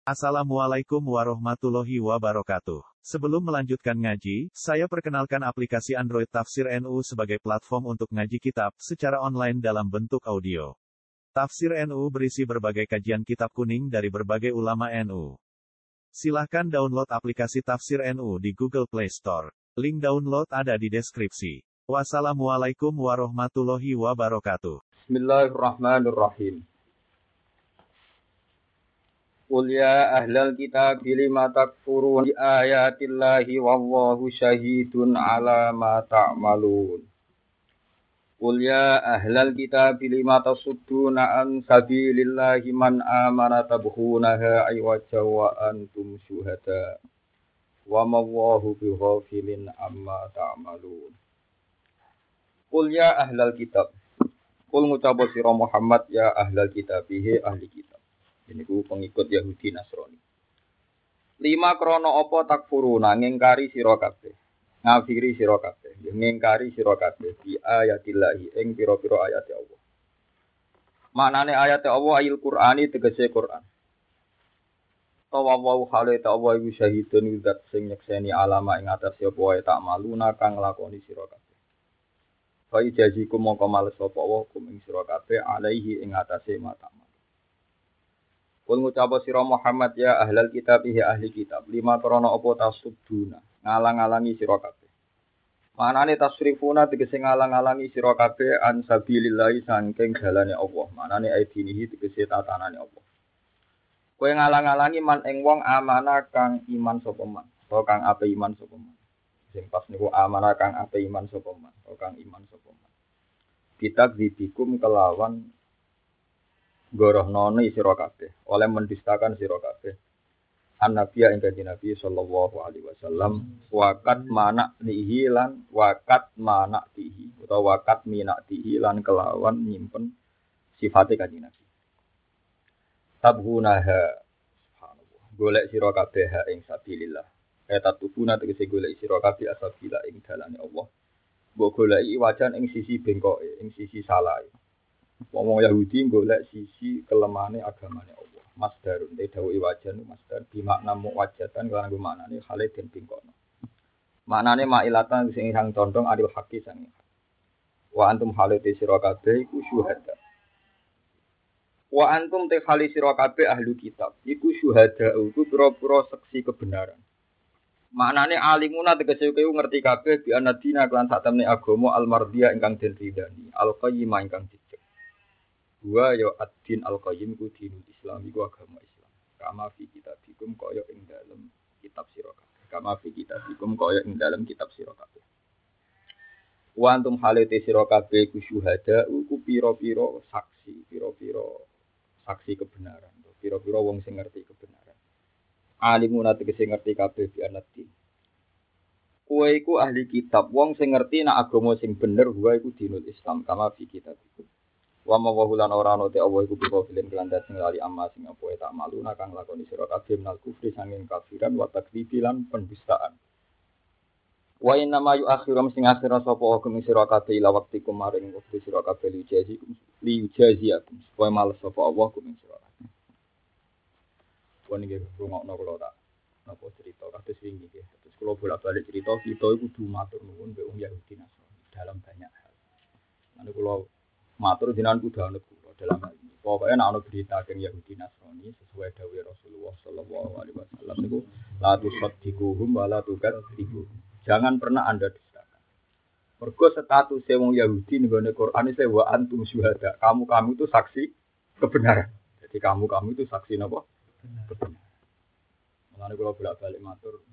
Assalamualaikum warahmatullahi wabarakatuh. Sebelum melanjutkan ngaji, saya perkenalkan aplikasi Android Tafsir NU sebagai platform untuk ngaji kitab secara online dalam bentuk audio. Tafsir NU berisi berbagai kajian kitab kuning dari berbagai ulama NU. Silahkan download aplikasi Tafsir NU di Google Play Store. Link download ada di deskripsi. Wassalamualaikum warahmatullahi wabarakatuh. Bismillahirrahmanirrahim. Qul ya ahlal kitab lima takfurun bi ayatillahi wallahu syahidun ala ma ta'malun. Qul ya ahlal kitab lima tasudduna an sabilillahi man amana tabghunaha aywaja wa antum syuhada. Wa ma Allahu bighafilin amma ta'malun. Qul ya ahlal kitab. Qul ngucap sira Muhammad ya ahlal kitab ahli kitab. Ini ku pengikut Yahudi Nasrani. 5 krono apa takfuruna ngingkari sira kabeh. Ngafiri sira kabeh, ngingkari sira kabeh bi ayatillahi ing pira-pira ayat Allah. Maknane ayat Allah ayil Qur'ani tegese Qur'an. Tawawu hale ta Allah iku syahidun zat sing nyekseni alama ing atas apa wae tak maluna kang lakoni sira kabeh. Fa ijazikum mongko males sapa Allah kum ing sira kabeh alaihi ing atase mata. Kul ngucap sira Muhammad ya ahlal kitab ahli kitab 5 krana apa tasubduna ngalang-alangi sira kabeh. Manane tasrifuna tegese ngalang-alangi sira kabeh an sabilillah saking dalane Allah. Manane aidinihi tegese tatanane Allah. Kowe ngalang-alangi man ing wong amanah kang iman sapa man, utawa kang ape iman sapa man. Sing pas niku amanah kang ape iman sapa man, utawa kang iman sapa man. Kitab dibikum kelawan gorohnone sira kabeh oleh mendustakan sira kabeh annabiya ing kanjeng Nabi sallallahu alaihi wasallam waqat mana nihi lan waqat mana tihi utawa waqat minatihi lan kelawan nyimpen sifate kanjeng Nabi tabhunaha subhanallah golek sira kabeh ing sabilillah eta tubuna tegese golek sira kabeh asabila ing dalane Allah mbok goleki wajan ing sisi bengkoke ing sisi salahe. Wong Yahudi golek sisi kelemahane agamane Allah. Masdarun te dawuh wajan masdar bi makna muwajjatan lan maknane hale den bingkono. Maknane mailatan sing sang condong adil haqi sang. Wa antum halate sira kabeh iku syuhada. Wa antum te hali sira kabeh ahli kitab iku syuhada iku pira-pira saksi kebenaran. Maknane alimuna tegese kowe ngerti kabeh bi anadina kelan sak temne agama al-mardiyah ingkang den ridani, al-qayyimah ingkang wa ya ad-din al-qayyim ku dinul Islam iku agama Islam. Kama fi kitabikum kaya ing dalem kitab sira kabeh. Kama fi kitabikum kaya ing dalem kitab sira kabeh. Wa antum halate sira kabeh ku syuhada ku pira-pira saksi, pira-pira saksi kebenaran. Pira-pira wong sing ngerti kebenaran. Alimun tegese ngerti kabeh bi anad-din. Kowe iku ahli kitab, wong sing ngerti nek agama sing bener wae iku dinul Islam. Kama fi kitabikum. Wa ma wa lan ora ana te Allah iku bisa filen kelandat sing lali amma sing apa tak maluna kang lakoni sira kabeh menal kufri sanging kafiran wa takdzibi lan pendustaan. Wa inna ma yu'akhirum sing akhira sapa hukum sira kabeh ila wektikum maring wektu sira kabeh li jaziakum supaya males sapa Allah hukum sira kabeh. Wong iki rungokno kula tak napa cerita kados wingi nggih. Terus kula bolak-balik cerita kita iku kudu matur nuwun mbek wong Yahudi Nasrani dalam banyak hal. Lan kula matur jenengan kudu anut kula dalam hal ini. Pokoke nek ana berita teng Yahudi Nasrani sesuai dawuh Rasulullah sallallahu alaihi wasallam niku la tusaddiquhum wa la tukadzibuhum. Jangan pernah Anda dustakan. Mergo status wong Yahudi nggone Quran iki wa antum syuhada. Kamu itu saksi kebenaran. Jadi kamu itu saksi napa? Kebenaran. Mulane kula bolak-balik matur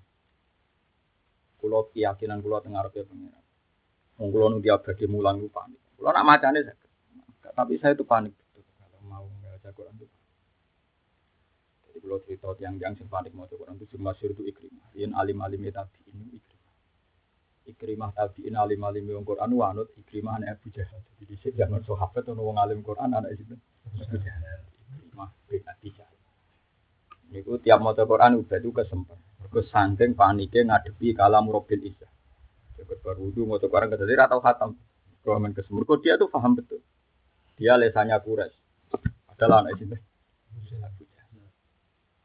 kula keyakinan kula teng ngarepe pengiran. Wong kula nu diabadi mulang ku panik. Kula nak macane tapi saya itu panik betul kalau mau membaca Quran itu. Jadi kalau cerita tiang-tiang yang panik mau Quran itu masyhur itu Ikrimah. Yen alim-alim tabi'in Ikrimah. Ikrimah tabi'in alim-alim wong Quran wanut Ikrimah anak Abu Jahal. Jadi dhisik zaman sahabat ono wong alim Quran anak itu Abu Jahal. Ikrimah bin Abi Jahal. Niku tiap maca Quran udah itu kesempat. Mergo saking panike ngadepi kalam Rabbil Izzah. Cepet baru wudu maca Quran kedadi ra tau khatam. Komen kesemurko dia tuh paham betul. Dia lesannya Quraisy. Adalah anak itu.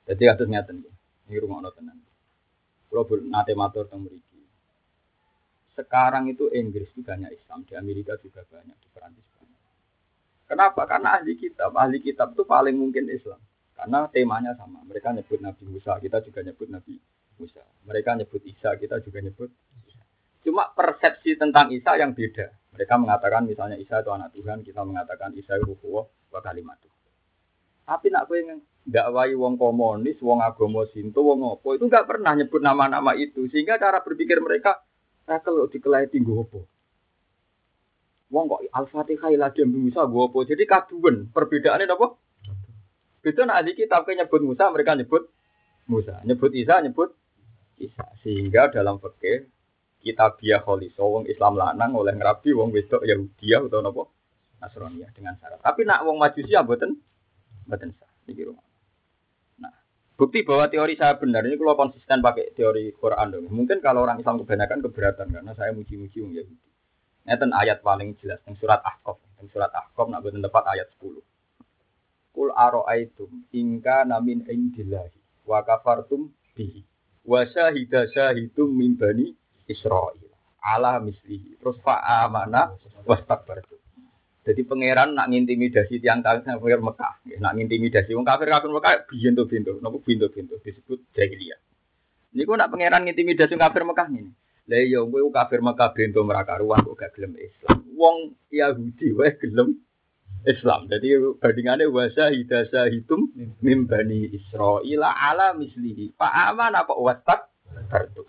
Jadi kados ngeten iki. Iki rumakno tenan. Kula nate matur teng mriki. Sekarang itu Inggris itu banyak Islam, di Amerika juga banyak, di Perancis banyak. Kenapa? Karena ahli kitab itu paling mungkin Islam. Karena temanya sama. Mereka nyebut Nabi Musa, kita juga nyebut Nabi Musa. Mereka nyebut Isa, kita juga nyebut Isa. Cuma persepsi tentang Isa yang beda. Mereka mengatakan misalnya Isa itu anak Tuhan, kita mengatakan Isa itu ruhullah wa kalimatuh. Tapi nak kowe ndakwai wong komunis, wong agama Sinto, wong apa itu enggak pernah nyebut nama-nama itu. Sehingga cara berpikir mereka kalau dikelahi tinggu apa? Wong kok Al-Fatihah ila dem Musa go apa? Jadi kaduwen. Perbedaannya apa? Beda nak ahli kitab nyebut Musa, mereka nyebut Musa. Nyebut Isa, nyebut Isa. Sehingga dalam fikih kitabiah kholiso wong Islam lanang oleh ngrabi wong wedok Yahudi atau napa? Nasraniyah dengan syarat. Tapi nak wong Majusi mboten sah. Iki rumah. Nah, bukti bahwa teori saya benar ini kalau konsisten pakai teori Quran dong. Mungkin kalau orang Islam kebanyakan keberatan karena saya muji-muji wong Yahudi. Ngeten ayat paling jelas yang surat Ahqaf. Yang surat Ahqaf nak boten tepat ayat 10. Qul ara'aitum in kana min indillahi wa kafartum bihi wa syahidum min bani Israil ala mislihi. Terus fa amana wastakbartum. Jadi pangeran nak ngintimidasi tiang kafir Mekah, nak ngintimidasi wong kafir Mekah bintu-bintu, napa bintu-bintu disebut jahiliyah. Niku nak pangeran ngintimidasi kafir Mekah ngene. Lah iya kowe kafir Mekah bintu merakaruan kok gak gelem Islam. Wong Yahudi wae gelem Islam. Jadi bandingane wasahidum mim bani Israil ala mislihi. Fa amana kok wastak kartu.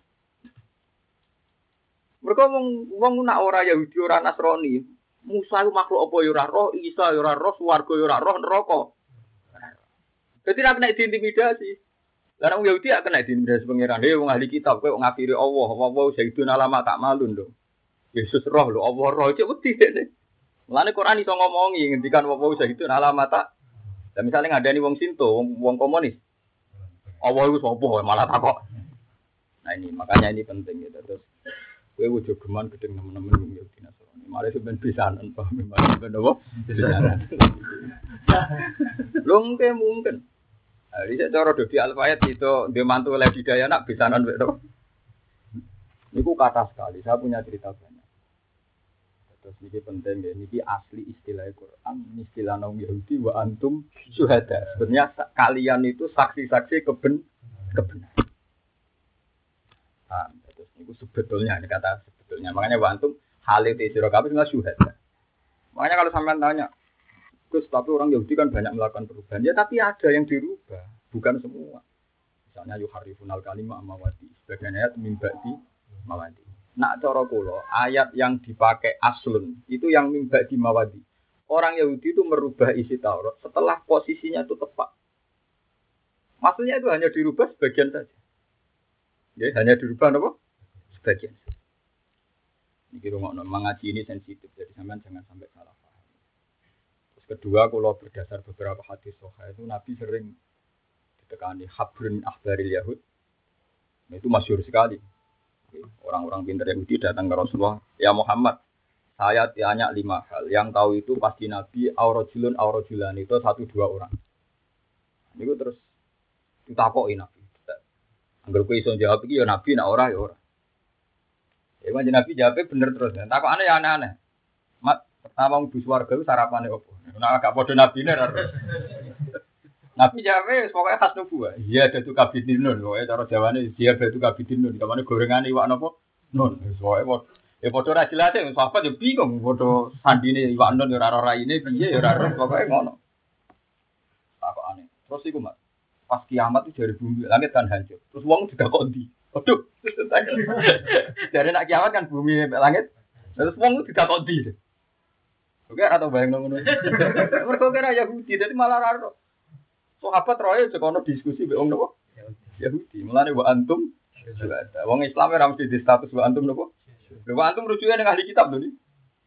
Mereka wong nak ora Yahudi ora Nasrani. Musa itu makhluk apa ya ora roh, Isa ya ora roh, swarga ya ora roh, neraka. Dadi nek kena diintimidasi. Lah wong Yahudi gak kena diintimidasi pangeran. Wong ahli kitab kowe ngafiri Allah, apa sayyidun alama tak malun lho. Yesus roh lho, Allah roh cek wedi dene. Mulane Quran iso ngomongi ngendikan apa sayyidun alama tak. Lah misale ngadani wong Sinto, wong komunis. Allah iku sapa malah takok. Nah ini makanya ini penting gitu. Terus kowe ojo geman gedeng nemen-nemen wong Yahudi Nasrani. Mare sampean pisanan paham memang ben apa? Pisanan. Lho mungkin. Hari saya cara Dodi Al-Fayat itu dia mantu oleh Hidayah nak pisanan wek to. Niku kata sekali. Saya punya cerita banyak. Terus ini penting ya. Ini asli istilah Quran. Istilah orang Yahudi wa antum syuhada. Sebenarnya kalian itu saksi-saksi kebenaran. Terus ini sebetulnya ini kata sebetulnya. Makanya wa antum halil sira kabeh enggak syuhada. Makanya kalau sampean tanya, Gus, tapi orang Yahudi kan banyak melakukan perubahan. Ya tapi ada yang dirubah, bukan semua. Misalnya yuharifunal kalimah mawadi. Sebagian ayat mimba'di mawadi. Nak cara kula, ayat yang dipakai aslun itu yang mimba'di mawadi. Orang Yahudi itu merubah isi Taurat setelah posisinya itu tepat. Maksudnya itu hanya dirubah sebagian saja. Ya, hanya dirubah apa? Sebagian. Iki rungokno mengaji ini sensitif, jadi sampean jangan sampai salah paham. Terus kedua, kalau berdasar beberapa hadis sahih itu Nabi sering ditekani habrun ahbaril Yahud. Nah, itu masyhur sekali. Orang-orang pintar Yahudi datang ke Rasulullah, ya Muhammad, saya tanya 5 hal. Yang tahu itu pasti Nabi aurojulun itu 1-2 orang. Ini terus ditakoki Nabi. Angger kowe iso jawab iki ya Nabi, nek ora ya ora. Ya manjen Nabi jawabnya bener terus. Takokane ya aneh-aneh. Mat, pertama mlebu swarga ku sarapane opo? Nek gak padha nabine ora. Nabi jawabnya pokoke khas nubuwah. Iya dadu kabidinun, pokoke cara Jawane dia dadu kabidinun. Kamane gorengane iwak napa? Nun. Wis pokoke ya padha ora jelas e sahabat yo bingung padha sandine iwak nun yo ora ora raine piye yo ora pokoke ngono. Takokane. Terus iku Mat, pas kiamat itu dari bumi langit kan hancur. Terus wong juga kok ndi? Waduh. Dari nak kiamat kan bumi langit. Terus wong itu tidak kodi. Oke atau bayang ngono. Mergo kira Yahudi dadi malah ora. Sahabat roe sekono diskusi mbek wong nopo? Yahudi. Mulane wa antum syuhada. Wong Islam ora mesti di status wa antum nopo? Wa antum rujuke ning ahli kitab lho iki.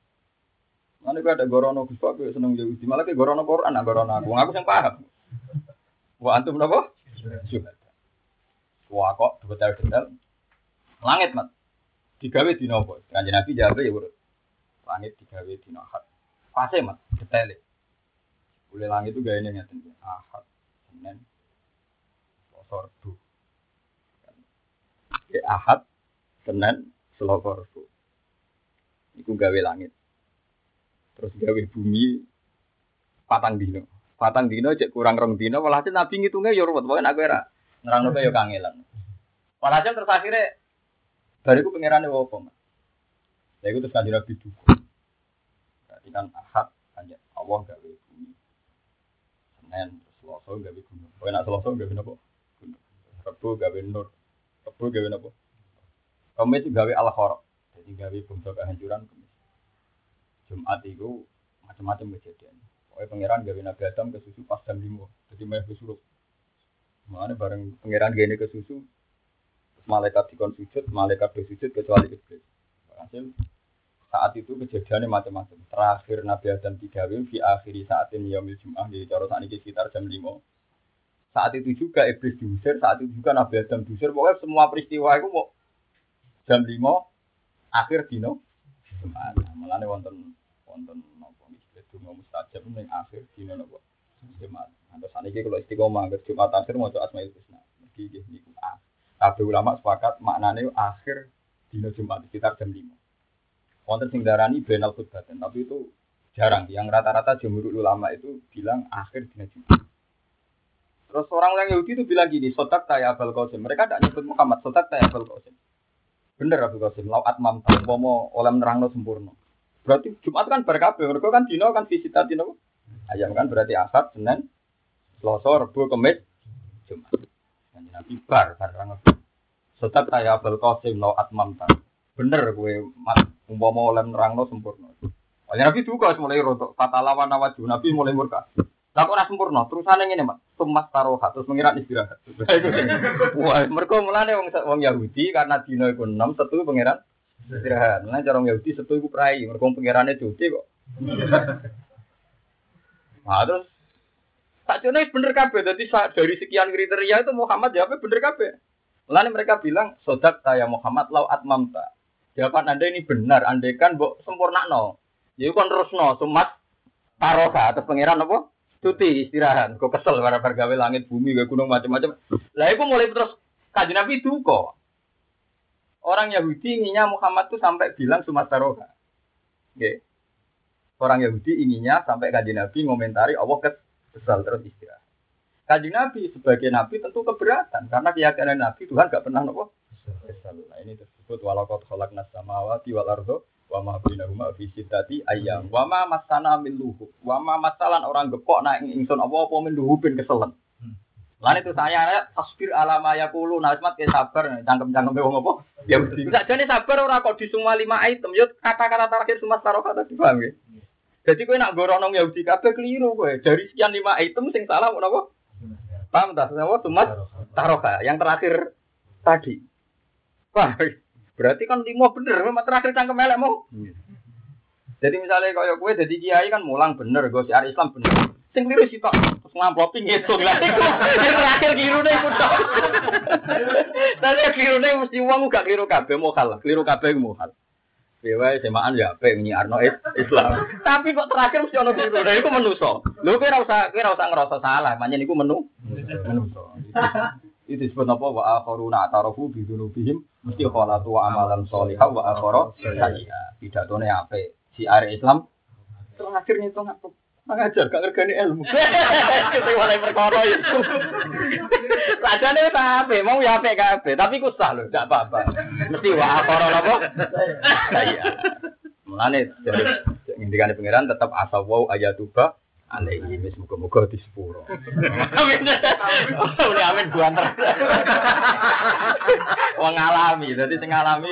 Mane kok ada gorono Gus Pak seneng Yahudi. Malah ke gorono Quran, gorono aku. Wong aku sing paham. Wa antum nopo? Syuhada. Wah kok detail-detail. Langit Mat. Digawe dina apa? Kanjeng Nabi jawab ya urut. Langit digawe dina Ahad. Pase Mat, detail. Boleh langit itu gawe ngeten. Ahad, Senin, Selasa Rabu. Ahad, Senin, Selasa Rabu. Iku gawe langit. Terus gawe bumi patang dino. Patang dino cek kurang rong dino, walhasil Nabi ngitungnya ya ruwet, pokoknya aku era nerangno kaya kangelan. Walhasil terus akhirnya bariku pangerane opo, Mas. Ya iku terus kanjeng Nabi duka. Berarti kan Ahad kanjeng Allah gawe bumi. Senin Selasa gawe gunung. Pokoke nek Selasa gawe napa? Gunung. Rabu gawe nur. Rabu gawe napa? Kamis gawe al-kharaq. Jadi gawe bangsa kehancuran Kamis. Jumat itu macam-macam kejadian. Pokoknya pangeran gawe Nabi Adam ke susu pas jam 5. Jadi meh kesurup. Makanya bareng pangeran gene ke susu, malaikat dikon sujud, malaikat bersujud kecuali iblis. Hasil saat itu kejadiannya macam-macam. Terakhir Nabi Adam digawe di akhiri saatin yaumil Jumat di cara sakniki sekitar jam 5. Saat itu juga iblis diusir, saat itu juga Nabi Adam diusir. Pokoknya semua peristiwa itu mau jam 5 akhir dino Jumat. Mulane wonten napa iki donga mustajab ning akhir dino napa Jumat. Terus saniki kalau istiqomah ke Jumat akhir maca Asmaul Husna. Iki nggih niku. Kabeh ulama sepakat maknane akhir dino Jumat sekitar jam 5. Wonten sing darani benal khutbatan, tapi itu jarang. Yang rata-rata jumhur ulama itu bilang akhir dino Jumat. Terus orang Yahudi itu bilang gini, sotak ya Abul Qasim. Mereka tidak nyebut Muhammad, sotak ya Abul Qasim. Bener Abul Qasim, lau atmam tampomo oleh nerangno sempurna. Berarti Jumat kan berkabeh, mereka kan dino kan visita dino. Ayam kan berarti Ahad, Senin, Selasa, Rabu, Kamis, Jumat. Kanjeng Nabi bar nerangno. Sotak ya Abul Qasim lau atmam tam. Bener kowe umpama oleh nerangno sempurna. Kanjeng Nabi duka mulai rontok, fatalawan awaju Nabi mulai murka. Lah kok ora sempurna, terusane ngene, Mak. Sumas taroha terus mengira istirahat. Wah, mergo mulane wong Yahudi karena dina iku 6 Setu pangeran istirahat. Lah cara wong Yahudi Setu iku prai, mergo pangerane cuti kok. Nah, terus sakjane bener kabeh. Dadi dari sekian kriteria itu Muhammad jawabnya bener kabeh. Mulane mereka bilang, "Sodak ya Muhammad lau atmamta." Jawaban Anda ini benar, andaikan mbok sempurnakno. Ya iku kon terusno, sumas taroha terus pangeran apa? Cuti istirahat, kok kesel bar gawe langit bumi gawe gunung macam-macam. Lah iku mulai terus kanjeng Nabi duka. Orang Yahudi inginnya Muhammad tuh sampai bilang sumastaroha. Nggih. Orang Yahudi inginnya sampai kanjeng Nabi ngomentari Allah kesel terus istirahat. Kanjeng Nabi sebagai nabi tentu keberatan karena keyakinan Nabi Tuhan enggak pernah nopo kesel. Nah ini tersebut walaqad khalaqnas samawati wal ardha wa ma bainahuma fi sittati ayyam wa ma masana min luhub wa ma masalan orang gepok nak ingsun apa min luhubin keselen. Lan itu saya tasbir alama yaqulu nasmat ke sabar cangkem-cangkeme wong apa ya mesti sakjane sabar ora kok di semua 5 item yo kata-kata terakhir semua taroka tadi paham nggih. Jadi kowe nak gorono Yahudi kabeh keliru kowe. Dari sekian 5 item sing salah menapa? Paham ta? Semua cuma taroka yang terakhir tadi. Wah, berarti kan 5 bener, memang terakhir cangkem elek mau. Jadi misalnya kaya kowe dadi kiai kan mulang bener, go siar Islam bener. Sing keliru sitok, terus ngamplopi ngitung lah. Sing terakhir klirune iku tok. Tapi klirune mesti wong gak kliru kabeh mokal, kliru kabeh mokal. Dewe semaan ya ape nyiarno Islam. Tapi kok terakhir mesti ono kliru. Lah iku menungso. Lho kowe ora usah ngerasa salah, pancen iku menungso. Itu disebut apa wa akharuna atarafu bi dzunubihim mesti khalatu wa amalan sholihah wa akhara sayyi'ah. Pidatone apik. Si are Islam terakhir ngitung apa? Ngajar gak ngergani ilmu. Kita mulai perkara itu. Sajane wis apik, mau ya apik kabeh, tapi ku sah lho, gak apa-apa. Mesti wa akhara apa? Sayyi'ah. Mulane ngendikane pangeran tetap asawau ayatuba alaihi wis muga-muga disepuro. Amin. Amin buanter. Wong ngalami, dadi sing ngalami.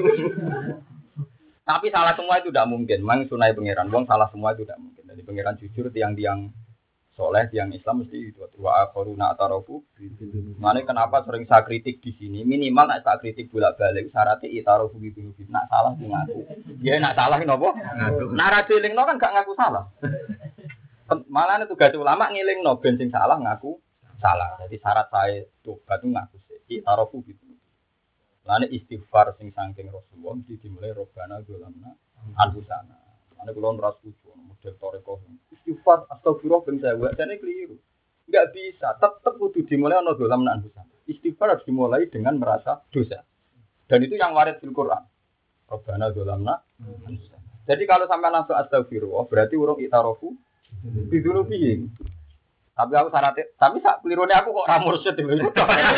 Tapi salah semua itu tidak mungkin. Memang sunai pangeran, wong salah semua itu tidak mungkin. Jadi pangeran jujur tiang-tiang soleh, tiang Islam mesti itu wa akharuna atarafu. Mane kenapa sering saya kritik di sini? Minimal nek saya kritik bolak-balik syaratnya itarafu gitu. Nak salah ku ngaku. Ya nak salah napa? Nak ra dilingno kan gak ngaku salah. Malah tugas ulama ngilingno ben sing salah ngaku salah. Jadi syarat saya tobat itu ngaku sih. Itarafu gitu. Lane istighfar sing saking Rasulullah mesti dimulai robbana dolamna anfusana. Lane kula ora setuju model toreko. Istighfar astagfirullah ben saya jane keliru. Enggak bisa, tetep kudu dimulai ana dolamna anfusana. Istighfar harus dimulai dengan merasa dosa. Dan itu yang warid fil Quran. Rabbana dzalamna. Jadi kalau sampai langsung astagfirullah berarti urung itarofu bidunubihim. Tapi aku syaratnya, tapi sak kelirune aku kok ora mursyid dhewe.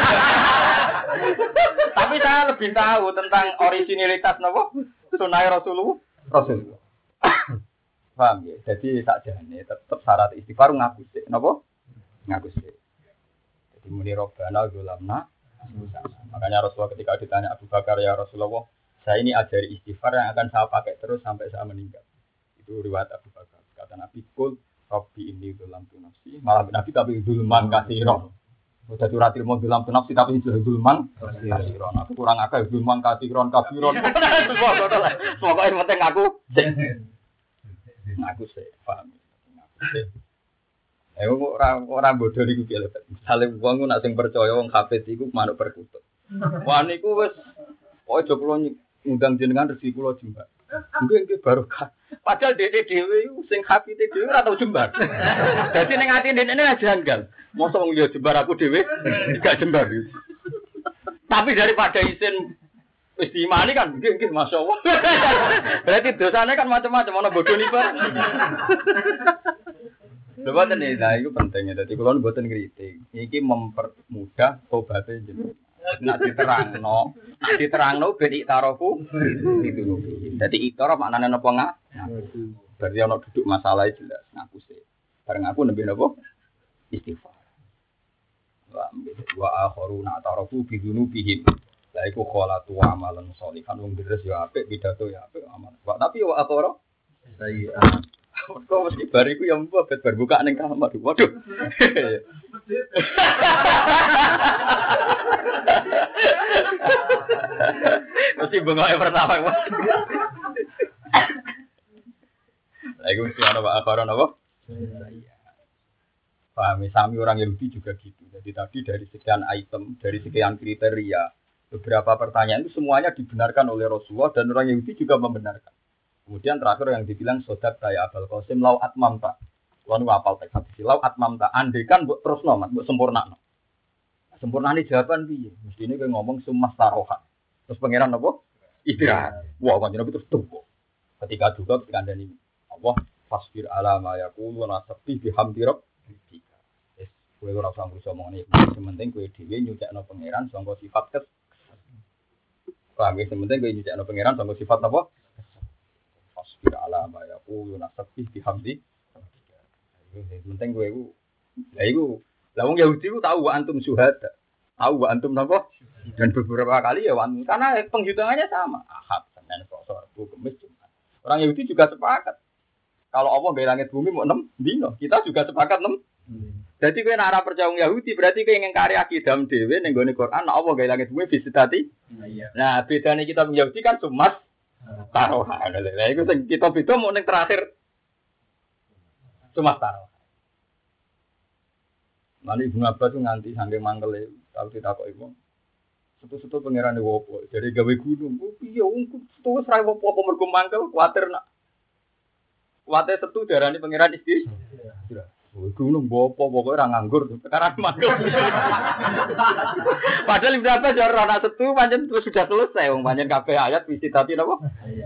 Tapi saya lebih tahu tentang originalitas napa sunah Rasulullah. Paham ya? Jadi sakjane tetep syarat istighfar ngaku sik. Napa? Ngaku sik. Jadi muni Rabbana dzalamna. Makanya Rasulullah ketika ditanya Abu Bakar, ya Rasulullah, saya ini ajari istighfar yang akan saya pakai terus sampai saya meninggal. Itu riwayat Abu Bakar. Kata Nabi, "Qul Rabbi inni dzalamtu nafsi." Malah Nabi tapi dzulman katsiran. Udah curhat ilmu dzalamtu nafsi tapi dzulman katsiran. Aku kurang akal dzulman katsiran kabiron. Semoga yang penting aku sih, paham. Orang bodoh niku piye lho. Misale wong nak sing percaya wong hafid iku manuk perkutut. Wah niku wis ojo kula ngundang jenengan rezeki kula jembar. Nggih barokah. Padahal dhek dhewe iku sing hafid dhewe ora tau jembar. Dadi ning atine dhekne janggal. Mosok wong liya jembar aku dhewe gak jembar. Tapi daripada isin wis diimani kan nggih masyaallah. Berarti dosane kan macam-macam ana bodoh niku. Mboten nih, itu pentingnya. Jadi kalau mboten kritik, ini mempermudah tobatnya jenengan. Nak diterangno ben iktarofu itu. Jadi iktar maknane napa ngak? Berarti ana duduk masalah jelas ngaku sih. Bareng aku nembe napa? Istighfar. Wa akharuna atarafu bi dzunubihim. Lah iku kholatu amalan sholihan wong deres ya apik, pidato ya apik amal. Tapi wa akhara sayyi'ah. Kok mesti bariku yang mbet bar buka ning kamar. Waduh. Mesti bengoke pertama. Lagi mesti ana Pak Akharon apa? Paham, sami orang Yahudi juga gitu. Jadi tadi dari sekian item, dari sekian kriteria, beberapa pertanyaan itu semuanya dibenarkan oleh Rasulullah dan orang Yahudi juga membenarkan. Kemudian terakhir yang dibilang sodak saya Abul Qasim lau atmamta. Kuwi apal teks hadis lau atmamta. Andekan mbok terusno, Mas, mbok sempurnakno. Sempurnane jawaban piye? Mestine kowe ngomong sumas taroha. Terus pangeran apa? Istirahat. Wah, kanjeng Nabi terus tuku. Ketika juga dikandani Allah, fasbir ala ma yaqulu wa nasbi bihamdi rabbika. Wis kowe ora usah ngurus omongane. Sing penting kowe dhewe nyucakno pangeran sangka sifat kes. Paham ya? Sing penting kowe nyucakno pangeran sangka sifat apa? Fasbir ala ma yaqulu nasabih bihamdi. Penting kowe iku. Lah iku, lah wong Yahudi ku tahu wa antum syuhada. Tahu wa antum napa? Dan beberapa kali ya wan karena penghitungannya sama. Ahad, Senin, Selasa, Rabu, Kamis, Jumat. Orang Yahudi juga sepakat. Kalau Allah gawe langit bumi mau 6 dino, kita juga sepakat 6. Jadi kowe nek ora percaya wong Yahudi berarti kowe ngingkari akidah dhewe ning gone Quran, Allah gawe langit bumi bisidati. Nah, bedane kita wong Yahudi kan sumas tarohan. Lah iku sing kita beda mau ning terakhir cuma tarohan. Mane Ibnu Abbas tuh nganti saking mangkele tau ditakoki wong. Setu-setu pangeran wopo. Jadi gawe gunung. Oh piye wong setu wis ra wopo apa mergo mangkel kuwatir nak. Kuwatir setu darani pangeran istri. Gunung wopo pokoke ora nganggur perkara mangkel. Padahal Ibnu Abbas ya ora ana setu pancen sudah selesai wong pancen kabeh ayat wisi dadi napa?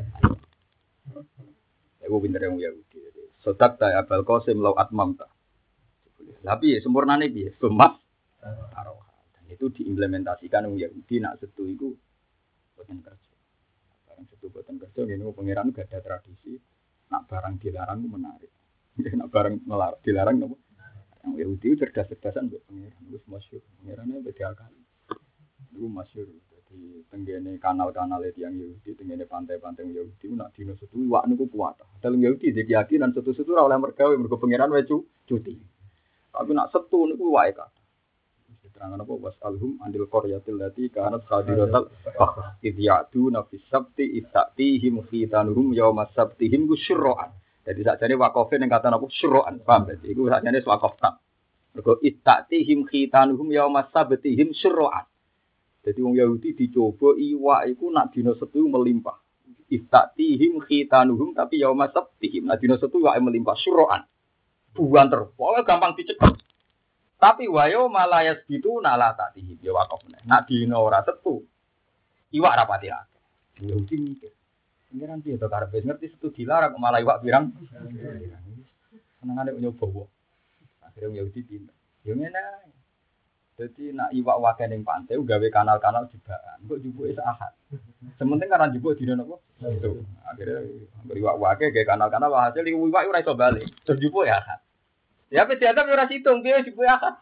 Iku pintere wong Yahudi. Sodak ta Abul Qasim lau atmamta. Tapi sempurnane piye? Sumas taroha. Dan itu diimplementasikan wong Yahudi nak setu iku boten kerja. Barang setu boten kerja ngene pangeran gak ada tradisi nak barang dilarang menarik. Nak barang dilarang napa? Yang Yahudi cerdas-cerdasan mbek pangeran wis masyhur. Pangerane beda kali. Iku masyhur. Jadi tenggene kanal-kanal yang Yahudi, tenggene pantai-pantai Yahudi nak dino setu wak niku kuat. Dalam Yahudi keyakinan setu-setu ora oleh mergawe mergo pangeran wae cuti. Tapi nak setu niku wae kathah. Diterangkan apa wasalhum andil qaryatil lati kanat sadiratal idyatu nafis sabti istatihim khitanuhum yaumas sabtihim syurra'an. Jadi sakjane wakofe ning kata napa syurra'an. Paham berarti iku sakjane wakof tak. Mergo istatihim khitanuhum yaumas sabtihim syurra'an. Jadi wong Yahudi dicoba iwak iku nak dina setu melimpah. Istatihim khitanuhum tapi yaumas sabtihim. Nah dina setu wae melimpah syurra'an. Buan terus, pokoknya gampang dicekel. Tapi wayo malayas gitu nala tatihi ya wakaf meneh. Nak dina ora tetu. Iwak rapati akeh. Yahudi mikir. Pengiran piye to karepe ngerti setu dilarang malah iwak pirang. Senengane nyoba wae. Akhire Yahudi pinter. Yo ngene ae. Dadi nak iwak wae ning pantai gawe kanal-kanal jebakan. Kok jupuke sak ahad. Sementing karena jupuk dina napa? Itu. Akhire iwak wae gawe kanal-kanal hasil iwak ora iso bali. Terus jupuk ya ahad. Ya pe diadap ora situng piye jupuk ahad.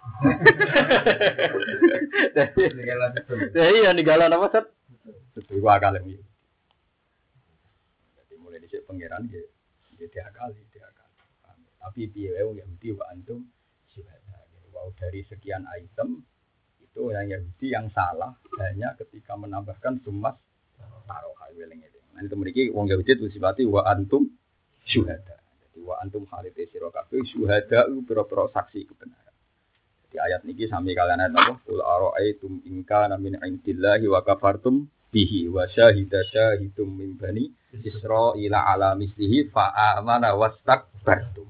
Jadi ya ninggalan apa set? Setu iwak kalem iki. Jadi mulai dhisik pangeran nggih diakali. Tapi piye wae wong Yahudi wa antum syuhada. Wow, dari sekian item itu yang Yahudi yang salah hanya ketika menambahkan sumas taroha weling-eling. Nah itu mriki wong Yahudi itu sifati wa antum syuhada. Jadi wa antum khalite sira kabeh syuhada pira-pira saksi kebenaran. Jadi ayat niki sami kalian ayat apa? Qul ara'aitum in kana min indillahi wa kafartum bihi wa syahida syahidum min bani Israila ala mislihi fa amana wastakbartum.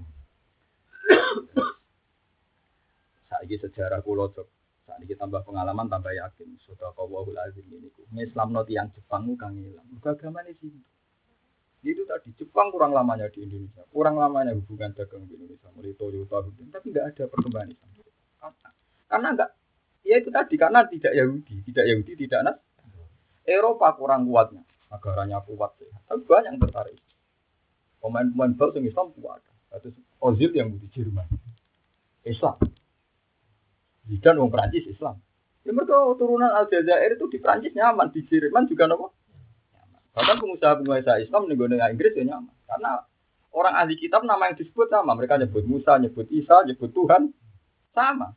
Saiki sejarah kula cok. Saiki tambah pengalaman tambah yakin sedekahul azim niku. Islamno tiyang Jepang ku kang ilang. Agamane sih. Itu tadi Jepang kurang lamanya di Indonesia. Kurang lamanya hubungan dagang di Indonesia. Mulai Toyota tapi enggak ada perkembangan Islam. Karena enggak ya itu tadi karena tidak Yahudi, tidak Nas. Eropa kurang kuatnya. Negaranya kuat ya. Tapi banyak yang tertarik. Pemain-pemain bal sing Islam kuat. Terus Ozil yang di Jerman. Islam. Zidane wong Prancis Islam. Ya mereka turunan Aljazair itu di Prancis nyaman, di Jerman juga napa? Nyaman. Bahkan pengusaha-pengusaha Islam ning gone Inggris ya nyaman. Karena orang ahli kitab nama yang disebut sama. Mereka nyebut Musa, nyebut Isa, nyebut Tuhan sama.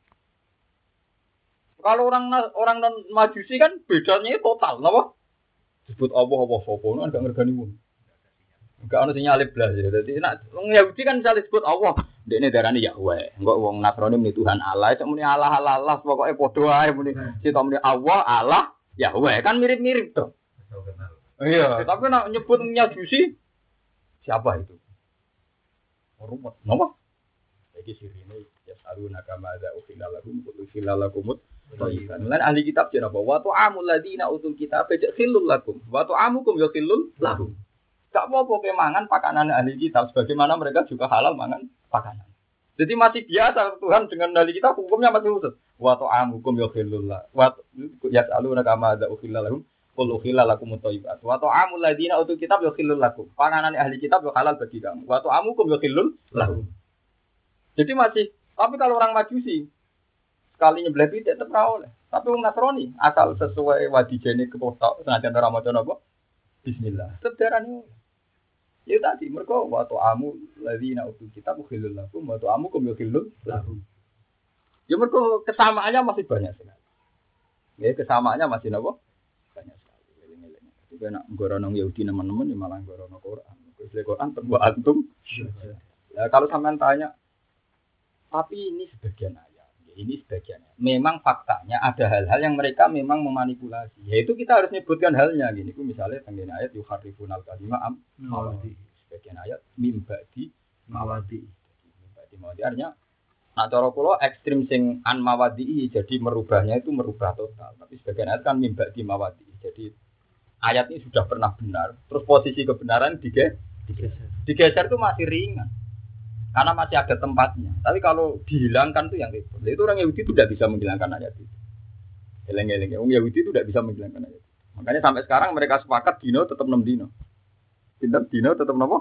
Kalau orang non Majusi kan bedanya total, napa? Disebut Allah sapa kan enggak ngergani wong. Enggak ono sing nyalip blas ya. Dadi nek wong Yahudi kan misalnya disebut Allah, dekne darani Yahweh. Engko wong Nasrani muni Tuhan Allah, sak muni Allah Allah, pokoke padha ae muni cita muni Allah Allah Yahweh kan mirip-mirip to. Iya, tapi nek nyebut Majusi siapa itu? Rumet. Napa? Iki sirine ya saruna kama za ukhilalakum ukhilalakum thayyiban. Lan ahli kitab jenapa? Wa ta'amul ladina utul kitab khillul lakum wa ta'amukum yakhillul lahum. Gak apa-apa kemangan pakanan ahli kitab sebagaimana mereka juga halal mangan pakanan. Jadi masih biasa Tuhan dengan ahli kitab hukumnya masih khusus. Wa ta'amukum yakhillul la. Wa yas'aluna kama za ukhilalakum qul ukhilalakum thayyibat. Wa ta'amul ladina utul kitab yakhillul lakum. Pakanan ahli kitab halal bagi kamu. Wa ta'amukum yakhillul lahum. Jadi masih, tapi kalau orang Majusi sekali nyebelah pitik tetap ra oleh. Tapi wong Nasrani asal sesuai wadijene kepotok senajan ora maca napa? Bismillah. Tetep darani. Ya tadi mereka wa ta'amu ladzina utul kitab khilul lakum wa ta'amukum khilul lahum. Ya mereka kesamaannya masih banyak sekali. Ya kesamaannya masih napa? Banyak sekali. Eling-eling. Jadi nek ngorono Yahudi teman-teman ya malah ngorono Quran. Quran terbuat antum. Ya kalau sampean tanya tapi ini sebagian ayat, ini sebagiannya. Memang faktanya ada hal-hal yang mereka memang memanipulasi. Yaitu kita harus menyebutkan halnya. Gini, misalnya tentang ayat yuharrifunal kalimah mawadi. Sebagian ayat mimbadi mawadi. Mimbadi mawadi artinya, nah cara kula ekstrim sing an mawadi jadi merubahnya itu merubah total. Tapi sebagian ayat kan mimbadi mawadi. Jadi ayat ini sudah pernah benar. Terus posisi kebenaran digeser itu masih ringan. Karena masih ada tempatnya. Tapi kalau dihilangkan itu yang repot. Itu orang Yahudi itu tidak bisa menghilangkan ayat itu. Eleng-eleng. Orang Yahudi itu tidak bisa menghilangkan ayat itu. Makanya sampai sekarang mereka sepakat dino tetap 6 dino. Pinter dino tetap apa?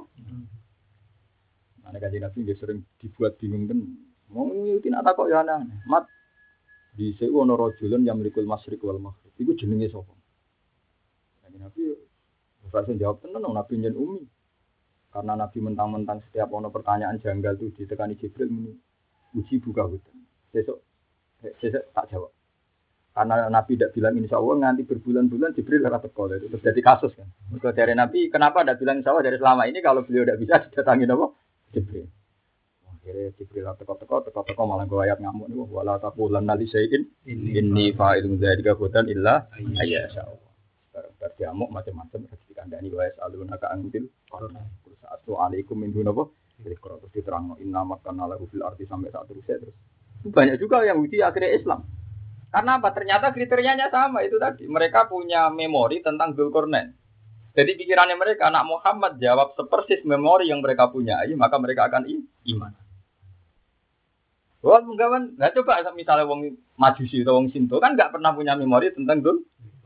Nah, kajian Nabi dia sering dibuat bingung kan. Mau Yahudi nak takut ya aneh. Mat di sewono rojulun yang merikul masyrik wal maghrib. Itu jenenge sapa? Kajian Nabi langsung jawab tenan Nabi nyen umi. Karena Nabi mentang-mentang setiap ono pertanyaan janggal itu ditekani Jibril muni uji buka hutan. Besok tak jawab. Karena Nabi tidak bilang insya Allah nganti berbulan-bulan Jibril ora teko itu terjadi kasus kan. Mergo dari Nabi kenapa tidak bilang insya Allah dari selama ini kalau beliau tidak bisa didatangi apa? Jibril. Akhirnya Jibril teko malah go ayat ngamuk niku wala taqulanna li syai'in inni fa'ilun dzalika hudan illa ayyasha Allah. Berdiamuk macam-macam dikandani wa yasaluna ka antil Assalamualaikum min dunapa. Jadi kalau terus diterangno inna makana lahu fil ardi sampai saat terus. Banyak juga yang Yahudi akhirnya Islam. Karena apa? Ternyata kriterianya sama itu tadi. Mereka punya memori tentang Dzulqarnain. Jadi pikirannya mereka, anak Muhammad jawab sepersis memori yang mereka punya, maka mereka akan iman. Wah, enggak kan? Nah, coba misalnya wong Majusi atau wong Sinto kan nggak pernah punya memori tentang Dzul.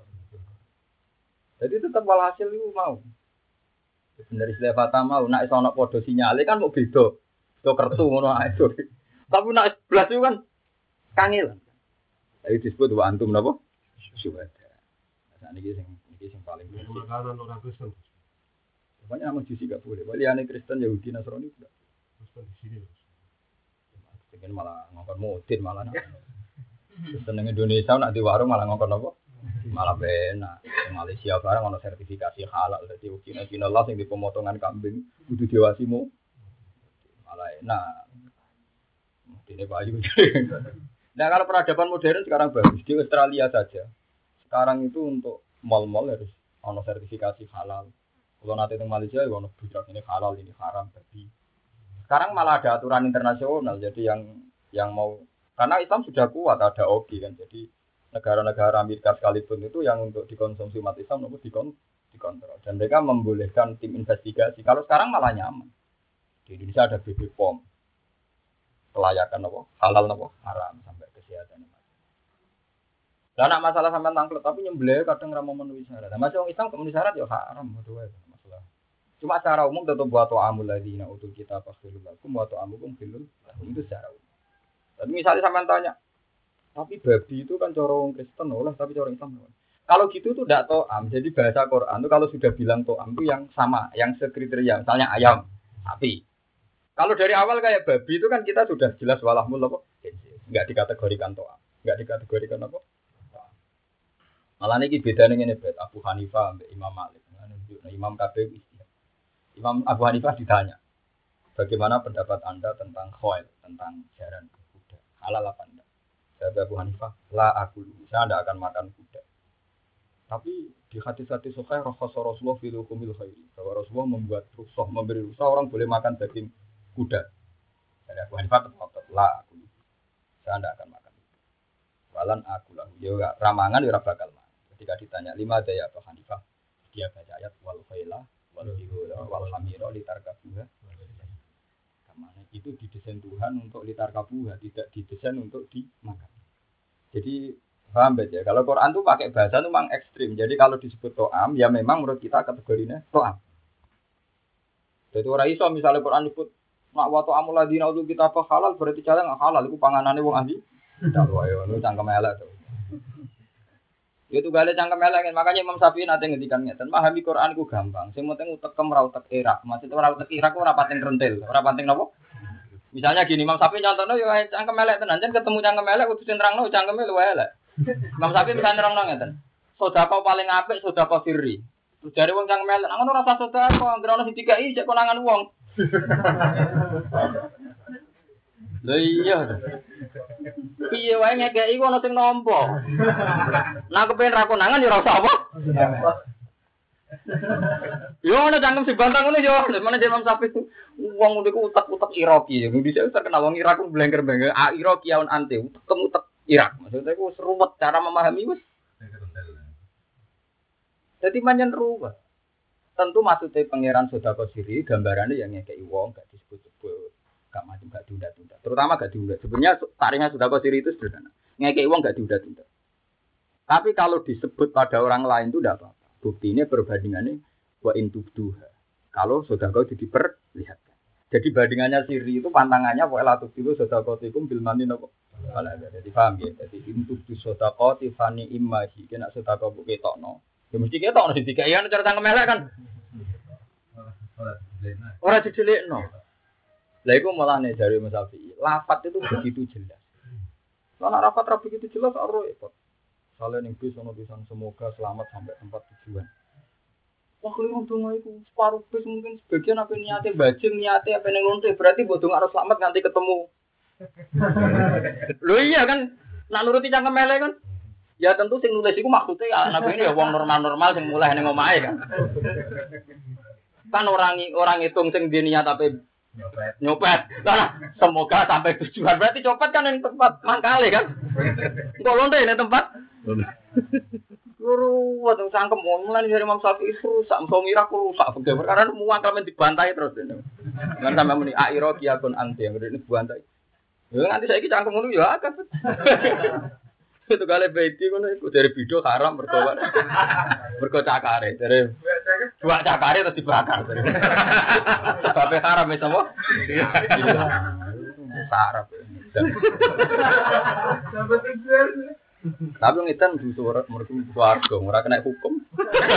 Jadi tetap walhasil itu mau. Dari istilah Fatah mau, nak iso ana padha sinyale kan mau beda. Do kertu ngono ae. Tapi nak 11 itu kan kangelan. Jadi disebut wa antum napa? Syuhada. Nah, niki sing paling makanan orang Kristen. Banyak nama Majusi gak boleh. Waliane Kristen, Yahudi, Nasrani tidak. Kristen di sini. Pengen malah ngongkon mudin malah. Kristen ning Indonesia nak di warung malah ngongkon apa? Malah benak. Malaysia barang ono sertifikasi halal dadi Cina Allah sing di pemotongan kambing kudu diwasimu. Malah enak. Ini bayu. Nah kalau peradaban modern sekarang bagus di Australia saja. Sekarang itu untuk mal-mal harus ono sertifikasi halal. Kalau nanti di Malaysia ya ono budak ini halal ini haram tapi sekarang malah ada aturan internasional jadi yang mau karena Islam sudah kuat ada OGI kan jadi negara-negara Amerika sekalipun itu yang untuk dikonsumsi umat Islam nomor dikontrol dan mereka membolehkan tim investigasi. Kalau sekarang malah nyaman di Indonesia ada BB POM kelayakan apa halal apa haram sampai kesehatan. Lah nak masalah sampean tangklet tapi nyembelih kadang ra memenuhi syarat. Nah, masih orang Islam memenuhi syarat ya haram betul ya masalah. Cuma secara umum tetap buat amul ladina utul kita fakhirul lakum wa ta'amukum filul itu secara umum. Tapi misalnya sampean tanya, tapi babi itu kan cara orang Kristen oleh tapi cara Islam. Kalau gitu tuh tidak to'am. Jadi bahasa Quran itu kalau sudah bilang to'am itu yang sama, yang sekriteria. Misalnya ayam, sapi. Kalau dari awal kayak babi itu kan kita sudah jelas walahmul apa? Enggak dikategorikan to'am. Enggak dikategorikan apa? Malah niki bedane ngene bet Abu Hanifah ambek Imam Malik. Nah, Imam KPU Imam Abu Hanifah ditanya, bagaimana pendapat Anda tentang khoil, tentang jaran kuda? Halal apa enggak? Kata Abu Hanifah, la akulu. Saya tidak akan makan kuda. Tapi di hadis-hadis sahih Rasulullah fil hukumil khairi. Bahwa Rasulullah membuat rukhsah, memberi rukhsah orang boleh makan daging kuda. Dari Abu Hanifah tetap la akulu. Saya tidak akan makan. Walan akulah. Ya ramangan ya bakal makan. Ketika ditanya 5 daya Abu Hanifah, dia baca ayat wal khaila wal bihura wal hamira litarkabuha. Kamane itu didesain Tuhan untuk litarkabuha, tidak didesain untuk dimakan. Jadi paham ya? Kalau Quran tuh pakai bahasa tuh memang ekstrim. Jadi kalau disebut to'am, ya memang menurut kita kategorinya to'am. Jadi orang iso misalnya Quran disebut nak wa to'amul ladina utul kita apa halal berarti cara nggak halal. Itu panganannya wong ahli. Tidak wae, itu cangkem elek tuh. Itu gak ada cangkem elek, makanya Imam Syafi'i nanti ngedikan ngeten. Memahami Quran itu gampang. Sing penting utekem ra utek irak. Maksudnya ora utek irak ora pating rentil, ora pating napa? Misalnya gini, Imam Syafi'i contohnya yo cangkem elek tenan, jan ketemu cangkem elek kudu nerangno cangkeme luwe elek. Imam Syafi'i bisa nerangno ngeten. Sedekah paling apik sedekah sirri. Terus jare wong cangkem elek, ngono ora usah sedekah, anggere ono sing dikai cek konangan wong. Lha iya. Piye wae ngekeki ku ono sing nampa. Nah kepen ra konangan ya ora usah apa. Yo ana cangkem sing bantang ngono yo, mana Imam Syafi'i itu wong niku utek-utek Iraki. Di sini terkenal wong Irak ku blengker-blengker. Iraki aun ante utek Irak. Maksudnya ku seruwet cara memahami wis. Jadi manjen ruwet. Tentu maksudnya pangeran sedekah siri gambarannya yang ngekeki wong gak disebut-sebut. Gak macam gak diunda-tunda. Terutama gak diunda. Sebenarnya taringnya sedekah siri itu sederhana. Ngekeki wong gak diunda-tunda. Tapi kalau disebut pada orang lain itu tidak apa-apa. Buktinya perbandingannya wa intubduha. Kalau sedekah itu diperlihatkan. Jadi bandingannya siri itu pantangannya wa la tubdu sedekatikum bil mani napa. Jadi paham ya. Jadi intubdu sedekati fani immahi kena sedekah bu ketokno. Ya mesti ketokno sing dikai ana cara cangkem elek kan. Ora didelikno. Lah iku mulane dari Imam Syafi'i. Lafaz itu begitu jelas. Kalau lafaz ra begitu jelas ora repot. Kalian yang bisa notisan semoga selamat sampai tempat tujuan. Wah kalau donga iku separuh bis mungkin sebagian apa niate bajing niate apa ning lonte berarti mbok donga harus selamat nganti ketemu. Lho iya kan nak nuruti cangkem elek kan. Ya tentu sing nulis iku maksudnya anak ini ya wong normal-normal sing mulai ning omahe kan. Kan orang hitung sing di niat apa Nyopet. Lah, semoga sampai tujuan. Berarti copet kan yang tempat mangkale kan? Engko lonte ning tempat. Guru waduh sangkem mulai dari Imam Syafi'i rusak, ngira aku rusak karena muang kalian dibantai terus. Kan sampe muni airo kiakun anti yang ini dibantai. Ya nanti saiki cangkem ngono ya akeh. Itu kali beti ngono iku dari video haram berkobar. Berko cakare dari dua cakare terus dibakar. Sampai haram wis apa? Sarap. Sampai tinggal. Tapi ngitan suara mereka warga, ora kena hukum.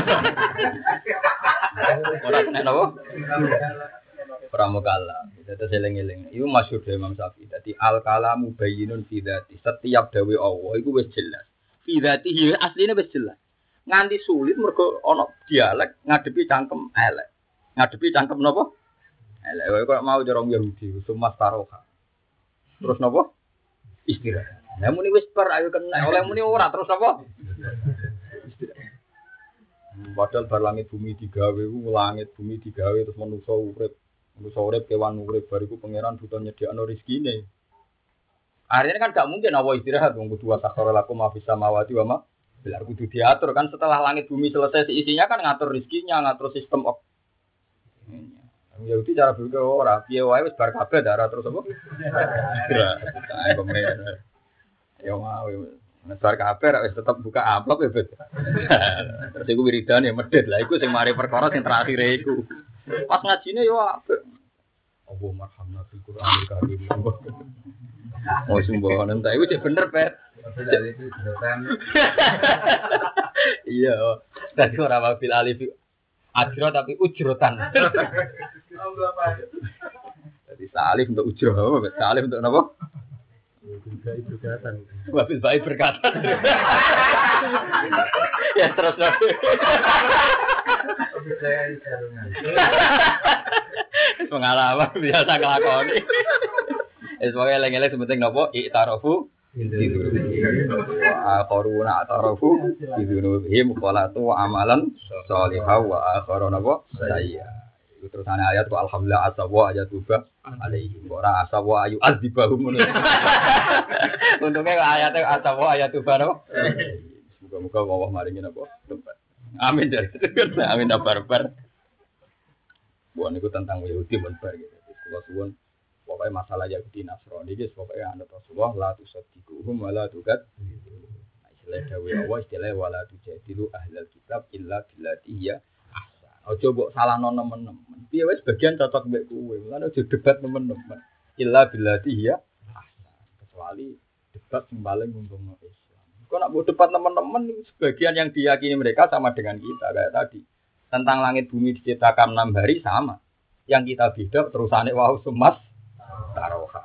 Ora kena apa? Pramukala. Itu seling-eling. Itu masyhur dari Imam Syafi'i. Dadi al-kalamu bayyinun fi dzati. Setiap dawe Allah iku wis jelas. Fi dzatihi asline wis jelas. Nganti sulit mergo ana dialek ngadepi cangkem elek. Ngadepi cangkem napa? Elek. Kok mau cara Yahudi, sumas taroha. Terus napa? Istirahat. Lah muni wis per ayo kena oleh muni ora terus apa? Padahal bar langit bumi digawe ku langit bumi digawe terus manusa urip kewan urip bariku pangeran butuh nyediakno rezekine. Akhirnya kan gak mungkin Allah istirahat wong kudu sakhara lakum ma fis samawati wa ma bilar kudu diatur kan setelah langit bumi selesai isinya kan ngatur rezekinya, ngatur sistem Yahudi cara berpikir ora piye wae wis bar kabeh darah terus apa? Pemerintah. Ya mau, nesar kabar, wis tetap buka amplop ya bet. Terus iku wiridan ya medhit lah, iku sing mari perkara sing terakhir iku. Pas ngajine yo apik. Allah marhamna fil Qur'anil Karim. Oh sembohan entek iku cek bener bet. Iya, tadi ora wabil alif ajro tapi ujrotan. Jadi salif untuk ujro, salif untuk apa? Wabil baik berkata. Ya terus lagi. Pengalaman biasa ngelakoni. Sebagai eleng-eleng sementing nopo i'tarofu wa akharuna atarafu bidunubihim qalatu amalan shalihah wa akharuna wa sayya. Itu terusane ayat wa alhamdulillah asawa ayatuba alaihi ora asawa ayu azibahum. Untungnya ayatnya asawa ayatuba no. Muga-muga Allah maringi napa tempat. Amin dari amin barbar. Bukan itu tentang Yahudi barbar gitu. Kalau suwun pokoknya masalah Yahudi Nasrani guys pokoknya anda Rasulullah la tusaddiquhum wa la tuqad. Istilah dawe Allah istilah wala tujadilu ahlal kitab illa billati hiya ahsan. Aja mbok salahno nemen-nemen. Piye wis bagian cocok mbek kowe. Lan aja debat nemen-nemen. Illa billati hiya ahsan. Kecuali debat sing paling untungno Islam. Kok nak mbok debat nemen-nemen sebagian yang diyakini mereka sama dengan kita kayak tadi. Tentang langit bumi diciptakan 6 hari sama. Yang kita beda terusane wau semas taroha.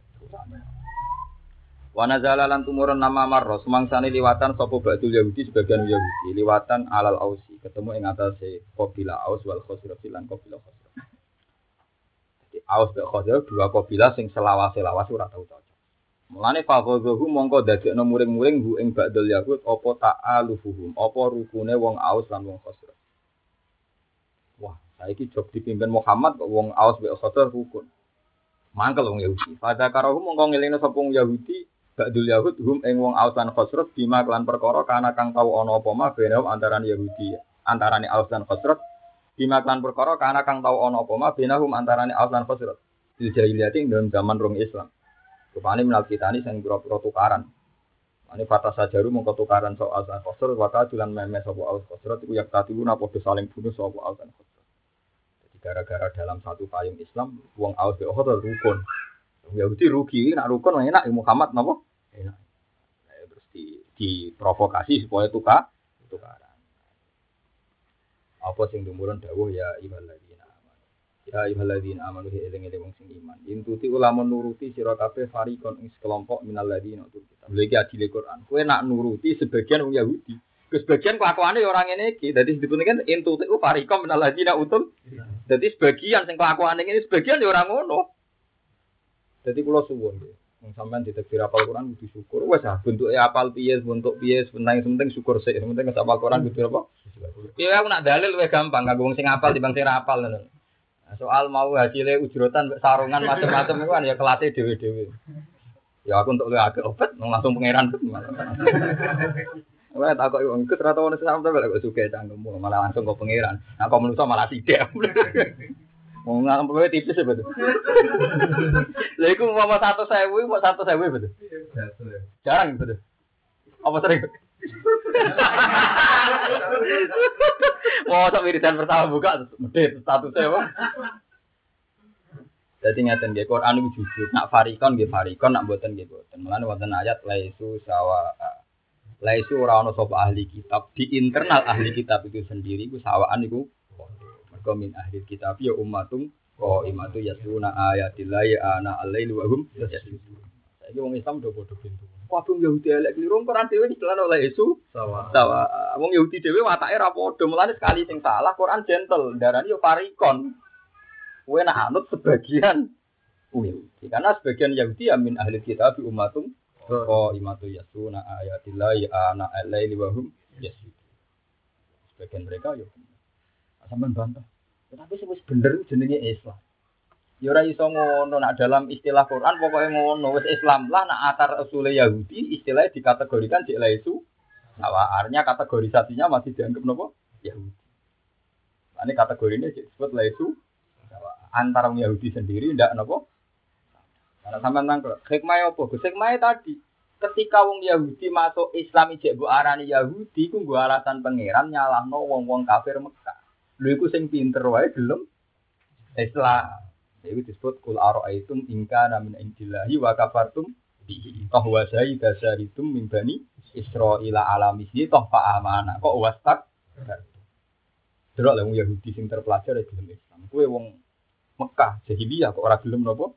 Wa nazala lan tumurun nama marros mangsane liwatan sapa ba'dul Yahudi sebagian Yahudi liwatan alal ausi ketemu ing atase qabilah Aus wal Khazraj lan qabilah Khazraj. Jadi Aus dan Khazraj dua qabilah sing selawas-selawas ora tau cocok. Mulane faqadhu mongko dadekno muring-muring hu ing ba'dul Yahud apa ta'alufuhum apa rukune wong Aus lan wong Khazraj. Wah, saiki job dipimpin Muhammad kok wong Aus mek Khazraj rukun. Mangkel wong Yahudi. Pada karo mongko ngelingno sapa wong Yahudi Ba'dul Yahud hum ing wong Aus lan Khazraj bima kelan perkara kana kang tau ana apa mah bene antarané Yahudi antarané Aus lan Khazraj bima kelan perkara kana kang tau ana apa mah bene antarané Aus lan Khazraj di jahiliyah ing dalam zaman rong Islam. Rupane menal kitani sing pira-pira tukaran. Ane fata sajaru mongko tukaran sok Aus lan Khazraj wata dulan memes sapa Aus Khazraj iku yak tatibuna padha saling bunuh sapa Aus lan Khazraj. Jadi gara-gara dalam satu payung Islam wong Aus mek Khazraj rukun. Yahudi rugi, nak rukun enak Muhammad napa? Enak. Terus diprovokasi supaya tukaran. Apa sing dumurun dawuh ya iballadzina amanu. Ya iballadzina amanu eling-eling wong sing iman. Intuti ulama nuruti sira kabeh farikon ing sekelompok minal ladzina utul kitab. Lha iki adile Quran. Kowe nak nuruti sebagian wong Yahudi. Sebagian kelakuane ya ora ngene iki. Dadi disebutne kan intuti farikon minal ladzina utul. Dadi sebagian sing kelakuane ngene sebagian ya ora ngono. Jadi kula suwun nggih. Wong sampean ditekdir apal Quran kudu syukur. Wes ah bentuke apal piye, bentuk piye, penting syukur sik. Penting apal Quran kudu apa? Ya aku nak dalil luwih gampang kanggo wong sing apal timbang sing ra apal ngono. Soal mau hasilnya ujrotan sarungan macam-macam itu kan ya kelasnya dewe-dewe. Ya aku untuk agak obat langsung pangeran. Wah tak kok wong ikut rata ono sampe lek suka cangkemmu malah langsung ke pangeran. Nah kok menungso malah sithik. Wong ngample tipis ya betul. Lha iku mau 100.000, mau 100.000 betul. Jarang betul. Apa sering? Mau sak wiridan pertama buka medhit statusnya apa? Dadi ngaten nggih Quran iki jujur, nak farikon nggih farikon, nak mboten nggih mboten. Mulane wonten ayat laisu sawa. Laisu ora ana sapa ahli kitab di internal ahli kitab itu sendiri iku sawaan iku. Mergo min ahli kitab ya ummatum qaimatu yasuna ayatillahi ana al-laili wa hum yasjudun. Saiki wong Islam do padha pintu. Kabeh Yahudi elek kliru Quran dhewe dicelan oleh Yesus. Sawa. Wong Yahudi dhewe watake ra padha, mulane sekali sing salah Quran gentle, darani yo farikon. Kowe nak anut sebagian Yahudi. Karena sebagian Yahudi ya min ahli kitab ummatum qaimatu yasuna ayatillahi ana al-laili wa hum yasjudun. Sebagian mereka yo sampean bantah. Tapi sing wis bener jenenge Islam. Ya ora iso ngono nak dalam istilah Quran pokoknya ngono wis Islam lah nak akar usule Yahudi istilahnya dikategorikan cek laisu sawaarnya kategorisasinya masih dianggap nopo Yahudi. Ini kategorinya disebut laisu antara Yahudi sendiri ndak nopo. Karena sampean nangkep hikmah apa? Hikmah tadi ketika wong Yahudi masuk Islam ijek mbok arani Yahudi ku nggo alasan pangeran nyalahno wong-wong kafir Mekah. Lha iku sing pinter wae gelem Islam. Itu disebut kul ara'aitum in kana min indillahi wa kafartum bihi fa zaida syaritum min bani Israila ala misli toh fa amana kok wastak delok lha wong Yahudi sing terpelajar ya gelem Islam kowe wong Mekah jahiliyah kok ora gelem napa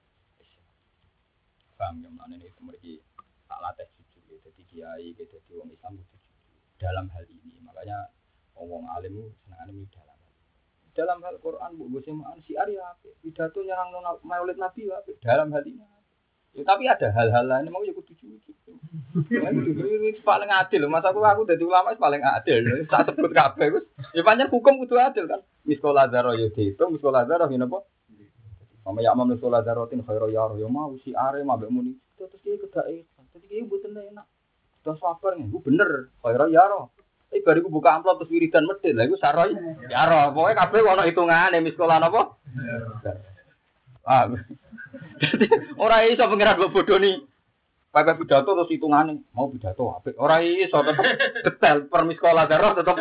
paham ya menane itu mriki tak latih jujur dadi kiai dadi wong Islam dalam hal ini makanya wong alim senengane dalam hal Quran bu semaan si Arya pidato nyerang Maulid Nabi dalam hal ini. Ya, tapi ada hal-hal lain mau ya kudu jujur. Ini paling adil masa aku dadi ulama paling adil. Tak sebut kabeh wis. Ya pancen hukum kudu adil kan. Miskola zaro yo diitung miskola zaro ngene apa? Sama ya amam miskola zarotin khairu ya yo mau si Arya mabek muni. Terus iki kedake. Dadi iki mboten enak. Terus sabar nggo bener khairu ya ro. Bariku buka amplop terus wiridan medhit. Lah iku saroy. Ya ro, pokoke kabeh ono hitungane miskola napa? Ah. Ora iso pengiran mbok bodoni. Pakai pidato terus hitungane. Mau pidato apik. Ora iso tetep detail per miskola darah tetep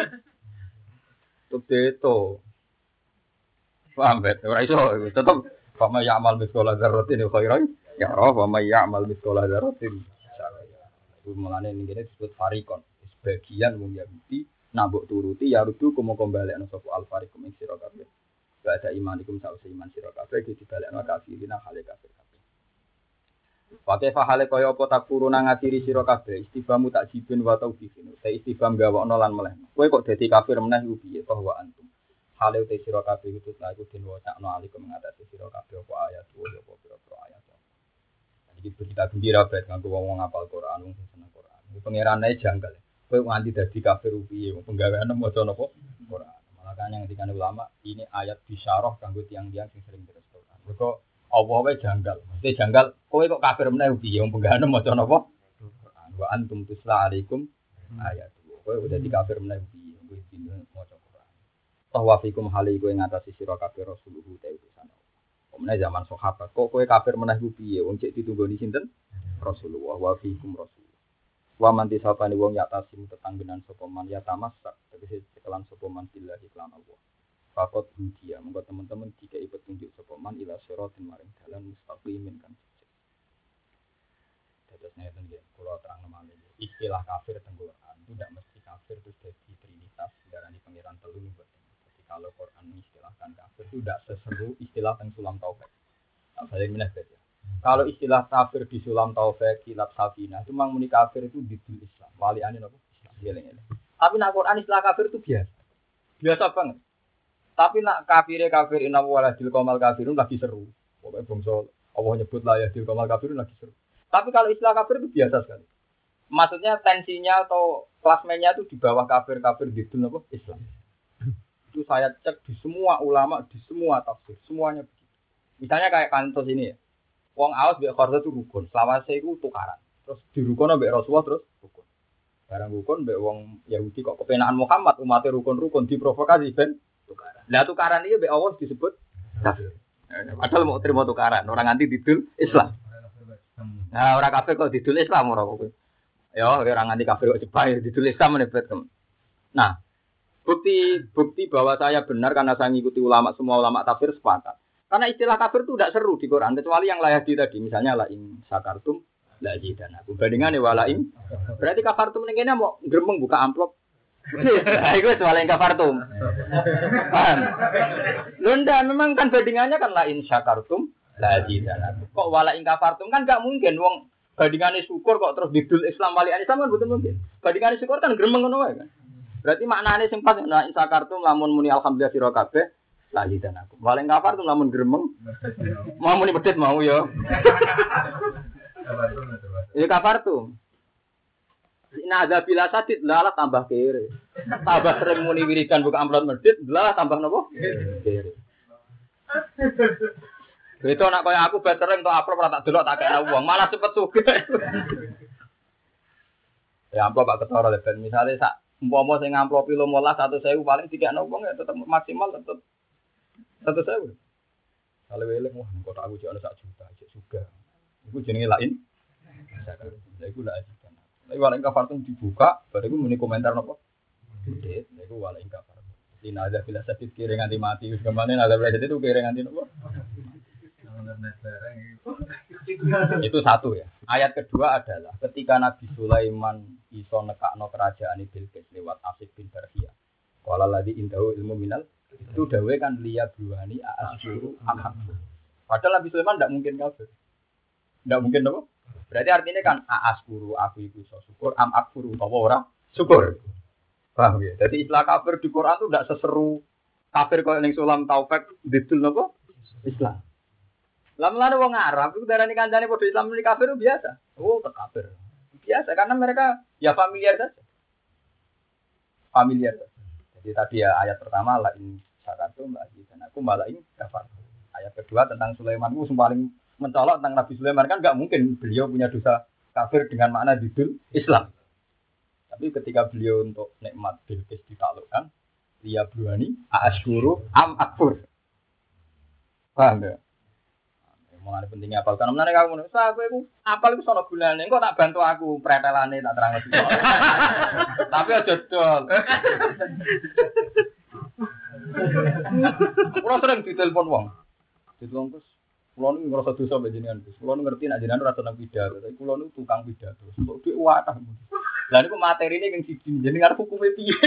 itu. Paham bet? Ora iso tetep fama ya'mal miskola dzarratin khairan ya ro, fama ya'mal miskola dzarratin syarran. Iku mulane ngene disebut farikon. Bagian wong Yahudi nambok turuti ya rudu komo kombalekno sapa al-fariqum ing sira kabeh. Wa ada imanikum sause iman sira kabeh iki dibalekno kafirina hale kafir kabeh. Pakai fahale kaya apa takfuruna ngatiri sira kabeh istifamu takjibin wa taubihin. Te istifham gawakno lan melehno. Kowe kok dadi kafir meneh iku piye toh wa antum. Hale te sira kabeh itu ta iku den wacana alikum ngatasi sira kabeh apa ayat apa pira-pira ayat. Iki berita gembira bet nganggo wong ngapal Quran wong seneng Quran. Pangerane janggal. Kowe nganti dadi kafir piye wong penggaweane maca napa Quran. Makanya ngendikane ulama ini ayat bisyarah kanggo tiyang-tiyang sing sering terus Quran. Mergo Allah wae janggal. Mesti janggal kowe kok kafir meneh piye wong penggaweane maca napa Quran. Wa antum tusla alaikum ayat. Kowe udah di kafir meneh piye kowe dino maca Quran. Wa fikum hali kowe ngatasi sira kafir Rasulullah ta utusan. Omne zaman sahabat kok kowe kafir meneh piye wong cek ditunggoni sinten Rasulullah wa fikum Rasul. Wa man disapani wong ya tasim tetanggenan sapa man ya tamasak tegese cekelan sapa man billah iklan Allah. Fakot dia monggo teman-teman dikai petunjuk sapa man ila siratin maring dalan mustaqimin kan. Dados ngeten nggih kula terang malih. Istilah kafir teng Quran itu tidak mesti kafir terus jadi trinitas darani pangeran telu mboten. Jadi kalau Quran mengistilahkan kafir itu tidak seseru istilah teng sulam taufik. Tak saling meneh beda. Kalau istilah kafir di sulam taufik kilab safinah itu memang muni kafir itu di Islam. Waliane napa? Islam. Tapi nak Quran istilah kafir itu biasa. Biasa banget. Tapi nak kafir inna waladil qamal kafirun lagi seru. Pokoke bangsa Allah nyebut la ya dil qamal kafirun lagi seru. Tapi kalau istilah kafir itu biasa sekali. Maksudnya tensinya atau klasmennya itu di bawah kafir di napa? Islam. Itu saya cek di semua ulama, di semua tafsir, semuanya begitu. Misalnya kayak kantos ini ya. Wong Aus mbek Kharza itu rukun. Selawase iku tukaran. Terus dirukono mbek Rasulullah terus rukun. Barang rukun mbek wong Yahudi kok kepenaan Muhammad umatnya rukun-rukun diprovokasi ben tukaran. Lah tukaran iki mbek Allah disebut kafir. Padahal mau terima tukaran, orang anti didul Islam. Nah, orang kafir kok didul Islam ora kok. Ya, orang anti kafir kok jebak didul Islam menebet. Nah, bukti bahwa saya benar karena saya ngikuti ulama, semua ulama tafsir sepakat. Karena istilah kafir itu tidak seru di Quran, kecuali yang layadi tadi. Misalnya la in syakartum la zidanakum. Bandingannya wala in. Berarti kafartum ini kayaknya mau gremeng buka amplop. Nah, itu soal yang kafartum. Paham? Lunda memang kan bandingannya kan la in syakartum la zidanakum. Kok wala in kafartum kan enggak mungkin wong bandingannya syukur kok terus didul Islam wali Islam kan betul mungkin. Bandingannya syukur kan gremeng ngono wae kan. Berarti maknanya sing pas la in syakartum lamun muni alhamdulillah sira kabeh lagi dan aku. Paling kafar tuh lamun gremeng. Mau muni medhit mau ya. Ini kafar tuh. Nah ada bila sadid lalah tambah kere. Tambah sering muni wiridan buka amplop medhit, lalah tambah nopo? Kere. Itu nak kaya aku beteren to amplop ora tak delok tak kena uang, malah cepet sugih. Ya amplop gak ketara leben. Misale sak umpama sing amplop 15 100.000 paling dikekno uang ya tetep maksimal tetep 100.000. Kalau welek wah kok aku jek ana 1 juta, jek suga. Iku jenenge lain. Lah iku lak ajikan. Lah wala kafartum dibuka, baru iku muni komentar napa? Gede, lah iku wala kafar. Dina ada bila sakit kira nganti mati wis kemane ada bila itu kira nganti napa? Itu satu ya. Ayat kedua adalah ketika Nabi Sulaiman iso nekakno kerajaan Bilqis lewat Asif bin Barhiyah. Qala ladzi indahu ilmu minal itu dawe kan liya buani asyuru am. Padahal Nabi Sulaiman tidak mungkin kafir. Tidak mungkin apa? Berarti artinya kan askuru aku iku iso syukur am akfuru apa ora syukur. Paham ya? Jadi istilah kafir di Quran itu tidak seseru kafir kaya ning sulam taufik didul napa? Islam. Lamun-lamun wong Arab iku darani kancane padha Islam muni kafir itu biasa. Oh, kafir. Biasa karena mereka ya familiar saja. Familiar saja. Jadi tadi ya ayat pertama la in syakartum la azidanakum malah in kafar. Ayat kedua tentang Sulaiman itu paling mencolok tentang Nabi Sulaiman kan enggak mungkin beliau punya dosa kafir dengan makna didul Islam. Tapi ketika beliau untuk nikmat Bilqis ditaklukkan, dia berani asyuru am akfur. Paham ya? Mulane pentingnya apal kan menane kamu ngono. Aku iku apal iku sono gunane. Engko tak bantu aku pretelane tak terang iki. Tapi aja dol. Ora sering ditelepon wong. Ditelepon terus kula niku ngrasa dosa mbek jenengan. Kula ngerti nek jenengan ora seneng pidato. Tapi kula niku tukang pidato. Kok dhuwit wadah. Lah niku materine kang siji jenengan hukume piye?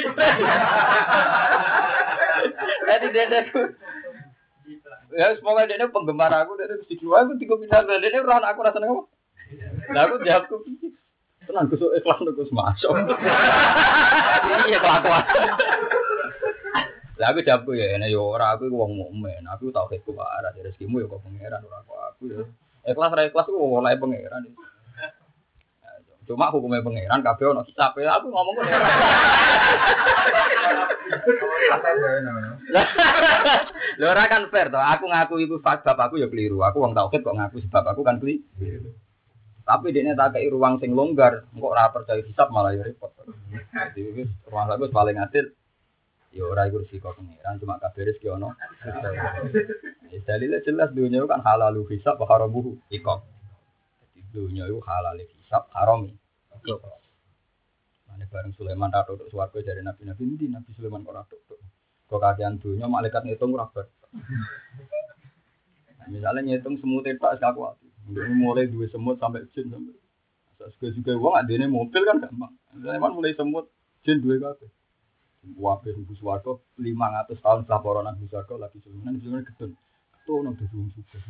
Dadi dedeku ya, semoga dia penggemar aku, dia mesti jual aku tiga pindah dia orang aku rasanya apa? Nah aku jawab aku, tenang kusuk ikhlas gus masuk. Ini ya kelakuan. Lah aku jawab aku ya, yo orang aku uang momen, aku tahu keku arah dari rezekimu ya kok pangeran orang aku ya. Ikhlas aku mulai pangeran. Cuma hukumnya pangeran, kabeh ono kitab aku ngomong kok. Lho ora kan fair to, aku ngaku iku sebab aku ya keliru. Aku wong tauhid kok ngaku sebab aku kan keliru. Tapi dekne tak kei ruang sing longgar, kok ora percaya hisab malah ya repot. Jadi wis ruang aku paling adil. Ya ora iku resiko pangeran, cuma kabeh rezeki ono. Dalile jelas dunya kan halalu hisab wa haramuhu iqab. Dunia itu halal hisab harami. Mane bareng Sulaiman ra tok swarga jare nabi-nabi ndi Nabi Sulaiman kok ra tok. Kok kakean dunia malaikat ngitung ora bar. Nah, misalnya ngitung semut tok sak kuat. Mulai duwe semut sampai jin sampai. Juga wong adene mobil kan gampang. Sulaiman mulai semut jin duwe kabeh. Wabe hubus swarga 500 tahun setelah para nabi swarga lagi Sulaiman gedun. Ketu nang dadi sukses.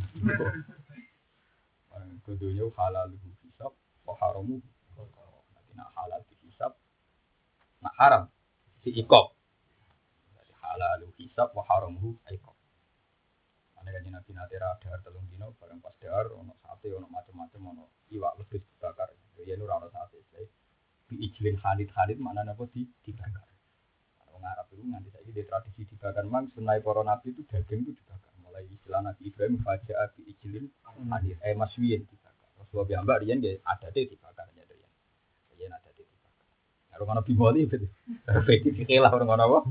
Keduanya halal hisab, haramu. Nanti nak halal hisab, nak haram si ikop. Jadi halal hisab, haramu ikop. Ane kan nabi nanti radar telung dino, barang pas dar, ono sate, ono macam-macam, ono iwak lebih dibakar. Ya nur ono sate. Bi ijlin halid mana napa dibakar. Wong Arab itu nganti saiki di tradisi dibakar mang sunai para nabi itu daging itu dibakar. Mulai istilah Nabi Ibrahim faja'a bi ijlin hadir maswiyin dibakar. Rasulullah piyambak riyen nggih adate dibakar ya riyen. Riyen adate dibakar. Karo ngono bimoli betul. Fikih lah orang ngono apa?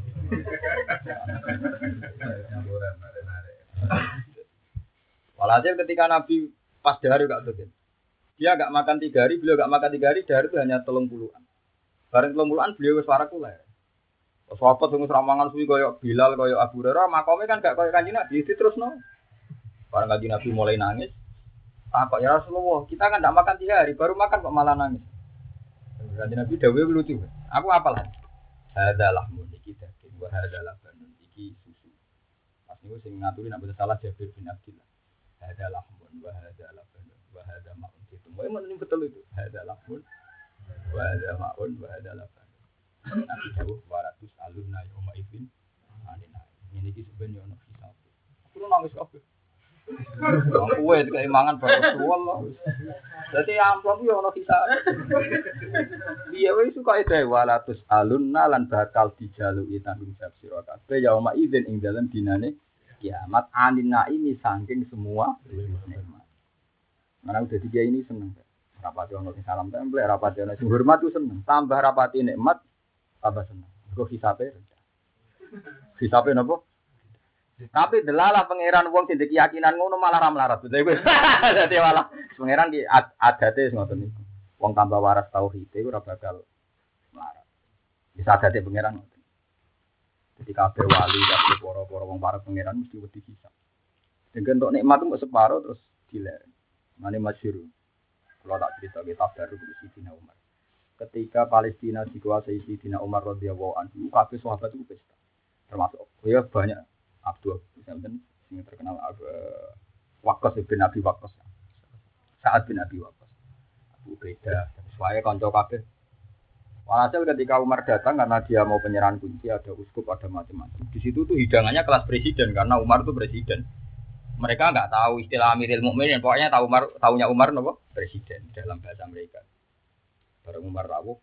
Walhasil ketika Nabi pas dahar gak tuh, dia gak makan 3 hari, beliau gak makan 3 hari, dahar itu hanya 30-an. Bareng 30-an beliau wis warak kula. Sahabat sing ramangan suwi koyo Bilal, koyo Abu Hurairah, makome kan gak koyo Kanjeng Nabi diterusno. Bareng Kanjeng Nabi mulai nangis. Takok ya Rasulullah, kita kan gak makan 3 hari, baru makan kok malah nangis. Kanjeng Nabi dawuhe lucu. Aku apal. Hadalah iki daging, wa hadalah banun iki susu. Pas niku sing ngaturi nek salah Jabir bin Abdullah. Hadalah mun wa hadalah banun wa hada ma'un itu. Memang betul itu. Hadalah mun wa hada ma'un wa hadalah banun. Nabi jauh 200 alunna yauma ibn anina. Ini iki sebenarnya ono hisab. Aku nangis kabeh. Aku itu keimangan Rasulullah. Jadi amplop yo ono hisab. Iya wis suka itu 200 alunna lan bakal dijaluki tanggung jawab sira kabeh yauma idzin ing dalem dinane kiamat anina ini saking semua nikmat. Mana udah 3 ini seneng. Rapati ono sing salam tempel, rapati ono sing hormat ku seneng. Tambah rapati nikmat tambah seneng. Kok hisabe rendah. Hisabe napa? Tapi delalah pangeran wong sing keyakinan ngono malah ra melarat. Dadi malah pangeran ki adate ngoten niku. Wong tambah waras tauhid iku ora bakal melarat. Bisa adate pangeran ngoten. Jadi kabeh wali kabeh para-para wong para pangeran mesti wedi hisab. Dengan untuk nikmat itu separo terus dilek. Mane masyhur. Kalau tak cerita kitab baru di Sidina Umar. Ketika Palestina dikuasai Sidina Umar radhiyallahu anhu, kabeh sahabat itu pesta. Termasuk ya banyak Abdul Samten yang terkenal Waqqas bin Abi Waqqas. Sa'ad bin Abi Waqqas. Abu Ubaidah, sesuai kanca kabeh. Walhasil ketika Umar datang karena dia mau penyerahan kunci, ada uskup, ada macam-macam. Di situ tuh hidangannya kelas presiden karena Umar itu presiden. Mereka nggak tahu istilah Amirul Mukminin, pokoknya tahunya Umar nopo presiden dalam bahasa mereka. Bareng Umar rawuh.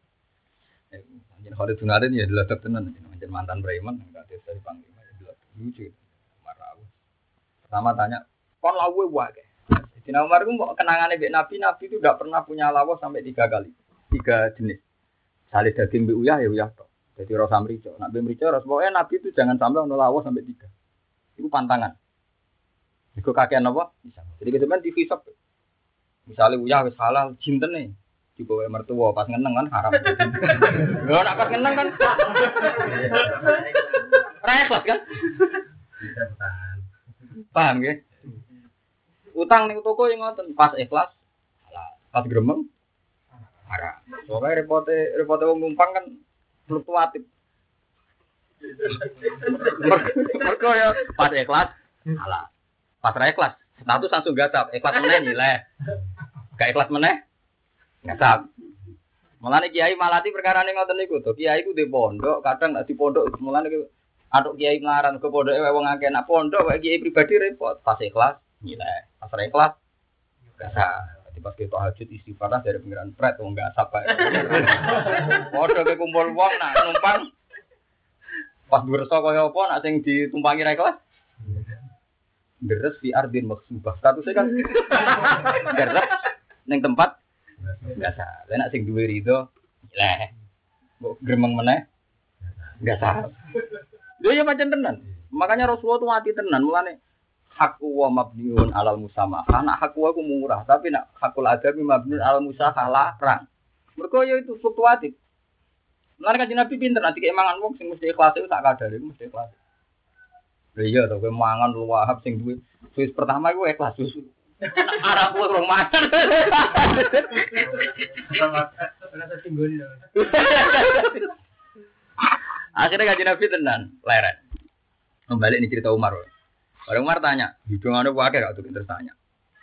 Anjen Khalid bin Walid ya diladak tenan, anjen mantan preman enggak desa panglima ya diladak lucu. Umar rawuh. Pertama tanya, "Kon lawuh wae?" Sidina Umar ku kenangane mbek Nabi itu enggak pernah punya lawuh sampai 3 kali. 3 jenis. Salih daging mbek uyah ya uyah tok. Dadi rasa mrica. Nek mbek mrica ras pokoke Nabi itu jangan sampai ono lawuh sampai 3. Iku pantangan. Iku kakean apa? Bisa. Jadi kita kan divisap. Misalnya uyah wis halal, jintene dibawa mertua pas ngeneng kan haram. Lho nek pas ngeneng kan. Repot kan? Paham nggih? Utang ning toko yang ngoten pas ikhlas halal. Pas gremeng haram. Pokoke repote wong numpang kan fluktuatif. Mergo ya pas ikhlas halal. Pas ra ikhlas, status langsung gatap. Ikhlas meneh nilai. Gak ikhlas meneh gatap. Mulane kiai malati perkarane ngoten niku to. Kiai ku di pondok, kadang nek di pondok mulane atuk kiai nglaran ke pondoke wong akeh nak pondok wae kiai pribadi repot. Pas ikhlas nilai. Pas ra ikhlas gatap. Dadi pas kita tahajud istighfar dari pengiran pret wong gatap bae. Padha ke kumpul wong nak numpang. Pas dursa kaya apa nak sing ditumpangi ra ikhlas? Deres di ardin maksubah statusnya kan deres neng tempat biasa. Lah nek sing duwe rido leh mbok gremeng meneh biasa. Lho ya pancen tenan. Makanya Rasulullah tuh mati tenan mulane hak wa mabniun alal musamahah. Nak hak wa ku murah, tapi nak hakul adami mabniun alal musahalah larang. Mergo ya itu fluktuatif. Mulane kan Nabi pinter nanti keimangan wong sing mesti ikhlas itu tak kadare mesti ikhlas. Iya to kowe mangan lu wahab sing duwe wis pertama iku ikhlas susu. Arep kowe rong mangan. Akhirnya Kanjeng Nabi tenan, leren. Kembali ini cerita Umar. Umar tanya, hidungane wae gak tuh tanya.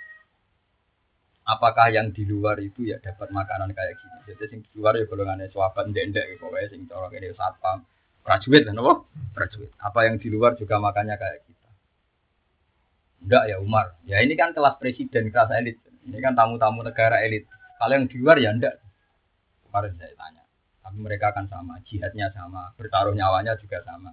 Apakah yang di luar itu ya dapat makanan kayak gini? Jadi sing di luar ya golongane sahabat ndek-ndek pokoke sing cara kene satpam. Prajurit kan apa? Prajurit. Apa yang di luar juga makannya kayak kita? Enggak ya Umar. Ya ini kan kelas presiden, kelas elit. Ini kan tamu-tamu negara elit. Kalau yang di luar ya enggak. Kemarin saya tanya. Tapi mereka akan sama, jihadnya sama, bertaruh nyawanya juga sama.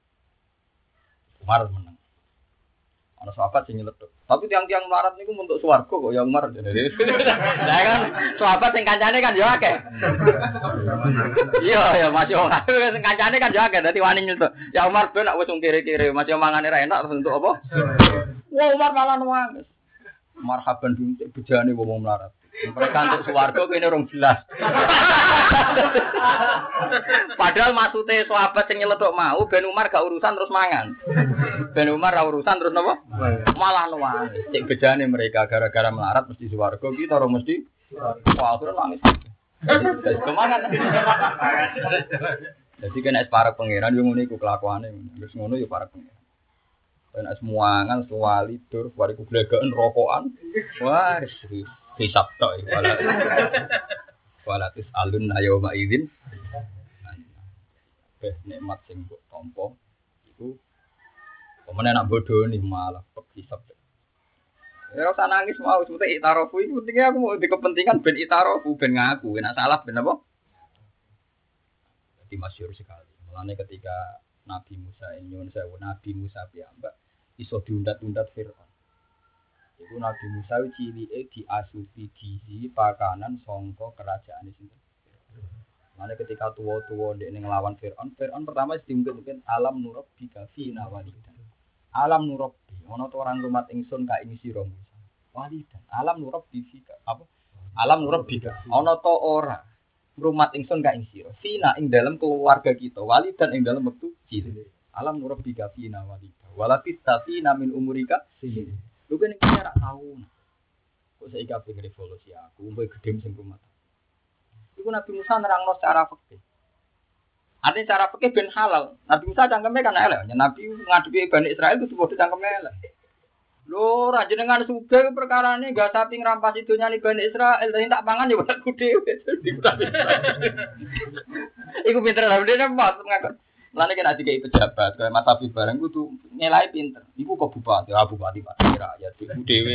Umar menang. Ana sahabat sing nyeletuk. Tapi tiang-tiang melarat niku untuk swarga kok ya Umar. Lah kan sahabat sing kancane kan yo akeh. Iya ya Mas yo sing kancane kan yo akeh dadi wani nyeletuk. Ya Umar ben nek wis kiri-kiri Mas yo mangane ra enak terus untuk apa? Wah Umar malah nangis. Marhaban bintik bejane wong melarat. Mereka untuk swarga kene rong jelas. Padahal maksudnya sahabat sing nyeletuk mau ben Umar gak urusan terus mangan. Ben Umar ra urusan terus napa? Malah nuwang. Sing bejane mereka gara-gara melarat mesti swarga kita ora mesti. Wah, terus nangis. Kemangan. Jadi kena para pangeran yo ngene iku kelakuane. Wis ngono yo para pangeran. Dan semuangan, suwali, tur, wariku glegaan, rokokan. Wah, hisap tok iki. Walatis alun ayo maizin. Nikmat sing mbok tampa iku pemene nak bodho nih malah hisap. Ya ora nangis mau sebute itarofu iku pentingnya aku mau di kepentingan ben itarofu ben ngaku, nek salah ben apa? Jadi masyhur sekali. Mulane ketika Nabi Musa nyuwun sewu Nabi Musa piyambak iso diundat-undat Firaun. Iku Nabi Musa cilike diasupi gizi pakanan sangka kerajaan sinten. Mane ketika tuwa-tuwa ndek ning nglawan Firaun pertama mungkin alam nurabbi kafina walidan. Alam nurabbi ana to orang rumat ingsun ka ing sira Musa. Walidan. Alam nurabbi fika apa? Alam nurabbi ana to ora rumat ingsun ka ing sira. Fina ing dalam keluarga kita, walidan ing dalam wektu cilik. Alam nurabbi kafina walidan. Walapis tapi namin umurika sini. Lu kan iki ora tau. Kok saiki kabeh revolusi aku, umpe gedhe sing rumah. Iku Nabi Musa nerangno secara fikih. Artinya cara fikih ben halal. Nabi Musa cangkeme kan elek. Nabi ngadepi Bani Israil itu padha cangkeme elek. Lho, ra jenengan sugih perkarane gak sapi ngrampas idonyane Bani Israil, dadi tak pangan ya bakku dhewe. Iku pinter lha dene mas ngakon. Lane kena dikai pejabat, kaya Mas Habib bareng kudu nyelai pinter. Iku kok bupati, bupati Pak rakyat iku dhewe.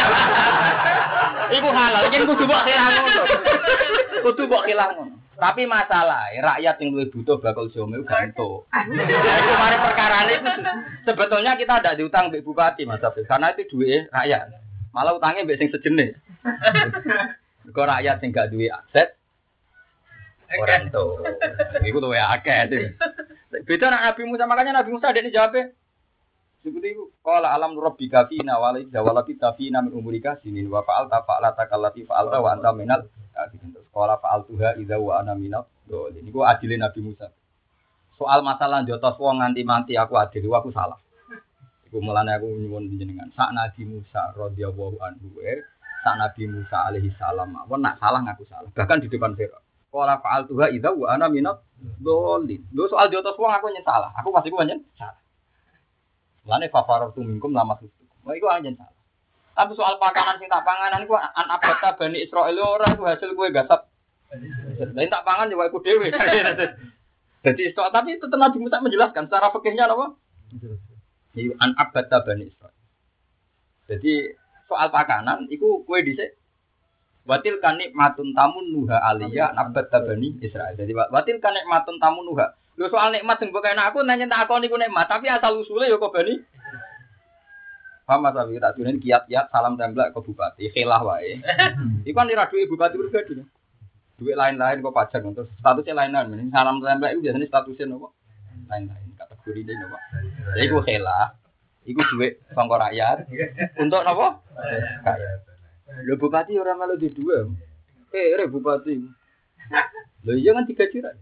Iku halal, yen kudu mbok hilang ngono. Kudu mbok hilang ngono. Tapi masalah rakyat yang luwih butuh bakal jome gantung. Iku mari perkarane sebetulnya kita ndak diutang mbek bupati Mas Habib, karena itu duwe rakyat. Malah utangnya mbek sing sejenis. Kok rakyat sing gak duwe aset orang tuh, itu tuh ya akeh. Beda nak Nabi Musa, makanya Nabi Musa ada di jawabnya. Seperti itu, kalau alam rabbika fina walid walabita fina min umurika sinin wa fa'alta fa'alata kallati fa'alta wa anta minal terus kalau fa'altuha idza wa ana minal dolin. Iku adile Nabi Musa. Soal masalah jotos wong nganti mati aku adil, aku salah. Iku mulane aku nyuwun jenengan. Sak Nabi Musa radhiyallahu anhu, sak Nabi Musa alaihi salam, wong nak salah ngaku salah. Bahkan di depan Firaun. Qala fa'altuha idza wa ana minad dhalin. Lho soal jotos wong aku nyen salah. Aku pasti ku nyen salah. Lane fafaratu minkum lama itu. Wah iku nyen salah. Tapi soal pakanan sing tak panganan iku an abata Bani Israil ora iku hasil kowe gasap. Lah tak pangan ya iku dhewe. Jadi tapi tetep Nabi Musa menjelaskan secara fikihnya apa? Iku an abata Bani Israil. Jadi soal pakanan iku kowe dhisik watil kanik matun tamun nuha aliyah nabat tabani Israel. Jadi watil kanik matun tamun nuha. Lo soal nikmat yang bukan aku nanya tak aku niku nikmat, tapi asal usulnya yo kok bani. Paham mas Abi tak dunin kiat-kiat salam templek ke bupati, khilah wae. Iku kan ora duwe bupati pribadi. Duit lain-lain kok pajak terus statusnya lain-lain. Salam templek itu biasanya statusnya nopo? Lain-lain kategori ini nopo. Jadi iku khilah. Iku duit sangka rakyat untuk nopo? Rakyat. Lho bupati ora malu di dua. Bupati. Lho iya kan 3 juta.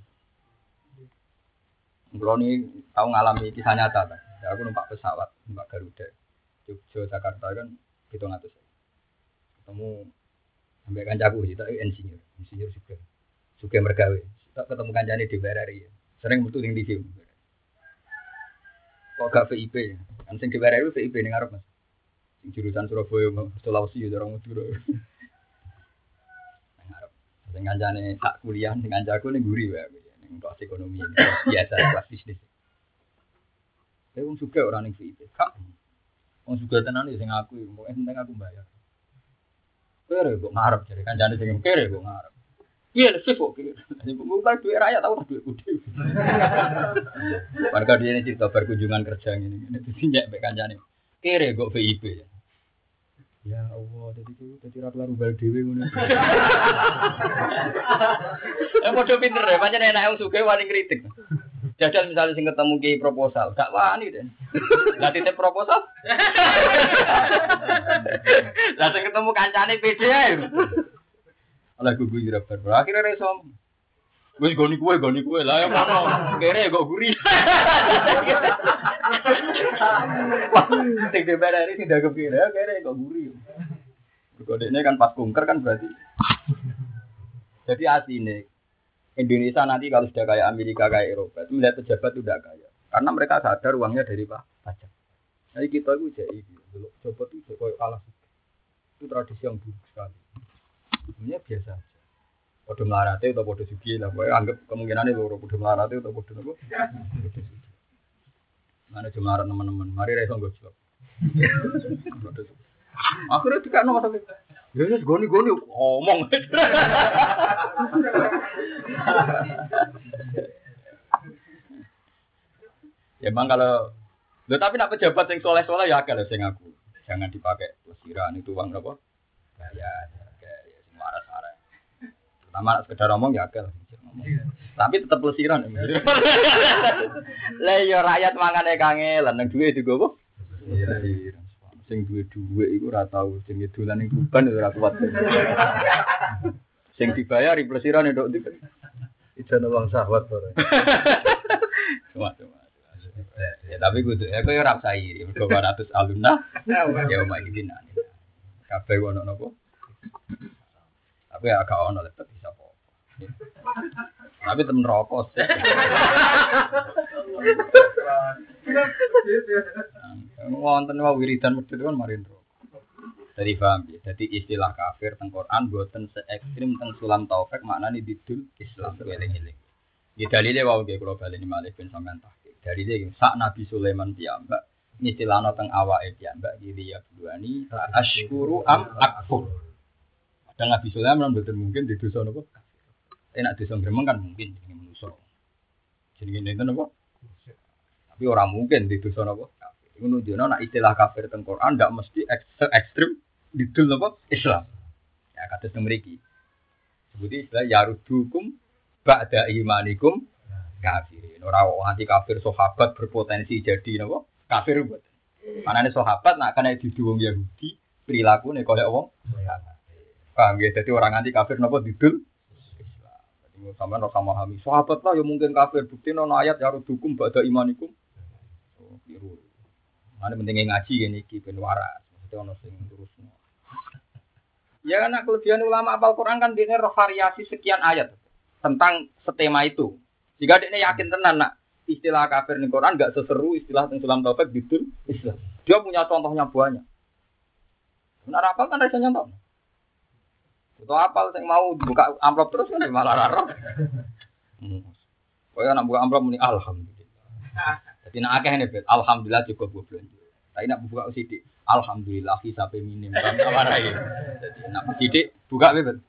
Kulo ni tau ngalami kisah nyata ta. Aku numpak pesawat, numpak Garuda. Jogja Jakarta kan 700. Ketemu sampai kancaku kita insinyur juga mergawe. Tak ketemu kancane di BRI. Sering metu ning TV. Kok gak VIP? Kan sing di BRI VIP ning arep Mas. Jurusan Surabaya, Sulawesi, orang Madura. Sing kancane tak kuliah ning kancaku ning guri wae, ning kelas ekonomi biasa kelas bisnis. Wong suka ora ning VIP. Kak. Wong suka tenan sing aku, penting aku bayar. Kere kok ngarep jare kancane sing kere kok ngarep. Iya, sih kok. Bukan duit rakyat tahu duit gede. Warga dia ini cerita berkunjungan kerja ini. Jadi nyek mbek kancane. Kere kok VIP. Ya Allah, jadi ra kelar bal dhewe ngono. Padha pinter ya, pancen enak wong sugih wani kritik. Jajal misalnya sing ketemu ki proposal, gak wani deh. Lah titip proposal. Lah sing ketemu kancane PD ae. Ala gugu ira bar. Akhire reso. Wis goni kuwe lah ya ngono. Kere kok guri. Sing dibelani sing dagem kere kok guri. Kodene kan pas kunker kan berarti. Jadi asline Indonesia nanti kalau sudah kayak Amerika, kayak Eropa, itu melihat pejabat itu tidak kaya. Karena mereka sadar uangnya dari pajak. Jadi kita itu jadi pejabat itu kayak kalah. Itu tradisi yang buruk sekali. Sebenarnya biasa aja. Podo melarate atau podo sugi lah. Anggap kemungkinan itu podo melarate atau podo apa? Mana cuma teman-teman. Mari reso nggak jawab. Akhirnya tidak nomor satu. Ya goni omong. Ya bang kalau, tapi nak pejabat yang soleh ya kalau saya ngaku, jangan dipakai pelesiran itu uang apa? Ya waras-waras. Pertama sekedar omong ya kalau. Tapi tetap pelesiran. Lah ya rakyat mangane kangelan nang duwe digo apa? Iya. Sing duwe iku ora tau sing dolan ning kuban ora kuat. Sing dibayar plesiran ndok ndi. Ijane wong syahwat ora. Ya tapi kudu aku ora usah iri, mergo 200 alumna. Ya omah iki dinane. Kabeh ono napa? Tapi agak ono tetep bisa apa. Tapi temen rokok sih. Wonten wae wiridan medhit kan marin rokok. Jadi paham ya. Jadi istilah kafir teng Quran boten se ekstrem teng sulam taufik maknane didul Islam eling-eling. Ya dalile wae nggih kula baleni malih ben sampean tahqiq. Dalile sak Nabi Sulaiman piyambak istilahna teng awake piyambak iki ya buani asykuru am akfur. Dan Nabi Sulaiman mboten mungkin di dosa napa? Enak dosa gremeng kan mungkin jenenge manusa. Jenenge nenten napa? Tapi orang mungkin di dosa napa? Iku nunjukno nek istilah kafir teng Quran ndak mesti ekstrem didul napa? Islam. Ya kados teng mriki. Sebuti istilah yarudukum ba'da imanikum kafirin. Ora anti kafir sahabat berpotensi jadi napa? Kafir mboten. Manane sahabat nek kena didu wong Yahudi, prilakune kaya wong paham ya, jadi orang anti kafir napa didul Islam. Jadi sampean ora memahami. Sahabat lah ya mungkin kafir, bukti ana ayat ya rudukum ba'da imanikum. Oh, biru. Ana pentingnya ngaji ngene iki ben waras. Mesti ana sing terusno. Ya anak kelebihan ulama apal Quran kan dene roh variasi sekian ayat tentang setema itu. Jika dene yakin tenan nak istilah kafir ning Quran enggak seseru istilah teng sulam taufik didul Islam. Dia punya contohnya banyak. Benar apa kan rasanya contoh? Itu apal sing mau buka amplop terus kan malah raro. Kaya nak buka amplop muni alhamdulillah. Dadi nek akeh ne bet alhamdulillah juga gue belanja. Tapi nak buka sithik alhamdulillah hisabe minim kan warai. Dadi nak sithik buka bet.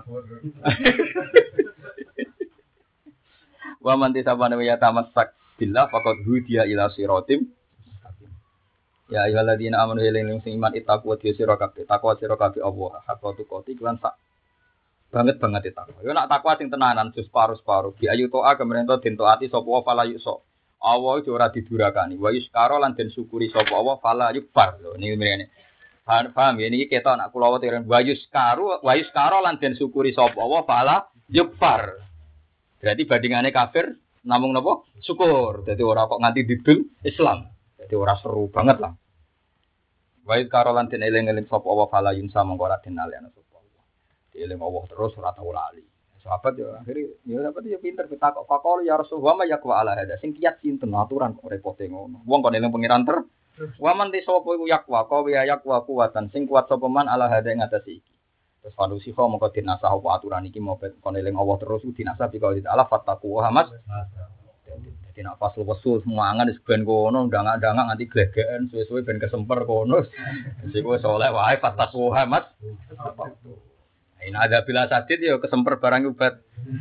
Wa man tisabana ya tamassak billah faqad hudiya ila siratim. Ya ayyuhalladzina amanu ilaihi sing iman ittaqu wa sira kabeh takwa sira kabeh Allah hakku tuqati lan sak banget itu takwa. Yo nak takwa sing tenanan jus paru-paru di ayu toa kemerento den taati sapa wa fala yuso. Allah iku ora didurakani. Wa yuskara lan den syukuri sapa wa fala yukfar. Lho niki mrene. Paham ya niki ketok nak kula weten wa yuskara lan den syukuri sapa wa fala yukfar. Berarti bandingane kafir namung napa? Syukur. Dadi ora kok nganti didul Islam. Dadi ora seru banget lah. Wa yuskara lan den eling-eling sapa wa fala yunsa mongko ora den alihna sapa. Eling Allah terus ora tau lali. Sahabat ya akhirnya ya dapat ya pinter pitakok fakol ya Rasulullah ma yakwa ala hada sing kiat sinten aturan kok repote ngono. Wong kon eling pangeran ter. Wa man te sapa iku yakwa ka ya yakwa kuwatan sing kuat sapa man ala hada ing atas iki. Terus panusi kok mongko dinasah apa aturan iki mau kon eling Allah terus dinasah dikau di Allah fattaqu Muhammad. Dadi nek pas wesul semangan wis ben kono ndang-ndang nganti glegeken suwe-suwe ben kesemper kono. Wis kowe saleh wae fattaqu Muhammad. Ini ada bila sadit ya kesemper barang obat.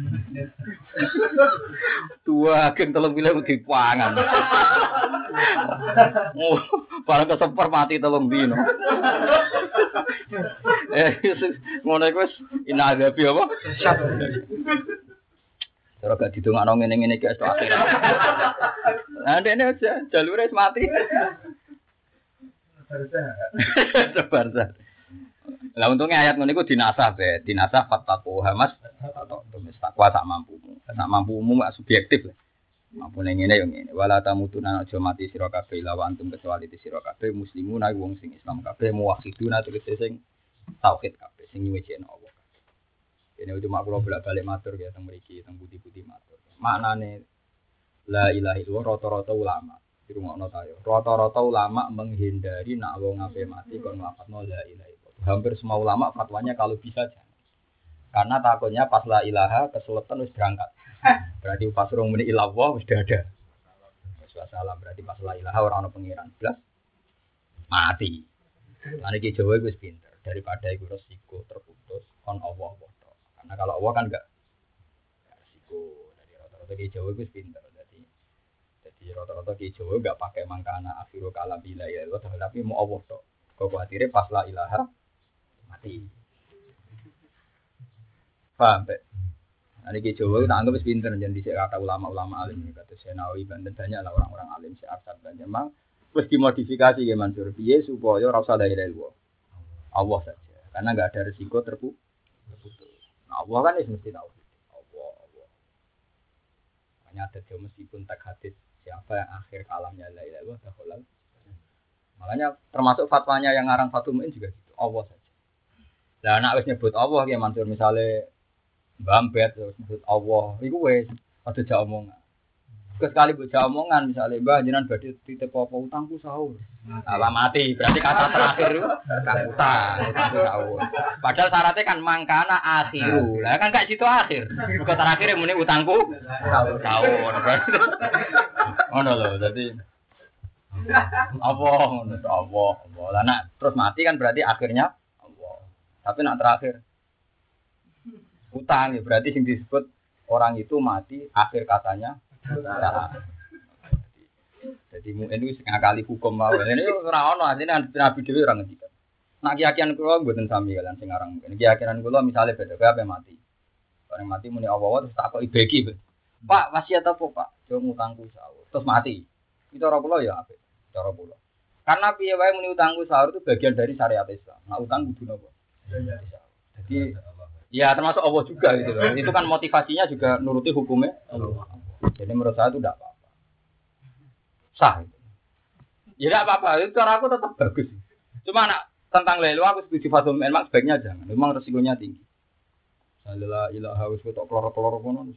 Dua agen telung bilang dipangan. Oh, barang kesemper mati telung dino. Ngono iku wis inadabi apa? Cara gak didongakno ngene-ngene iki esuk akhir. Nah, ndekne aja jalure wis mati. Barza. Lah untungnya ayat ngono iku dinasah be, dinasah fattaqu hamas atau tumis takwa sak mampumu. Sak mampumu mak subjektif lah. Mampu ning ngene yo ngene. Wala tamutuna aja mati sira kabeh lawan antum kecuali sira kabeh muslimuna wong sing Islam kabeh muwahhiduna tegese sing tauhid kabeh sing nyuwèni Allah. Ini cuma kula bolak-balik matur ya teng mriki teng budi-budi matur. Maknane la ilaha illallah rata-rata ulama dirungokno ta yo. Rata-rata ulama menghindari nak wong ape mati kon nglafatno la ilaha illallah. Hampir semua ulama fatwanya kalau bisa jangan. Karena takutnya pas la ilaha kesulitan wis berangkat. Berarti pas urung muni ilallah wis ada. Wis salah berarti pas la ilaha ora ono pengiran blas mati. Lan iki Jawa wis pinter daripada iku resiko terputus kon Allah wae. Karena kalau Allah kan enggak resiko. Jadi rata-rata ki Jawa wis pinter. Jadi rata-rata ki Jawa enggak pakai mangkana akhiru kalam bila ya Allah tapi mau Allah tok. Kok kuatire pas la ilaha mati. Paham, Pak? Nah, ini Jawa kita anggap pinter jangan dicek kata ulama-ulama alim kata Senawi Banten banyak lah orang-orang alim si Arsad dan memang terus dimodifikasi ya Mansur piye supaya ora usah la ilaha illallah. Allah saja. Karena enggak ada resiko terputus. Nah, Allah kan mesti tahu. Allah. Makanya ada Jawa meskipun tak hadis siapa yang akhir kalamnya la ilaha illallah dakhalal. Makanya termasuk fatwanya yang ngarang Fathul Mu'in juga gitu. Allah saja. Lah anak wis nyebut Allah ya Mansur misale Mbambet terus nyebut Allah iku wis ada jak omongan. Sekali mbok jak omongan misale Mbah jenengan badhe titip apa utangku sahur. Lah mati berarti kata terakhir kan utangku sahur. Padahal syaratnya kan mangkana akhiru. Lah kan gak situ akhir. Bukan terakhir muni utangku sahur. Ngono lho dadi Allah. Lah nak terus mati kan berarti akhirnya Allah. Tapi nak terakhir utang ya berarti yang disebut orang itu mati akhir katanya utang. Jadi mungkin itu sekali hukum mau. Ini ora ono asline Nabi dhewe ora ngendikan. Nak keyakinan kula mboten sami kalian sing aran mungkin. Keyakinan kula misale beda kabeh mati. Orang mati muni Allah terus takoki beki. Pak wasiat apa Pak? Jo ngutangku sahur. Terus mati. Itu cara kula ya apik. Cara kula. Karena piye wae muni utangku sahur itu bagian dari syariat Islam. Nah utang kudu napa? Jadi ya termasuk Allah juga gitu loh. Itu kan motivasinya juga nuruti hukumnya Allah. Jadi menurut saya itu tidak apa-apa. Sah itu. Ya tidak apa-apa. Itu cara aku tetap bagus. Cuma nak tentang lelu aku setuju Fathul Mu'in memang sebaiknya jangan. Memang resikonya tinggi. La ilaha wis ketok kloro-kloro kono.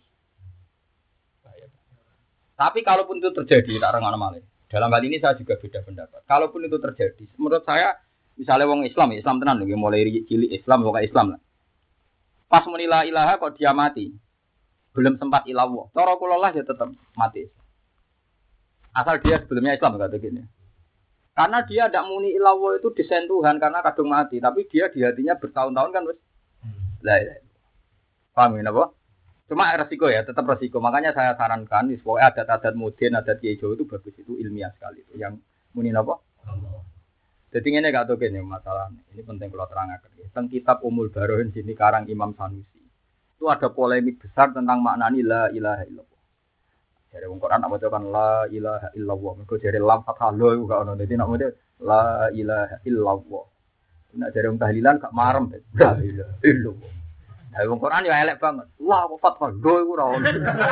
Tapi kalaupun itu terjadi tak rengono malih. Dalam hal ini saya juga beda pendapat. Kalaupun itu terjadi, menurut saya misalnya wong Islam tenan lho mulai cilik Islam pokoke Islam lah. Pas muni la ilaha kok dia mati. Belum sempat ilallah. Cara kula lah ya tetap mati. Asal dia sebelumnya Islam kata gini. Karena dia tidak muni ilallah itu desain Tuhan karena kadung mati, tapi dia di hatinya bertahun-tahun kan wis la ilaha. Paham ya apa? Cuma resiko ya, tetap resiko. Makanya saya sarankan pokoknya adat-adat modern, adat Kiai Jawa itu bagus, itu ilmiah sekali itu. Yang muni apa? Jadi ini gak tahu gini masalah ini penting kalau terangkan. Tentang kitab Ummul Barohin sini karang Imam Sanusi itu ada polemik besar tentang maknani la ilaha illallah. Jadi Quran nak bacakan la ilaha illallah. Mereka jadi lam fathah lo itu gak ono. Jadi nak baca la ilaha illallah. Nak jadi tahlilan gak marem. La ilaha illallah. Nah, Quran ya elek banget. La fathah lo itu ora ono.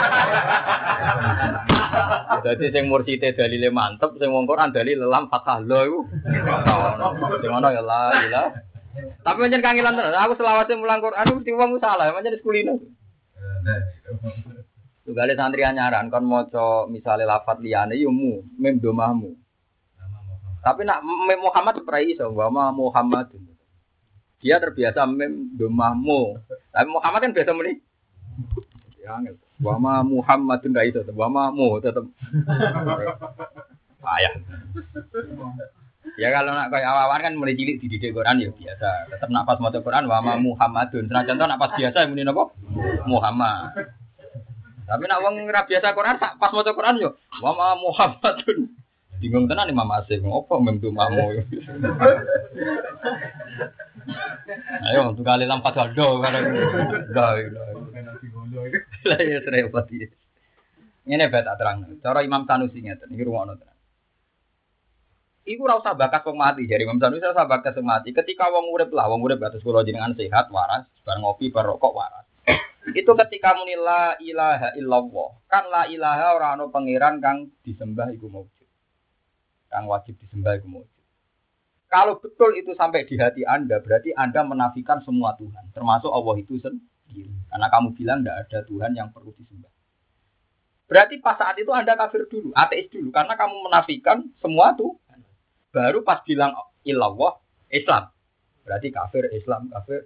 Jadi sing mursite dalile mantep, sing wong Quran dalile lam fathah lo iku. Sing ngono ya la ilaha. Tapi pancen kangelan tenan. Aku selawase mulang Quran mesti wong salah, pancen sekulino. Tugale santri anyaran kon maca misale lafat liyane yo mem domahmu. Tapi nak mem Muhammad ora iso, wa Muhammadun. Dia terbiasa mem domahmu. Tapi Muhammad kan biasa muni. Ya angel. Wa Muhammadun ra iso, wa mu tetep. Ayah. Ya kalau nak kayak awan kan mulai cilik dididik Quran ya biasa. Tetap nak pas maca Quran wa ma Muhammadun. Senajan to nak pas biasa muni napa? Muhammad. Tapi nak wong ora biasa Quran pas maca Quran yo wa ma Muhammadun. Bingung tenan Imam Asyik ngopo memtu mamu. Ayo tuh kali lampat saldo bareng. Lah ya repot iki. Ngene bae tak terang. Cara Imam Sanusi ngeten iki rungokno tenan. Iku ora usah bakas wong mati jare Imam Sanusi ora usah bakas wong mati. Ketika wong urip atus kula jenengan sehat waras, bar ngopi bar rokok waras. Itu ketika muni la ilaha illallah. Kan la ilaha ora ana pangeran kang disembah iku maujud. Kang wajib disembah iku maujud. Kalau betul itu sampai di hati Anda, berarti Anda menafikan semua Tuhan, termasuk Allah itu sendiri. Karena kamu bilang tidak ada Tuhan yang perlu disembah. Berarti pas saat itu Anda kafir dulu, ateis dulu, karena kamu menafikan semua Tuhan. Baru pas bilang illallah, Islam. Berarti kafir, Islam, kafir.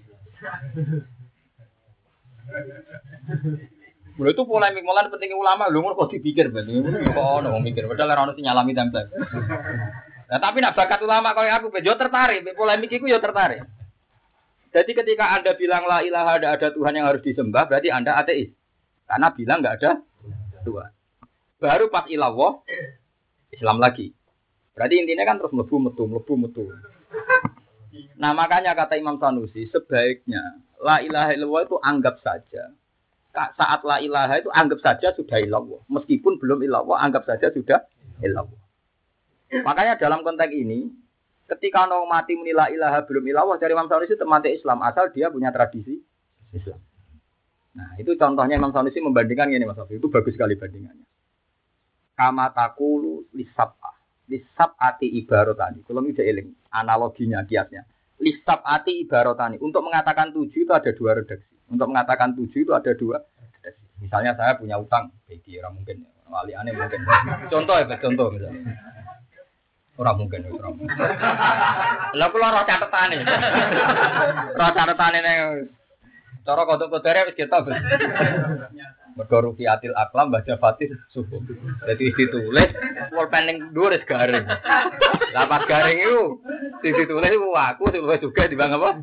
Mulai itu polemik mulai pentingnya ulama, lu kok dipikir betul, kok ono mikir, padahal orang itu nyalami tempel. Nah tapi nak bakat ulama kalau aku, yo tertarik, polemik itu yo tertarik. Jadi ketika Anda bilang la ilaha tidak ada Tuhan yang harus disembah, berarti Anda ateis, karena bilang nggak ada Tuhan. Baru pas ilallah, Islam lagi. Berarti intinya kan terus mlebu metu. Nah makanya kata Imam Sanusi, sebaiknya la ilaha illallah itu anggap saja. Saat la ilaha itu anggap saja sudah ilallah. Meskipun belum ilallah, anggap saja sudah ilallah. Makanya dalam konteks ini, ketika orang mati muni la ilaha belum ilallah, dari Imam Sanusi itu mati Islam, asal dia punya tradisi Islam. Nah itu contohnya Imam Sanusi membandingkan ini Mas Sofi, itu bagus sekali bandingannya. Kama taqulu lisab'ati ibaratani. Kalau ini eling analoginya, kiasnya. Lisab'ati ibaratani. Untuk mengatakan 7 itu ada 2 redaksi. Untuk mengatakan 7 itu ada 2 redaksi. Misalnya saya punya utang, bagi orang mungkin, wali aneh mungkin. Contoh ya, contoh misalnya. Orang mungkin. Lah kula ora catetane. Ora catetane ning cara kodok-kodere wis kita. Mergo rufiatil aklam baca fatih subuh. Dadi ditulis pulpen dhuwur wis garing. Lah pas garing iku ditulis aku juga dibang apa?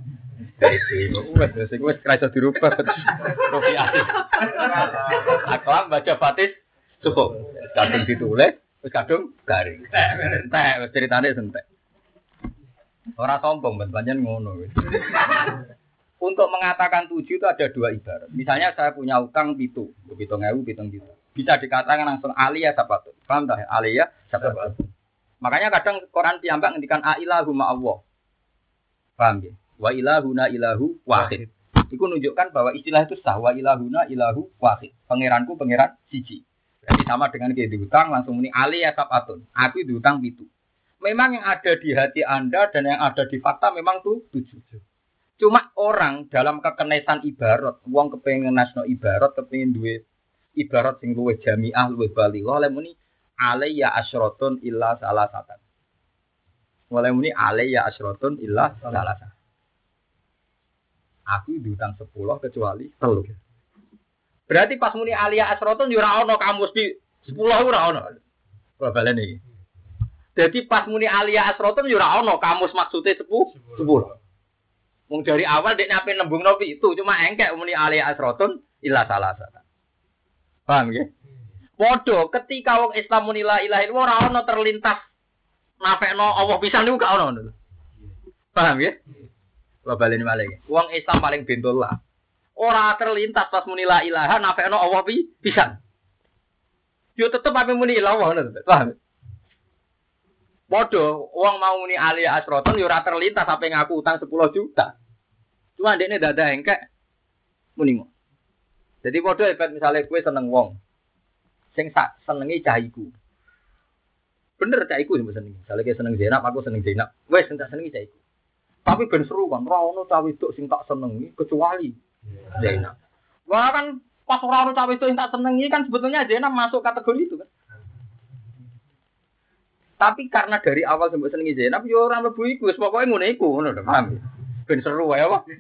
Wes kerasa dirubah. Rufiatil aklam baca fatih subuh. Kadung ditulis wis kadung garing. Entek ceritane entek. Ora sombong pancen ngono wis. Untuk mengatakan 7 itu ada 2 ibarat. Misalnya saya punya utang 7.000, bisa dikatakan langsung aliyah sabatun. Paham tak? Aliyah sabatun. Makanya kadang Quran piyambak ngendikan ailahu ma Allah. Paham ya? Wa ilahuna ilahu wahid. Itu menunjukkan bahwa istilah itu sah. Wa ilahuna ilahu wahid. Pangeranku pangeran siji. Jadi sama dengan kayak diutang langsung muni aliyah sabatun. Aku diutang 7. Memang yang ada di hati Anda dan yang ada di fakta memang tuh 7. Cuma orang dalam kekenesan ibarat, wong kepengen nasno ibarat, kepengen duwe ibarat sing luwih jamiah, luwih balighah, oleh muni alayya asyratun illa salasatan. Oleh muni alayya asyratun illa salasatan. Aku diutang 10 kecuali 3. Berarti pas muni alayya asyratun yo ora ono kamus di 10 ora ono. Kok balen iki. Jadi pas muni alayya asyratun yo ora ono kamus maksude 10. Mung dari awal dek nape nembung nopi itu cuma engkek muni ali asrotun illa salasatan. Paham nggih? Padha ketika wong Islam muni la ilaha illallah ora ono terlintas nafekno Allah pisan niku gak ono. Paham nggih? Kula baleni malih. Wong Islam paling bentul lah. Ora terlintas pas muni la ilaha nafekno Allah pisan. Yo tetep ape muni la Allah ngono. Paham? Padha wong mau muni ali asrotun yo ora terlintas sampe ngaku utang 10 juta. Cuma ndekne dadah engkek muni ngono. Jadi padha epet misale kowe seneng wong sing sak senengi cah iku. Bener cah iku sing seneng. Misale kowe seneng Zainab, aku seneng Zainab. Wes tak senengi cah iku. Tapi ben seru kan ora ono cah wedok sing tak senengi kecuali Zainab. Wah kan pas ora ono cah wedok sing tak senengi kan sebetulnya Zainab masuk kategori itu kan. Tapi karena dari awal sampai senengi Zainab, yo ora mlebu iku, wis pokoke ngono iku, ngono lho, paham. Ben seru wae apa.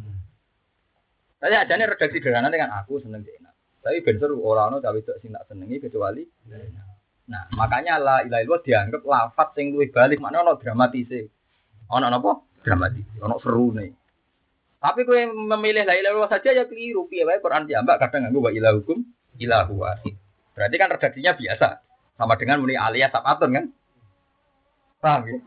Saya ajane redaksi sederhana dengan aku seneng Zainab. Tapi ben seru ora ono cawe cok sing tak senengi kecuali Zainab. Nah, makanya la ilaha illallah dianggap lafaz sing luwih balik, maknane ono dramatise. Ono napa? Dramatis, ono serune. Tapi kowe memilih la ilaha illallah saja ya keliru. Piye wae Quran diambak kadang nganggo wa ilahukum ilahu wahid. Berarti kan redaksinya biasa. Sama dengan muni alias sabatun kan? Paham ya?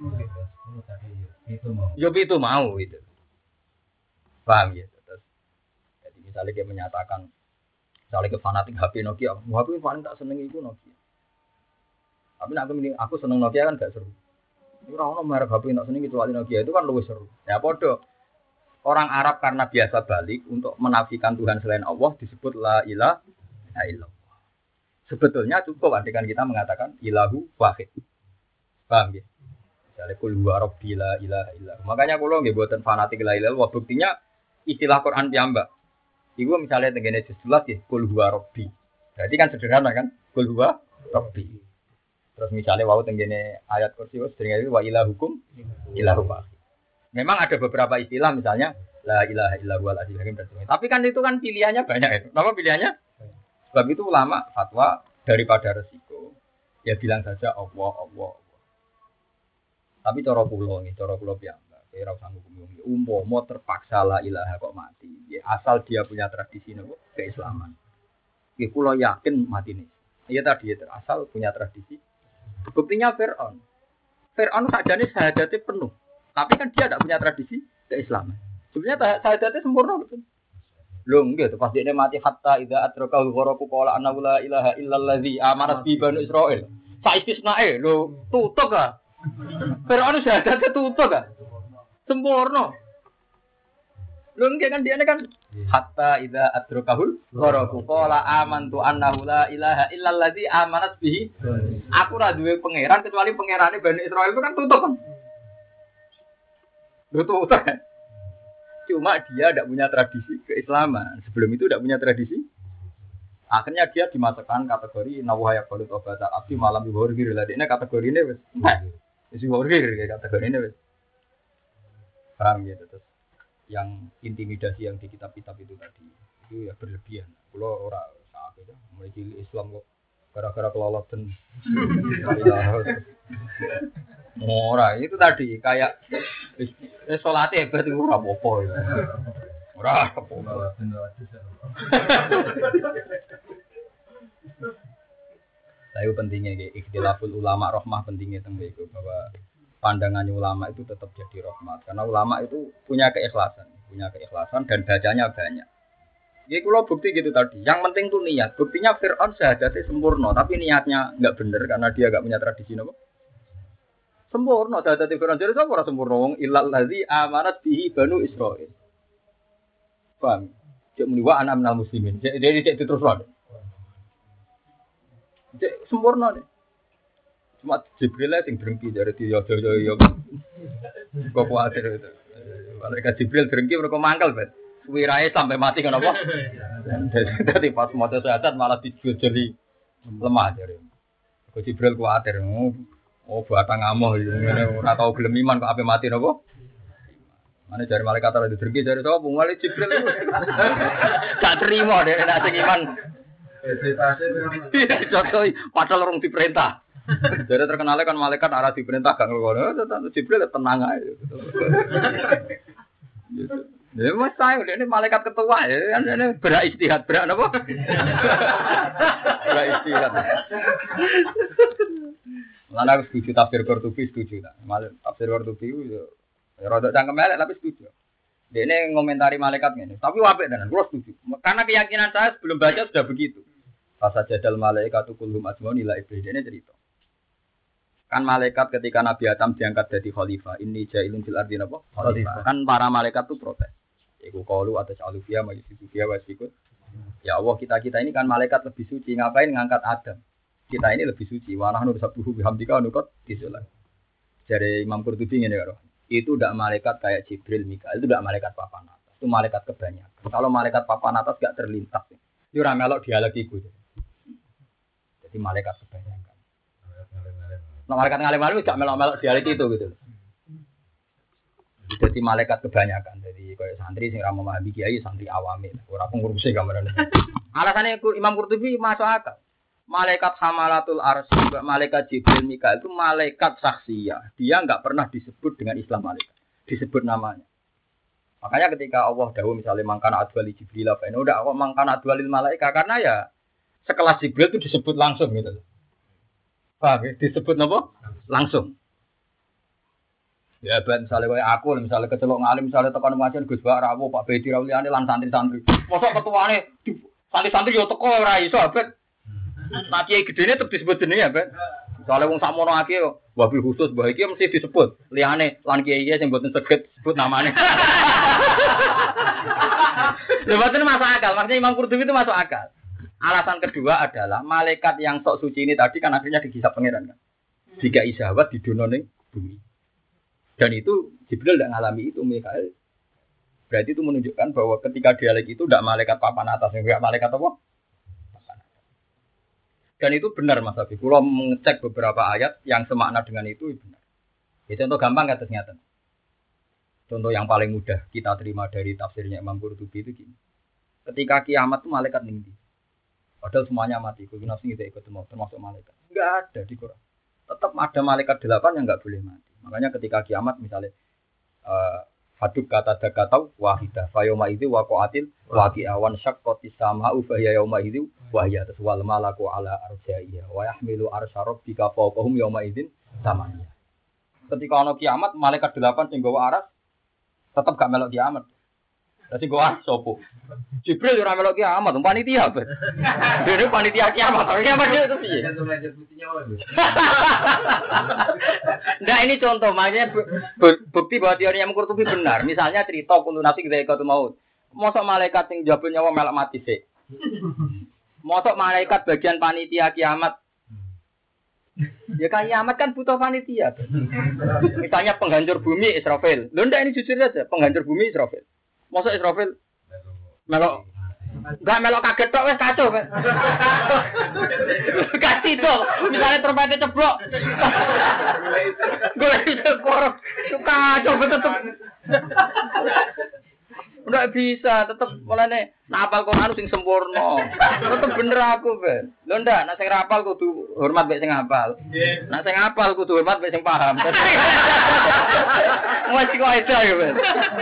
Itu mau itu. Paham ya? Terus, jadi misalnya dia menyatakan misalnya ke fanatik HP Nokia, HP paling tak seneng itu Nokia. Tapi aku seneng Nokia kan gak seru. Ora ono merek HP tak seneng kecuali Nokia itu kan lebih seru. Ya podo. Orang Arab karena biasa balik untuk menafikan Tuhan selain Allah disebut la ilaha illallah. Sebetulnya cukup dengan kita mengatakan ilahu wahid. Paham ya? Misalnya kul huwa rabbi la ilaha illallah. Makanya kula nggih mboten fanatik la ilaha illallah. Buktinya istilah Quran piyambak. Iku misalnya tengene juz 11 ya kul huwa rabbi. Berarti kan sederhana kan? Kul huwa rabbi. Terus misalnya wau tengene ayat kursi wis jenenge wa ilahukum ilahu wahid. Memang ada beberapa istilah misalnya la ilaha illallah al-azizul hakim. Tapi kan itu kan pilihannya banyak itu. Apa pilihannya? Sebab itu ulama fatwa daripada resiko ya bilang saja Allah. Tapi cara kula piyambak, kira usah hukum umpama terpaksa la ilaha kok mati. Ya asal dia punya tradisi nopo keislaman. Iki kula yakin mati nih. Ya tadi ya asal punya tradisi. Buktinya Fir'aun. Fir'aun sajane syahadatnya penuh. Tapi kan dia tidak punya tradisi keislaman. Sebenarnya syahadatnya sempurna betul. Lho nggih to pas dekne mati hatta idza atrakahu gharaku qala annahu la ilaha illallazi amanat bi banu Israil. Sa istisnae lho tutuk ah. Fir'aun syahadatnya tutuk ah. Sempurna. Lho nggih kan dia kan hatta idza atrakahu gharaku qala amantu annahu la ilaha illallazi amanat bihi. Aku ora duwe pangeran kecuali pangerane banu Israil itu kan tutuk kan. Lho tutuk. Cuma dia tidak punya tradisi keislaman. Sebelum itu tidak punya tradisi. Akhirnya dia dimasukkan kategori nawaya balut obat abdi malam yuhurgir. Ini kategori ini wes. Isi yuhurgir kategori ini wes. Paham ya terus. Yang intimidasi yang di kitab-kitab itu tadi itu ya berlebihan. Kalau orang saat itu memiliki Islam kok gara-gara kelolot dan ora itu tadi kayak salate hebat itu ora apa-apa ya. Ora apa-apa. Saya pentingnya ikhtilaful ulama rahmah pentingnya teng itu bahwa pandangan ulama itu tetap jadi rahmat karena ulama itu punya keikhlasan dan bacanya banyak. Jadi kalau bukti gitu tadi, yang penting tuh niat. Buktinya Fir'aun syahadatnya sempurna, tapi niatnya nggak bener karena dia nggak punya tradisi apa? Sempurna, syahadatnya Fir'aun jadi apa orang sempurna? Wong illal ladzi amanat bihi banu Israil. Paham? Cek meniwa anak minal muslimin. Jadi cek terus wae. Cek sempurna deh. Cuma Jibril sing drengki dari yo. Kok kuatir itu. Malaikat Jibril drengki mereka mangkel, Bet. Wirae sampai mati kan apa? Jadi pas maca syahadat malah dijojoli lemah jare. Kok Jibril kuwatir. Oh, batang amoh ngene ora tau gelem iman kok ape mati napa? Mane jare malaikat ora ditergi jare sapa mulai Jibril itu. Gak terima deh nek sing iman. Jokowi padahal orang diperintah. Jadi terkenalnya kan malaikat arah diperintah gak ngono. Jibril tenang aja. Ya mas saya ini malaikat ketua ya, ini beristihad berak apa? Beristihad. Mana aku setuju tafsir Qurtubi setuju tak? Tafsir Qurtubi itu ya rada cangkem elek tapi setuju. Dia ini ngomentari malaikat ini, tapi apik tenan, gua setuju. Karena keyakinan saya sebelum baca sudah begitu. Fasa jadal malaikatu kulhum ajmaun ila iblis ini cerita. Kan malaikat ketika Nabi Adam diangkat jadi khalifah, ini jailun fil ardi apa? Khalifah. Kan para malaikat itu protes. Iku qalu atas alufia majusufia wasikut. Ya Allah kita ini kan malaikat lebih suci, ngapain ngangkat Adam? Kita ini lebih suci. Wa nahnu sabbuhu bihamdika nukot disulah. Dari Imam Qurtubi ngene karo. Itu ndak malaikat kayak Jibril, Mikail, itu ndak malaikat papan atas. Itu malaikat kebanyakan. Kalau malaikat papan atas enggak terlintas. Itu ora melok dialog iku. Jadi malaikat kebanyakan. Nah, malaikat ngalim-alim enggak melok-melok dialog itu gitu. Jadi malaikat kebanyakan. Jadi kayak santri sing ra memahami kiai santri awame, ora pengurusi gambaran. Alasannya Imam Qurtubi masuk akal. Malaikat Hamalatul Arsy, malaikat Jibril Mikail itu malaikat saksiyah. Dia enggak pernah disebut dengan Islam malaikat. Disebut namanya. Makanya ketika Allah dawuh misalnya mangkana adwali Jibril apa ini udah Allah mangkana adwalil malaikat karena ya sekelas Jibril itu disebut langsung gitu. Paham ya? Disebut apa? Langsung. Ya ben misalnya kayak aku misalnya kecelok ngalim misalnya tekan pengajian Gus Bak Rawo Pak Bedi Rauliane lan santri-santri. Mosok ketuane santri-santri yo teko ora iso ben. Nah kiai gedene tetep disebut jenenge ben. Misalnya wong sakmono akeh wabil khusus mbah iki mesti disebut. Liyane lan kiai-kiai sing mboten saged sebut namane. Lha boten masuk akal, maksudnya Imam Qurtubi itu masuk akal. Alasan kedua adalah malaikat yang sok suci ini tadi kan akhirnya dihisab pangeran kan. Jika isawat di donone bumi. Dan itu Jibril tidak mengalami itu Mikail. Berarti itu menunjukkan bahwa ketika dialek itu tidak malaikat papan atas, enggak malaikat apa? Papan atas. Dan itu benar Mas Habib. Kalau mengecek beberapa ayat yang semakna dengan itu benar. Ya, contoh gampang atas nyata. Contoh yang paling mudah kita terima dari tafsirnya Imam Qurtubi itu gini. Ketika kiamat itu malaikat tinggi. Padahal semuanya mati. Kalau nafsi kita ikut termasuk malaikat. Enggak ada di Quran. Tetap ada malaikat 8 yang enggak boleh mati. Makanya ketika kiamat misalnya haduk kata dakatau wahidah fayoma itu waqatil waqi'awan syaqqatis sama'u fa hiya yauma idzi wa hiya taswal malaku ala arjaiha wa yahmilu arsy rabbika fawqahum yauma idzin samania. Ketika ana kiamat malaikat 8 sing nggawa aras tetap gak melok kiamat. Dadi nggawa sopo? Jibril ora melok kiamat, panitia apa? Dene panitia kiamat. Kiamat itu piye? Nah ini contoh, makanya bukti bahwa teori yang Qurtubi benar. Misalnya cerita kulo nasi kita ikut maut. Mosok malaikat sing njabul nyawa melok mati sik. Mosok malaikat bagian panitia kiamat. Ya kan kiamat kan butuh panitia. Misalnya penghancur bumi Israfil. Lho ndak ini jujur saja, penghancur bumi Israfil. Mosok Israfil melok enggak melok kaget tok wis kacau kan. Kasih to, misalnya trompetnya ceblok. Gue itu korok kacau betul. Enggak bisa, tetep mulane hafal Quran sing sempurna. Tetep bener aku, Ben. Lho ndak, nek sing hafal kudu hormat mek sing hafal. Nek sing hafal kudu hormat mek sing paham. Wes kok itu ya, Ben.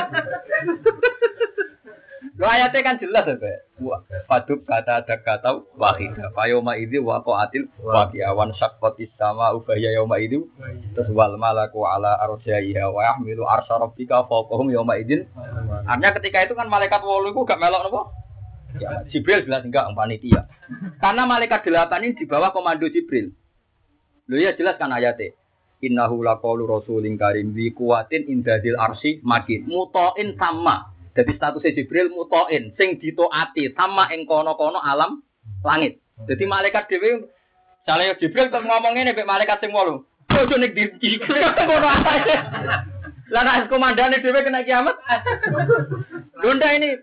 Lo ayatnya kan jelas ya, Pak. Fadub kata ada kata wahidah. Fayoma idzi waqatil waqi'awan syaqqatis sama ubaya yauma idzi terus wal malaku ala arjaiha wa yahmilu arsy rabbika fawqahum yauma idzin. Artinya ketika itu kan malaikat 8 iku gak melok napa? Ya, Jibril jelas enggak panitia. Karena malaikat 8 ini di bawah komando Jibril. Lho ya jelas kan ayatnya. Innahu laqaulu rasulin karim bi quwatin indadil arsy makin mutain sama. Jadi statusnya Jibril mutoin, sing ditaati sama ing kono-kono alam langit. Jadi malaikat dhewe jale Jibril kok ngomong ngene mek malaikat sing 8. Ojo nek di ngono ae. Lah nek komandane dhewe kena kiamat. Lunda ini.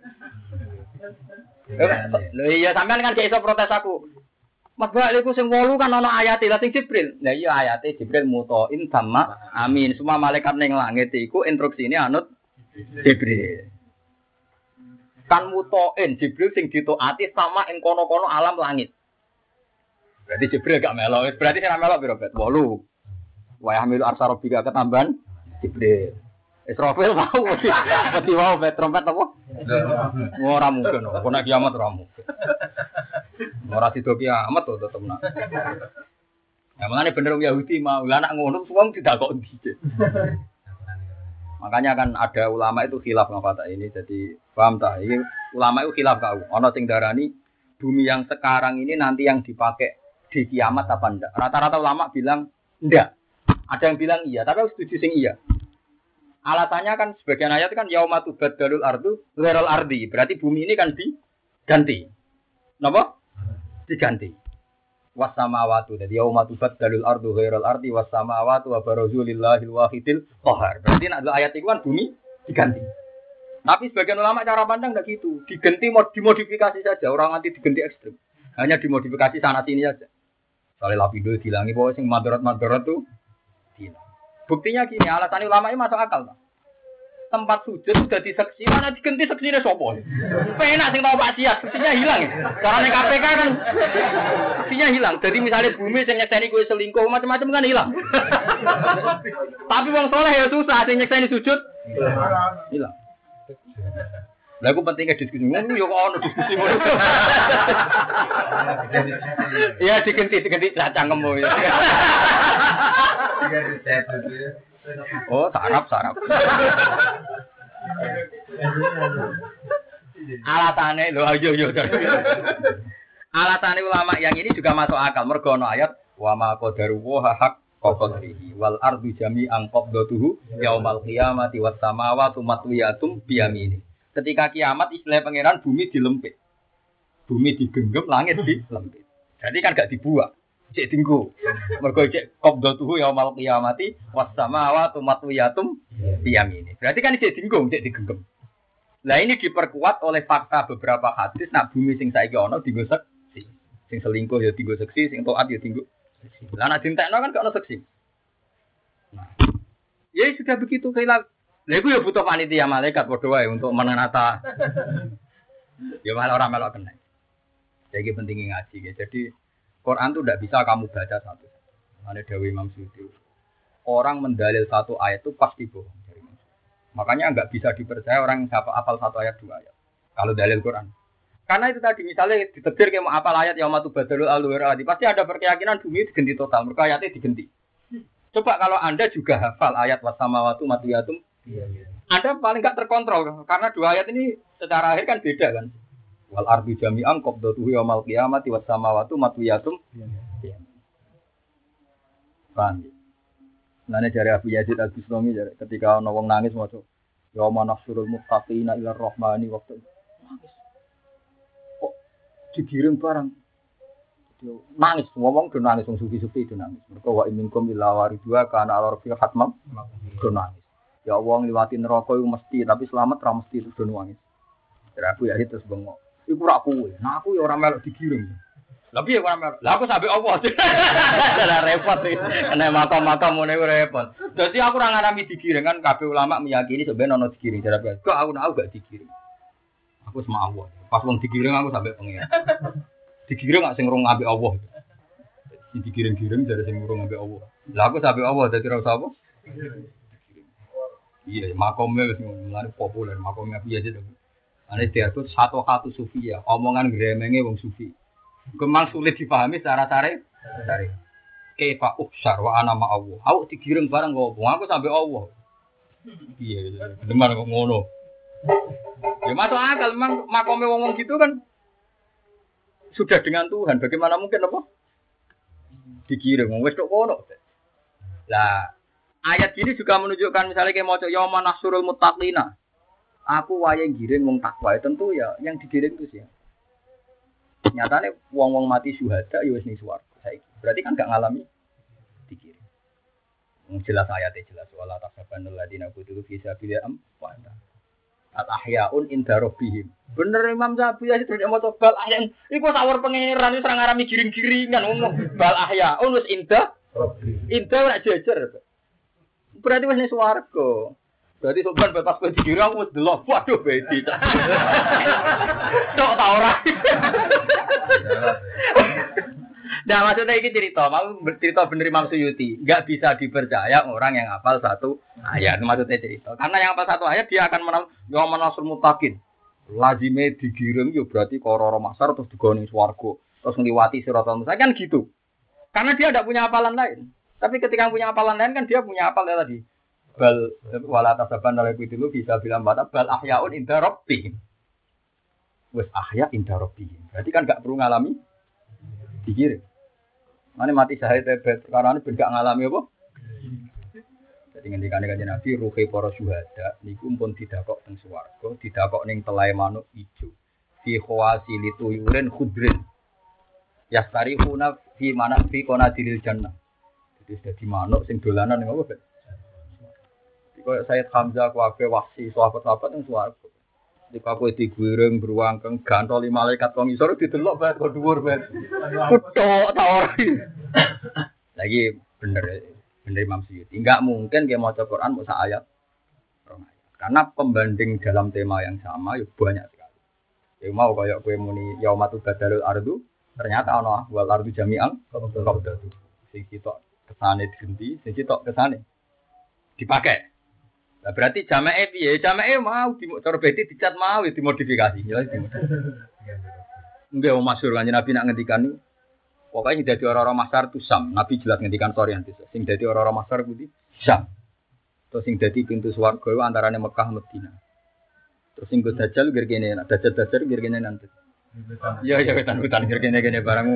Lho iya sampean kan gak iso protes aku. Mas Bak iku sing 8 kan ana ayate lah sing Jibril. Lah iya ayate Jibril mutoin sama amin. Semua malaikat ning langit iku instruksine anut Jibril. Kan mutoin Jibril sing ditaati sama ing kono-kono alam langit. Berarti Jibril gak melok. Berarti sing melok piro bet? 8. Wa yahmilu arsy rabbika ketambahan Jibril. Israfil mau mesti mau bet trompet apa? Ora mungkin. Kok nek kiamat ora mungkin. Ora sido kiamat to tetep nak. Ya makane bener wong Yahudi mau lah nak ngono wong tidak kok ndi. Makanya kan ada ulama itu khilaf ngapa ini. Jadi paham tak? Ini ulama itu khilaf kau. Ono sing darani bumi yang sekarang ini nanti yang dipakai di kiamat apa enggak? Rata-rata ulama bilang enggak. Ada yang bilang iya, tapi aku setuju sing iya. Alasannya kan sebagian ayat kan yaumatu badalul ardu ghairal ardi. Berarti bumi ini kan diganti. Napa? Diganti. Wassamawatu. Jadi yaumatu badalul ardu ghairal ardi wassamawatu wa barazu lillahil wahidil qahar. Berarti nek ayat itu kan bumi diganti. Tapi sebagian ulama cara pandang enggak gitu. Diganti dimodifikasi saja, orang nanti diganti ekstrem. Hanya dimodifikasi sana sini saja. Soalnya lapido dilangi bahwa sing madarat tuh hilang. Buktinya gini, alasan ulama ini masuk akal. tempat sujud sudah diseksi, mana diganti seksinya sopo. Penak sing tau maksiat, seksinya hilang ya. Karena ning KPK kan seksinya hilang. Jadi misalnya bumi sing nyekseni kowe selingkuh macam-macam kan hilang. Tapi wong soleh ya susah, sing nyekseni sujud hilang. Lah aku pentingnya diskusi ngono yo kok ono diskusi ngono. Iya diganti cangkemmu ya. Oh, sarap. Alatane lho ayo. Alatane ulama yang ini juga masuk akal mergo ana ayat wa ma qadaru wa haq qadrihi wal ardu jami'an qabdatuhu yaumal qiyamati was samawati matwiyatum biyamini. Ketika kiamat istilah pangeran bumi dilempit. Bumi digenggam, langit dilempit. Jadi kan gak dibuat. Cek tinggu. Mergo cek qabdatuhu yaumal qiyamati was samawati matwiyatum biyamini. Berarti kan cek tinggu, cek digenggam. Lah ini diperkuat oleh fakta beberapa hadis nak bumi sing saiki ana dienggo seksi. Sing selingkuh ya dienggo seksi, sing taat ya dienggo seksi. Lah nek dintekno kan gak ono seksi. Nah. Ya sudah begitu kayak lha iku ya butuh panitia malaikat padha wae untuk menata. Ya malah orang melok kena. Jadi pentingnya ngaji ya. Jadi Quran itu tidak bisa kamu baca satu. Ada Dewi Imam Suyuti. Orang mendalil satu ayat itu pasti bohong. Makanya nggak bisa dipercaya orang yang hafal satu ayat dua ayat. Kalau dalil Quran. Karena itu tadi misalnya ditetir kayak mau hafal ayat yang matu badalul al-wiradi. Pasti ada perkeyakinan bumi diganti total. Mereka ayatnya diganti. Coba kalau Anda juga hafal ayat wasamawatu matuyatum. Anda paling nggak terkontrol. Karena dua ayat ini secara akhir kan beda kan. Wal ardu jami'an qabdatuhu yaumal qiyamati was samawati matwiyatum. Paham. Nane dari Abu Yazid Al-Bustami ketika ana wong nangis maca ya manasrul muttaqina ila rahmani waqtu. Kok digiring barang. Nangis, ngomong do nangis wong sufi-sufi do nangis. Mergo wa minkum illa waridua kana ala rabbil hatmam do nangis. Ya Allah ngliwati neraka iku mesti tapi selamat ra mesti do nangis. Dari Abu Yazid terus bengok. Iku ora kuwe. Nah aku ya ora melok digiring. Lah piye ora melok? Lah aku sampe Allah. Lah repot iki. Nek makam-makam ngene repot. Dadi aku ora ngarami digiring kan kabeh ulama meyakini sebenarnya ono digiring. Jadi kok aku gak digiring. Aku sama Allah. Pas wong digiring aku sampe pengen. Digiring gak sing rung ambek Allah. Si digiring-giring dari sing rung ambek Allah. Lah aku sampe Allah dadi ora usah apa? Iya, makamnya wis mulai populer, makamnya piye aja. Ane diatur satu sufi ya, omongan gremenge wong sufi. Kemang sulit dipahami secara tarik. Kaifa uksar wa ana ma Allah. Awak digiring barang kok aku sampai Allah. Iya, demen kok ngono. Ya masuk akal memang makome wong gitu kan sudah dengan Tuhan. Bagaimana mungkin apa? Digiring wis kok ngono. Lah, ayat ini juga menunjukkan misalnya kayak maca yauma nahsurul muttaqina. Aku wae giring wong takwa tentu ya yang digiring itu sih. Nyatane wong-wong mati syuhada ya wis ning swarga saiki. Berarti kan gak ngalami digiring. Jelas ayatnya jelas wala tasabanul ladina qutilu fi sabilillah wa al-ahyaun inda rabbihim. Bener Imam Syafi'i ya terus maca bal ahyaun. Iku sawur pangeran wis ora ngarami giring-giringan ngomong bal ahyaun wis inda rabbihim. Inda ora jejer. Berarti wis ning swarga. Berarti sopan pas kowe digiring aku wis delok. Waduh bedi. Tok ta ora. Nah maksudnya ini cerita, mau bercerita bener Imam Suyuti. Enggak bisa dipercaya orang yang hafal satu ayat. Maksudnya cerita. Karena yang hafal satu ayat dia akan menang yang manasur mutakin. Lazime digiring yo berarti kororo masar terus digoni swarga. Terus ngliwati siratal mustaqim kan gitu. Karena dia tidak punya hafalan lain. Tapi ketika punya hafalan lain kan dia punya hafal tadi. Bal wala tasaban oleh itu bisa bilang bal ahyaun inda rabbihim. Wes ahya inda rabbihim. Berarti kan enggak perlu ngalami digiring. Mane mati syahid perkara ini ben gak ngalami apa? Jadi ngendikane Kanjeng Nabi ruhe para syuhada niku pun didakok teng swarga, didakok ning telahe manuk ijo. Fi khawasi lituyurin khudrin. Yastarifuna fi mana fi qanadiril jannah. Jadi dadi manuk sing dolanan ning apa, Ben? Kaya Sayyid Hamzah kuwabe wasi sahabat-sahabat ning swarga. Jika kowe digwiring beruang keng gantoli malaikat kok ngisor didelok bae kok dhuwur bae. Kutok ta ora. Lagi bener Imam Suyuti. Enggak mungkin dia maca Quran mau sak ayat. Karena pembanding dalam tema yang sama ya banyak sekali. Ya mau kayak kowe muni yaumatu badalul ardu, ternyata ana wal ardu jami'an qabdatu. Sing sitok kesane digenti, sing sitok kesane dipakai. Nah, berarti jamae piye? Jamae mau cara beti dicat mau dimodifikasi. Jelas dimodifikasi. Enggak mau masyhur kanjeng Nabi nak ngendikan niku. Pokoke sing dadi ora-ora masar tu sam. Nabi jelas ngendikan Qur'an itu. Sing dadi ora-ora masar kuwi sam. Terus sing dadi pintu swarga iku antarane Mekah Madinah. Terus sing go dajal ngger kene, nak dajal ngger kene nanti. Ya wetan-wetan ngger kene barangmu.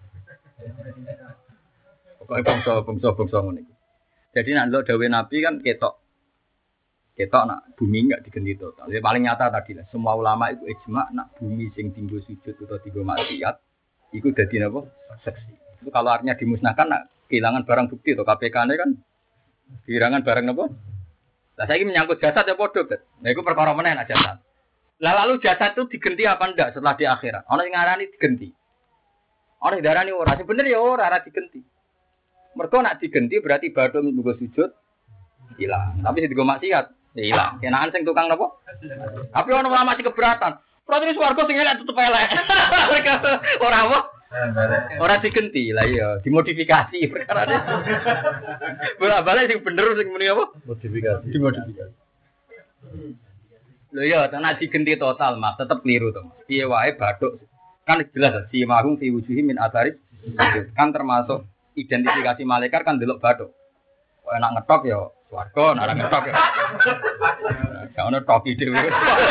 Pokoke bangsa ngono iki. Jadi nek ndelok dawuh Nabi kan ketok nak bumi enggak digenti total. Ya paling nyata tadi lah. Semua ulama itu ijma nak bumi sing tinggal sujud atau tinggal maksiat iku dadi napa? Saksi. Itu kalau artinya dimusnahkan nak kehilangan barang bukti atau KPK-ne kan kehilangan barang napa? Lah saiki menyangkut jasad ya padha, Bet. Nah iku perkara meneh nak jasad. Lah lalu jasad itu digenti apa ndak setelah di akhirat? Ana sing ngarani digenti. Ana sing darani ora. Sebenarnya ya ora digenti. Mergo nak digenti berarti badhe minggu sujud hilang. Tapi sing digo maksiat ya hilang. Kenaan sing tukang napa? Tapi ana ulama sing keberatan. Berarti swarga sing elek tetep elek. Ora apa? Ora digenti. Lah iya, dimodifikasi perkarane. Bola-balik sing bener sing muni apa? Modifikasi. Dimodifikasi. Lho iya, tenan digenti total, Mas, tetep keliru to, Mas. Piye wae bathuk kan jelas si mahum fi wujuhi min atharif. Kan termasuk identifikasi malaikat kan delok bathuk. Kok enak ngetok ya swarga, nek ora ngetok ya. Gak ono toki dhewe.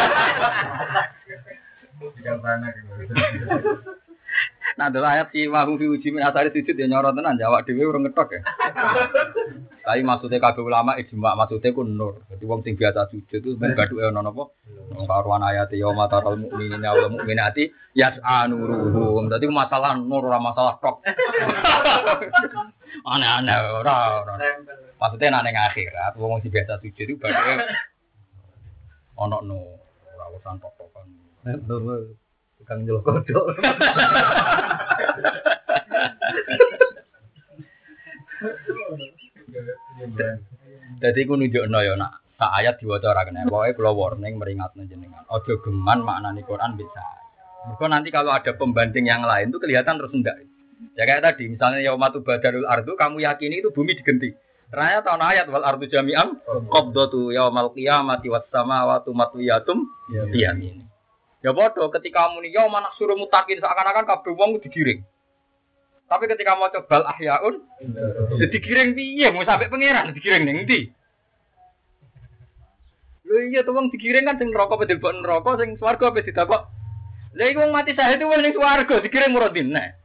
Nah, delok ayat si mahum fi wujuhi min atharif sujud ya nyoro tenan jawab dhewe ora ngetok ya. Tapi maksudnya kabeh ulama ijma maksudnya ku nur. Jadi wong sing biasa sujud itu ben bathuke ana napa? Karuan ayat ya matarul mukminina wal mukminati yas'anuruhum. Dadi masalah nur ora masalah tok. Aneh-aneh ora. Maksudnya nek ning akhirat wong sing biasa sujud itu bathuke ana nur, ora urusan tok-tokan. Nur tukang njel kodhok. Jadi aku nunjukno ya nak sak ayat diwaca ora kena. Pokoke kula warning meringatno jenengan. Aja geman maknane Quran bisa. Mergo nanti kalau ada pembanding yang lain itu kelihatan terus enggak. Ya kayak tadi misalnya yaumatu badalul ardu kamu yakini itu bumi digenti. Ternyata tahun ayat wal ardu jami'am qabdatu yaumal qiyamati was samawati matwiyatum biyamin. Ya padha ketika muni yauma nahsyurul muttaqin seakan-akan kabeh wong digiring. Tapi ketika mau coba ahyaun, digiring piye? Mau sampai pangeran digiring ning ndi? Lho iya tuh wong digiring kan sing neraka apa dilebok neraka, sing swarga apa ditakok. Lha iku wong mati syahid wong ning swarga digiring muradin nek.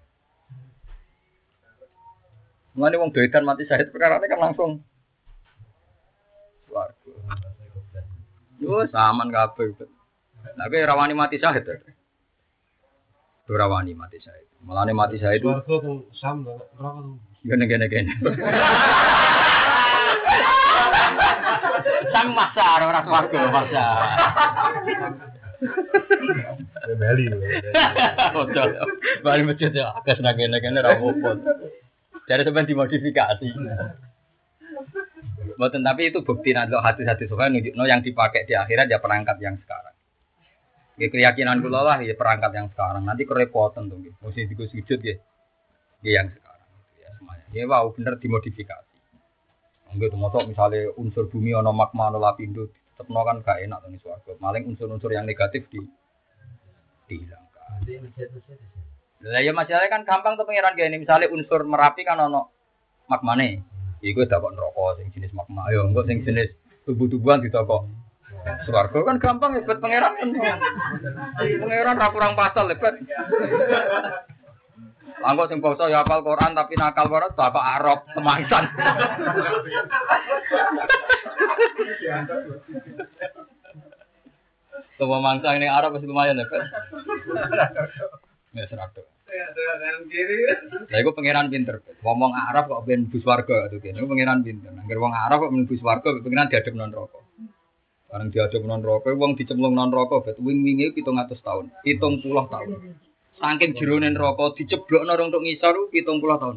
Ngene wong doedan mati syahid perkarane kan langsung swarga. Yo saman kabeh. Lah kowe rawani mati syahid. Rawani mati syahid. Mulane mati syahid itu Swarga tuh sam neraka tuh. Gene. Sang masar ora swarga masar. Bali. Betul. Bali masjid ya, akeh nang kene ra opo. Jadi sampeyan dimodifikasi. Mboten tapi itu bukti nek hati-hati sokan nunjukno yang dipakai di akhirat ya perangkat yang sekarang. Ya keyakinan kula lah ya perangkat yang sekarang. Nanti kerepotan tuh nggih. Mesti digo sujud nggih. Nggih yang sekarang ya semuanya. Ya wow bener dimodifikasi. Nggih termasuk misalnya unsur bumi ana magma ana lapindo tetepno kan gak enak to ning swarga. Maling unsur-unsur yang negatif dihilangkan. Lah ya masalahnya kan gampang tuh pengiran gini. Misalnya unsur Merapi kan ana magmane. Iku dapat neraka sing jenis magma. Ayo engko sing jenis tubuh-tubuhan ditakok. Swarga kan gampang hebat pangeran kan. Pangeran ra kurang pasal hebat. Langkok sing basa ya hafal Quran tapi nakal banget bapak Arab semangsan. Coba mangsa ini Arab masih lumayan hebat. Ya seragam. Lah iku pangeran pinter. Ngomong Arab kok ben bus warga tuh kene. Iku pangeran pinter. Angger wong Arab kok ben bus warga pangeran diadep nang neraka. Bareng diadep nang neraka wong dicemplung nang neraka bet wing-winge 700 tahun. 70 tahun. Saking jerone neraka diceblokno rong tok ngisor 70 tahun.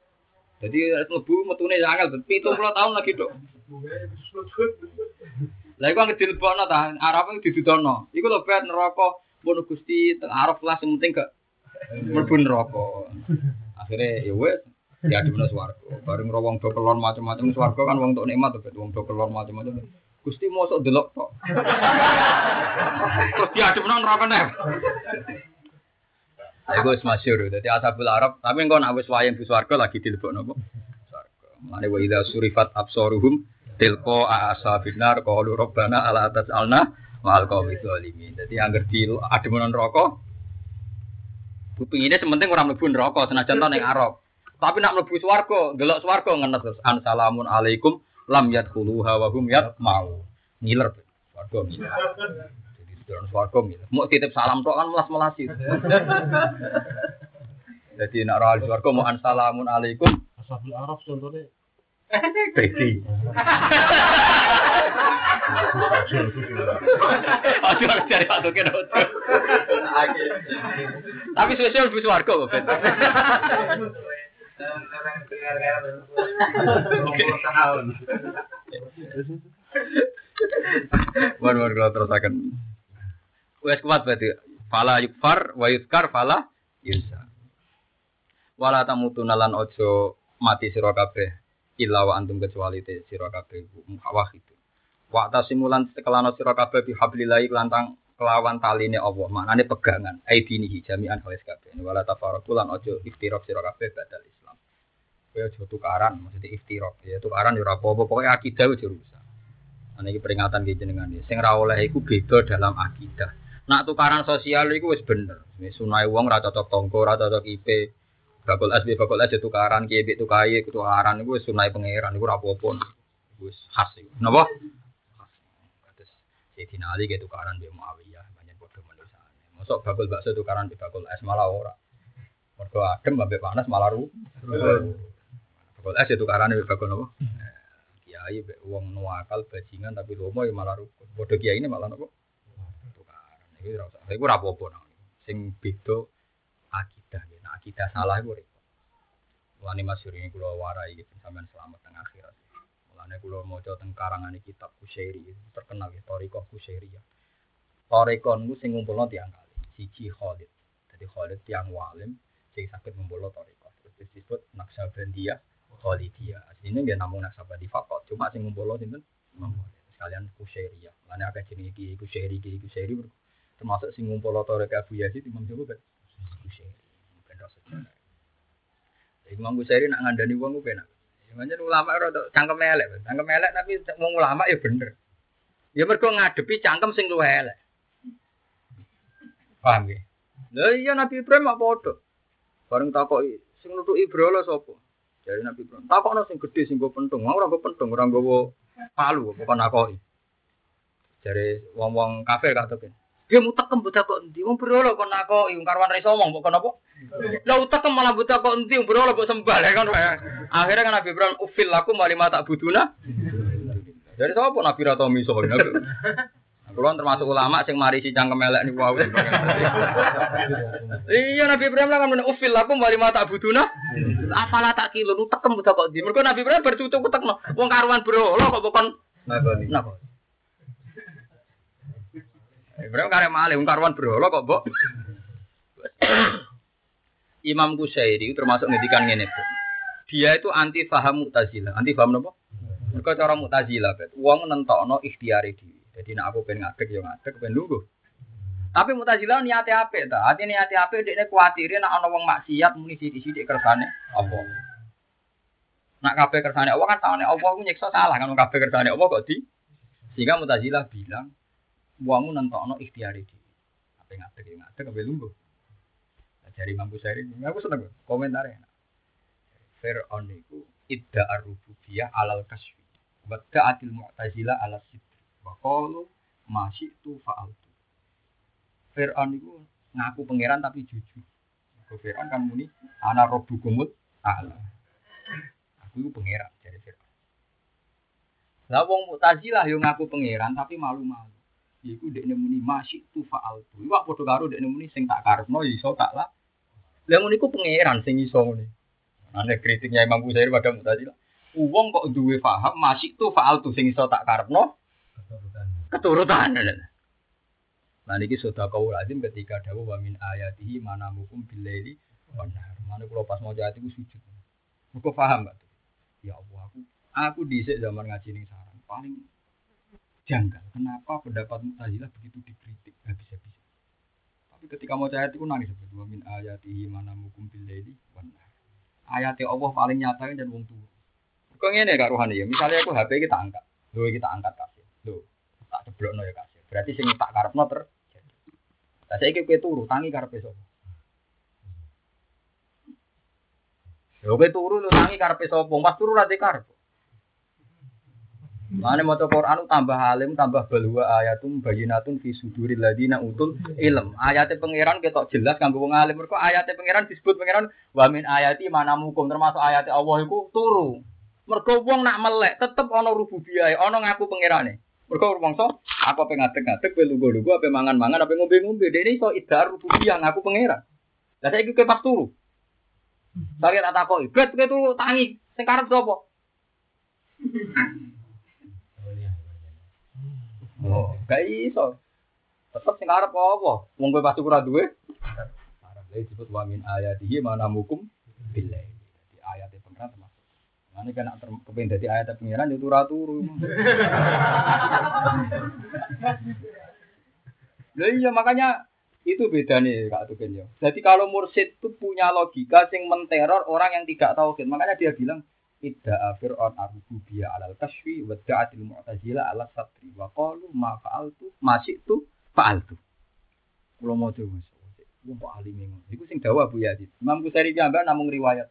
Jadi mlebu metune angel 70 tahun lagi tok. Lah iku anggere dilebokno ta, Arab iku didudono. Iku lho bet neraka pun Gusti teng Arab lah sing penting gak mlebu neraka. Akhire ya wis ya di swarga. Bareng ro wong do kelon macam-macam swarga kan wong tok nikmat to bet wong do kelon macam-macam. Gusti mosok delok tok. Terus diadepno neraka neh. Iku wis masyhur. Dadi ashabul Arab, tapi engko nek wis wayang di swarga lagi dilebokno apa? Swarga. Mane wa idza surifat absaruhum tilqa asabinar qalu rabbana ala tasalna ma'al qawmi zalimin. Dadi angger di ademen neraka kupingine sementing ora mlebu neraka senajan to ning Arab. Tapi nak mlebu swarga, delok swarga ngenes terus assalamun alaikum lam yadkhuluha wa hum yatma'u. Ngiler swarga ngiler. Jadi sedurung swarga ngiler. Mau titip salam tok kan melas-melasi. Jadi nak ora swarga mau assalamun alaikum Ashabul Araf contohnya. Beti. Aduh, cari Pak Token. Tapi sosial lebih swarga kok, Bet. War kalau terusakan. Wes kuat berarti. Fala yukfar wa yuzkar fala yunsa. Wala tamutuna lan ojo mati sira kabeh. Illa wa antum kecuali te sira kabeh wahid. Wa tasimulan sekelana sira kabeh bi hablillahi kelantang kelawan taline Allah. Maknane pegangan aidinihi jami'an wis kabeh. Wala tafarraqu lan aja iftiraq sira kabeh badal Islam. Kowe aja tukaran, maksudnya iftiraq. Ya tukaran ya ora apa-apa, pokoke akidah wis rusak. Ana iki peringatan ki jenengan iki. Sing ra oleh iku beda dalam akidah. Nak tukaran sosial iku wis bener. Wis sunai wong ra cocok tangga, ra cocok IP. Bakul asbi bakul aja tukaran kiye mbek tukae tukaran iku wis sunai pangeran iku ora apa-apa. Wis khas iku. Napa? Terus Sayyidina Ali ke tukaran mbek Muawiyah banyak padha manusane. Mosok bakul bakso tukaran mbek bakul es malah ora. Mergo adem mbek panas malah ru. Bakul es tukaran mbek bakul napa? Kiai mbek wong nuwakal bajingan tapi lomo ya malah ru. Padha kiai ini malah napa? Tukaran. Iki ora usah. Iku ora apa-apa. Sing beda akidah. Akidah salah itu repot. Mulane masyhur ini kula warai iki sampean selamat teng akhirat. Mulane kula maca teng karangane kitab Kusyairi terkenal ya Thariqah Kusyairiyah. Thariqah niku sing ngumpulno tiyang kali. Siji Khalid. Dadi Khalid tiyang walim sing saged ngumpulno Thariqah. Terus disebut Naqsabandiyah Khalidiyah. Asline nggih namung Naqsabandi faqat, cuma sing ngumpulno sinten? Imam Khalid. Sekalian Kusyairiyah. Mulane akeh jenenge iki Kusyairi termasuk sing ngumpulno Thariqah Abu Yazid Imam Jawa kan Kusyairi. Imam Ghazali nak ngandani wong ku penak. Pancen ulama ora cangkem elek, tapi wong ulama ya bener. Ya mergo ngadepi cangkem sing luwih elek. Paham nggih? Lah iya Nabi Ibrahim mak padha. Bareng takoki, sing nutuki brala sapa? Jare Nabi Ibrahim. Takokno sing gedhe sing go pentung, ora go pentung, ora nggawa palu, kok nakoki. Jare wong-wong kafir gak tepen. Dia mutekem buta kok endi? Wong brolo kok nakoki wong karwan ra iso omong kok napa? Lah utekem malah buta kok endi wong brolo kok sembah kan. Akhirnya kan Nabi Ibrahim ufil lakum malima tak buduna. Dari sapa Nabi ra tau miso Nabi. Kulo termasuk ulama sing marisi cangkem elek niku wae. Iya Nabi Ibrahim lah kan ufil lakum malima tak buduna. Afala tak kilo utekem buta kok endi? Mergo Nabi Ibrahim bertutuk utekno. Wong karwan brolo kok kon napa? Ibrahim kare malih wong karwan brolo kok, Mbok. Imam Ghazali termasuk ngendikan ngene. Dia itu anti paham Mu'tazilah. Anti paham napa? Mergo cara Mu'tazilah, Bet. Wong nentokno ikhtiare dhewe. Dadi nek aku pengen ngadeg ya ngadeg, pengen lungguh. Tapi Mu'tazilah niate apik ta. Ati niate apik dekne kuwatire nek ana wong maksiat muni sithik-sithik kersane apa. Nek kabeh kersane Allah kan tangane Allah ku nyiksa salah kan kabeh kersane Allah kok di. Sehingga Mu'tazilah bilang wong nentokno ikhtiare dhewe. Ape ngadeg ya ngadeg, ape lungguh. Dari Imam Ghazali, aku seneng komentare. Fir'aun niku idda ar-rububiyah alal kasfi. Wa ta'atil mu'tazilah ala sidq. Wa qalu ma syi'tu fa'altu. Fir'aun niku ngaku pangeran tapi jujur. Fir'aun kan muni ana rabbukumul a'la. Aku iku pangeran jare Fir'aun. Lah wong Mu'tazilah yo ngaku pangeran tapi malu-malu. Iku dekne muni masih tu faal tu. Iwak padha karo dekne muni sing tak karepno iso tak lah. Lah ngono iku pangeran sing iso ngene. Ana kritiknya Imam Ghazali pada Mu'tazilah. Wong kok duwe paham masih tu faal tu sing iso tak karepno. keturutan. Nah niki sedekah lazim ketika dawuh wa min ayatihi manamukum billaili wan nahar. Mane kula pas maca ayat iku sujud. Muga paham, Pak. Ya Allah, aku dhisik zaman ngaji ning sarang paling janggal. Kenapa pendapat Mu'tazilah begitu dikritik habis-habis. Tapi ketika mau ayat itu nangis seperti wa min ayatihi manamukum billaili wan nahar. Ayat Allah paling nyata dan wong tuwa. Kok ngene Kak Rohani ya, misalnya aku HP kita angkat. Lho kita angkat kasih. Lho, tak ceblokno ya kasih. Berarti sing tak karepno terjadi. Lah saiki kowe turu tangi karepe sapa? Lho kowe turu lho tangi karepe sapa? Pas turu ra karep. Mane maca Quran tambah alim, tambah balwa ayatum bayyinatun fi suduril ladina utul ilm. Ayate pangeran ketok jelas kanggo wong alim. Mergo ayate pangeran disebut pangeran wa min ayati manamukum termasuk ayate Allah iku turu. Mergo wong nak melek tetep ana rububiyah, ana ngaku pangerane. Mergo rumangsa aku pengen ngadeg-ngadeg kowe lungguh-lungguh ape mangan-mangan ape ngombe-ngombe. Dene iso idhar rububiyah ngaku pangeran. Lah saiki kowe pas turu. Sare tak takoki, "Bet kowe turu tangi, sing karep sapa?" Oh, gak iso. Tetep sing arep apa? Wong kowe pasti ora duwe. Arep lha disebut wa min ayatihi manamukum billahi. Di ayate pengiran termasuk. Mane kan kepen dadi ayate pengiran yo turu. Lah iya makanya itu beda nih Kak Tuken yo. Jadi kalau mursyid itu punya logika sing menteror orang yang tidak tauhid. Makanya dia bilang idda fir'aun ar-rububiyya 'alal kasfi wa da'atil mu'tazilah 'ala satri wa qalu ma fa'altu ma syi'tu fa'altu. Kulo mau dhewe wong kok alime ngono. Iku sing dawuh Abu Yazid. Imam Ghazali piyambak namung riwayat.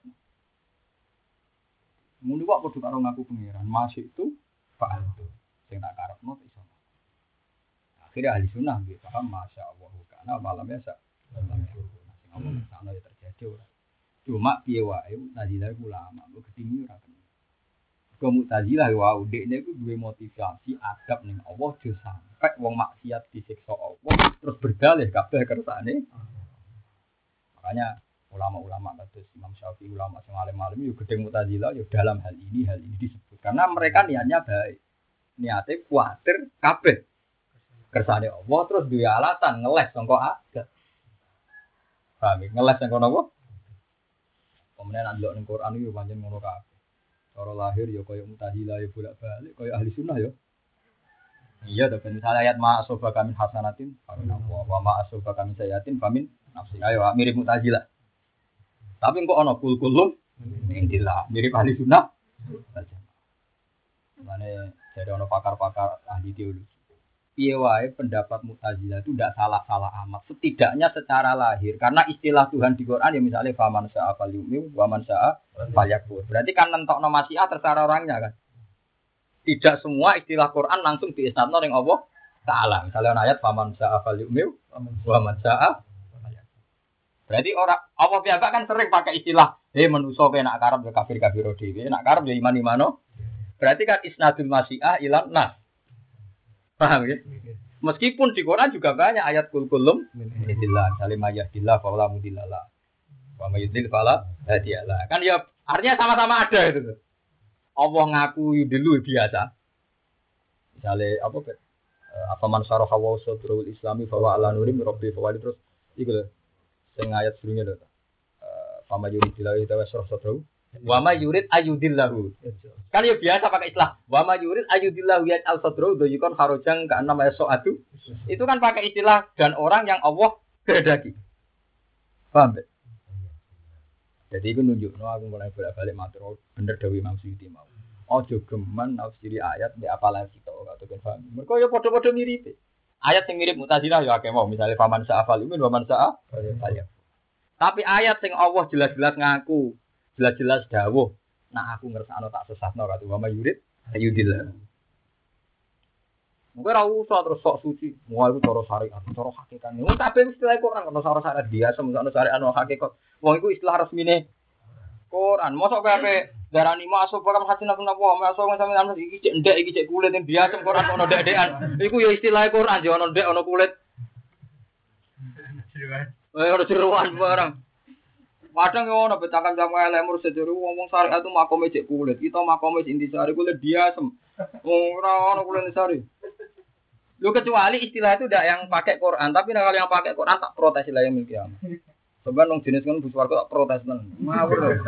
Ngono kok padha karo ngaku pangeran. Ma syi'tu fa'altu. Sing tak karepno iso. Akhirnya ahli sunnah nggih paham masyaallah kana malam ya sak. Sing ngomong sana ya terjadi ora. Cuma piye wae Mu'tazilah iku ulama, kok ketinggi ora kena. Kok Mu'tazilah wae dekne iku duwe motivasi adab ning Allah aja sampe wong maksiat disiksa Allah terus berdalih kabeh kersane. Makanya ulama-ulama kados Imam Syafi'i ulama sing alim-alim yo gedeng Mu'tazilah yo dalam hal ini disebut karena mereka niatnya baik. Niate kuwatir kabeh kersane Allah terus duwe alasan ngeles sangka agak. Paham ngeles sangka napa? Kemudian ndelok ning Quran iki pancen ngono kabeh. Cara lahir ya kaya Mu'tazilah ya bolak-balik kaya ahli sunnah ya. Iya to ben misalnya ayat ma asofa kami hasanatin famin wa ma asofa kami sayatin famin nafsi. Ayo mirip Mu'tazilah. Tapi kok ana kul-kulum indillah mirip ahli sunnah. Mane dari ana pakar-pakar ahli teologi. Piye wae pendapat Mu'tazilah itu tidak salah-salah amat. Setidaknya secara lahir. Karena istilah Tuhan di Quran ya misalnya faman sa'a falyu'min wa man sa'a falyakfur. Berarti kan nentokno masyiah terserah orangnya kan. Tidak semua istilah Quran langsung diisnadno ning Allah Ta'ala. Misalnya ayat faman sa'a falyu'min wa man sa'a falyakfur. Berarti orang Allah piyambak kan sering pakai istilah manusa kowe nak karep ya kafir-kafir dhewe, nak karep ya iman-imano. Berarti kan isnadul masyiah ilan nas. Paham ya? Meskipun di Quran juga banyak ayat kul-kulum minillah, salim ayahdillah fa'ala mudillallah. Wa mayyudil fa'ala hadiyalah. Kan ya artinya sama-sama ada itu. Allah ngaku yudillu biasa. Misalnya apa man syaraha wa sadrul islami fa wa ala nurim rabbi fa wali terus iku lho. Sing ayat sebelumnya lho. Fa mayyudillah wa syarah sadru wa ma yurid ayudillahu. Kan ya biasa pakai istilah wa ma yurid ayudillahu ya al-sadru yukon kharojang ka enam soatu. Itu kan pakai istilah dan orang yang Allah kehendaki. Paham tak? Jadi itu nunjukno aku mulai bolak-balik matur bener dawuh Imam Suyuti mau. Aja geman nafsiri ayat nek apalan kita ora tekan paham. Mergo ya padha-padha mirip. Ayat sing mirip Mu'tazilah ya akeh mau misalnya faman sa'a falyu'min wa man sa'a falyakfur. Tapi ayat sing Allah jelas-jelas ngaku jelas-jelas dawuh nah aku ngersakno tak sesatno karo wa yurid ayudillah. Mungkin ora usah terus sok suci. Wah iku cara syariat, cara hakikat. Wong kabeh istilah Quran ono cara syariat biasa, ono syariat ono hakikat. Wong iku istilah resmine Quran. Mosok kabeh darani masuk program hasil aku napa masuk sampeyan iki cek ndek iki cek kulit biasa Quran ono ndek-ndekan. Iku ya istilah Quran ya ono ndek ono kulit. Ora jeroan barang. Kadang yo ono betakan jamu lemur seduru wong syariat itu makome cek kulit. Kita makome intisari kulit biasa. Ora ono kulit intisari. Lu kecuali istilah itu tidak yang pakai Quran, tapi kalau yang pakai Quran tak protes istilah yang milki Allah. Sebenarnya nong jenis kan bus warga tak protes nang. Ngawur loh.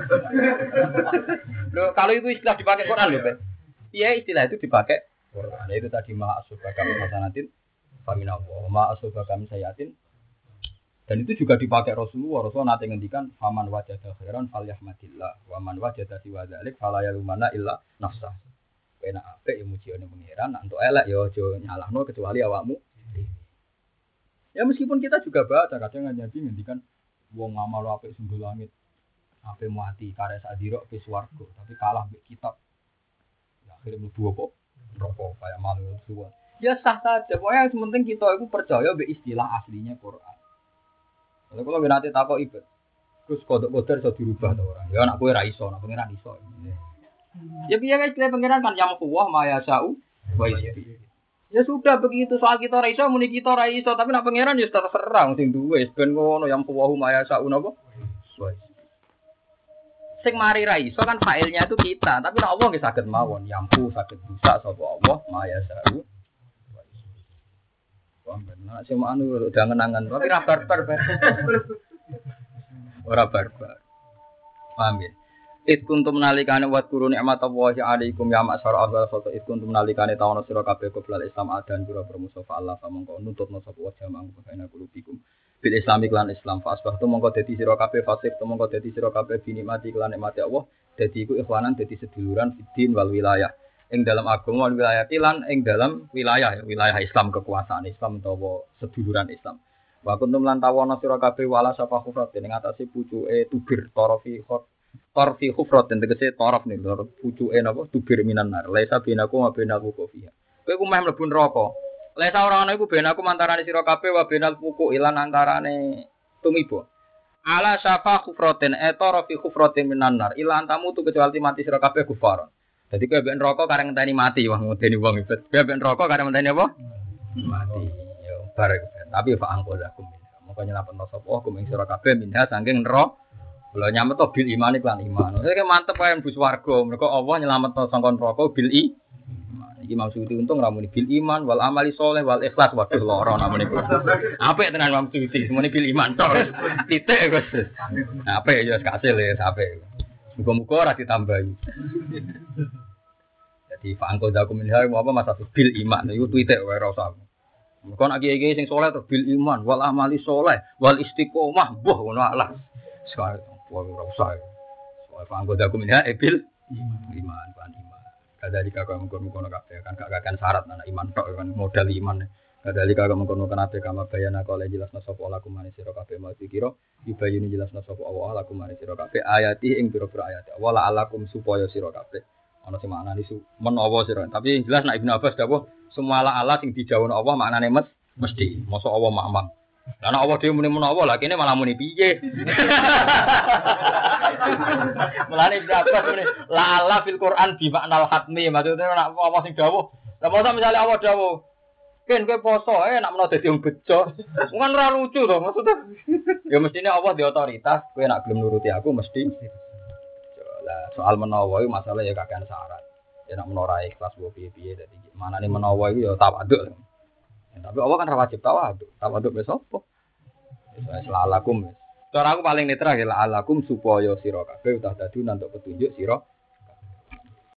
Kalau itu istilah dipakai Quran loh, iya istilah itu dipakai Quran. Itu tadi ma'asuba kami hasanatin, faminallah, ma'asuba kami sayatin. Dan itu juga dipakai Rasulullah. Rasulullah nanti ngendikan, faman wajada khairan falyahmadillah, waman wajada siwa dzalik fala yalumana illa nafsah. Enak apik ya mujiane pangeran, untuk elek ya aja nyalahno kecuali awakmu. Ya meskipun kita juga baca kadang Nabi ngendikan wong ngamal apik sundul langit, apik mati karya sadira ke swarga, tapi kalah mbek kitab. Ya akhirnya mlebu apa? Neraka kayak malu suwan. Ya sah saja, pokoknya yang penting kita itu percaya mbek istilah aslinya Quran. Kalau kalau nanti takut ibad, terus kodok-kodok bisa dirubah tuh orang. Ya anak kue raiso, anak pangeran iso. Ya biar istilah pangeran kan yang kuah maya sau, ya sudah begitu soal kita raiso, muni kita raiso, tapi anak pangeran ya terserang sing duwe. Ben ngono yang kuah maya sau napa? Sing mari raiso kan failnya itu kita, tapi nek Allah nggih saged mawon, yampu saged busa sapa Allah maya sau. Nah, cuma anu udah ngenangan, tapi ora barbar. Ora barbar. Paham ya? Id kuntum nalikane wat guru nikmat Allah alaikum ya masyar Allah foto id kuntum nalikane tawono sira kabeh qoblal Islam adan pira musafa Allah samangka nuntutna sapa wa jamang bagaina kulubikum bil Islamik lan Islam fasbah tu mongko dadi sira kabeh fasik tu mongko dadi sira kabeh binikmati lan nikmati Allah dadi iku ikhwanan dadi seduluran fiddin wal wilayah. Ing dalam agama wilayah lan ing dalam wilayah Islam kekuasaan Islam utawa seduluran Islam. Wa kuntum lan tawana sira kabeh wala sapa khufrat ing atase pucuke tubir torfi khufrat tegese taraf ning pucuke napa tubir minan nar laisa binaku wa binaku kofiha. Kowe ku meh mlebu neraka. Laisa ora ana iku benaku antarane sira kabeh wa benal puku ilan antarane tumibo. Ala syafa khufratin tarfi khufratin minan nar ila antamu tu kecuali mati sira kabeh kufaron. Jadi kowe mbek neraka kareng ngenteni mati, wah ngenteni wong ibet. Kowe mbek neraka kareng ngenteni apa? Mati. Yo bareng. Tapi fa angkozakum. Moko nyelametno sapa hukum ing sira kabeh minha saking neraka. Kula nyametno bil iman lan iman. Iki mantep wae bus warga. Mergo Allah nyelametno sangkon neraka bil iman. Iki maksud untung ramune bil iman wal amali sholeh wal ikhlas. Waduh lara namune iku. Apik tenan maksud semuanya bil iman tok. Titik Gus. Apik ya kasil ya apik. Muga-muga ora ditambahi. Jadi fa'angko zakum minha apa masa bil iman iku tweetek wae ora usah. Muga nek kiye-kiye sing saleh to bil iman wal amali saleh wal istiqomah mbuh ngono Allah. Sekali ora usah. Soal fa'angko zakum minha bil iman kan iman. Kadali kakak mengkono kabeh kan gak kakan syarat anak iman tok kan modal iman. Kadali kakak mengkono kabeh kama bayana kala jelasna sapa lakum manis sira kabeh mau dikira dibayani jelasna sapa Allah lakum manis sira kabeh ayati ing pira-pira ayat. Wala alakum supaya sira kabeh ana sing maknane menawa sira. Tapi jelas nek Ibnu Abbas dawuh semua ala sing dijawabno Allah maknane mesti. Mosok Allah mamang. Lah nek Allah dhewe muni menawa lah kene malah muni piye. Mulane Ibnu Abbas muni la ala fil Quran bi maknal hatmi. Maksudnya nek apa sing dawuh. Lah mosok misale Allah dawuh kan kowe poso nak menawa dadi wong bejo. Kan ora lucu to maksudnya. Ya mestine Allah di otoritas, kowe nak gelem nuruti aku mesti. Lah soal menawa iku masalah ya kakean syarat. Ya nak menawa ikhlas wo piye-piye dadi manane menawa iku ya tawaduk. Ya, tapi Allah kan ora wajib tawaduk. Tawaduk wis apa? Wis lalakum. Cara aku paling netral ya lalakum supaya sira kabeh udah dadi nantuk petunjuk sira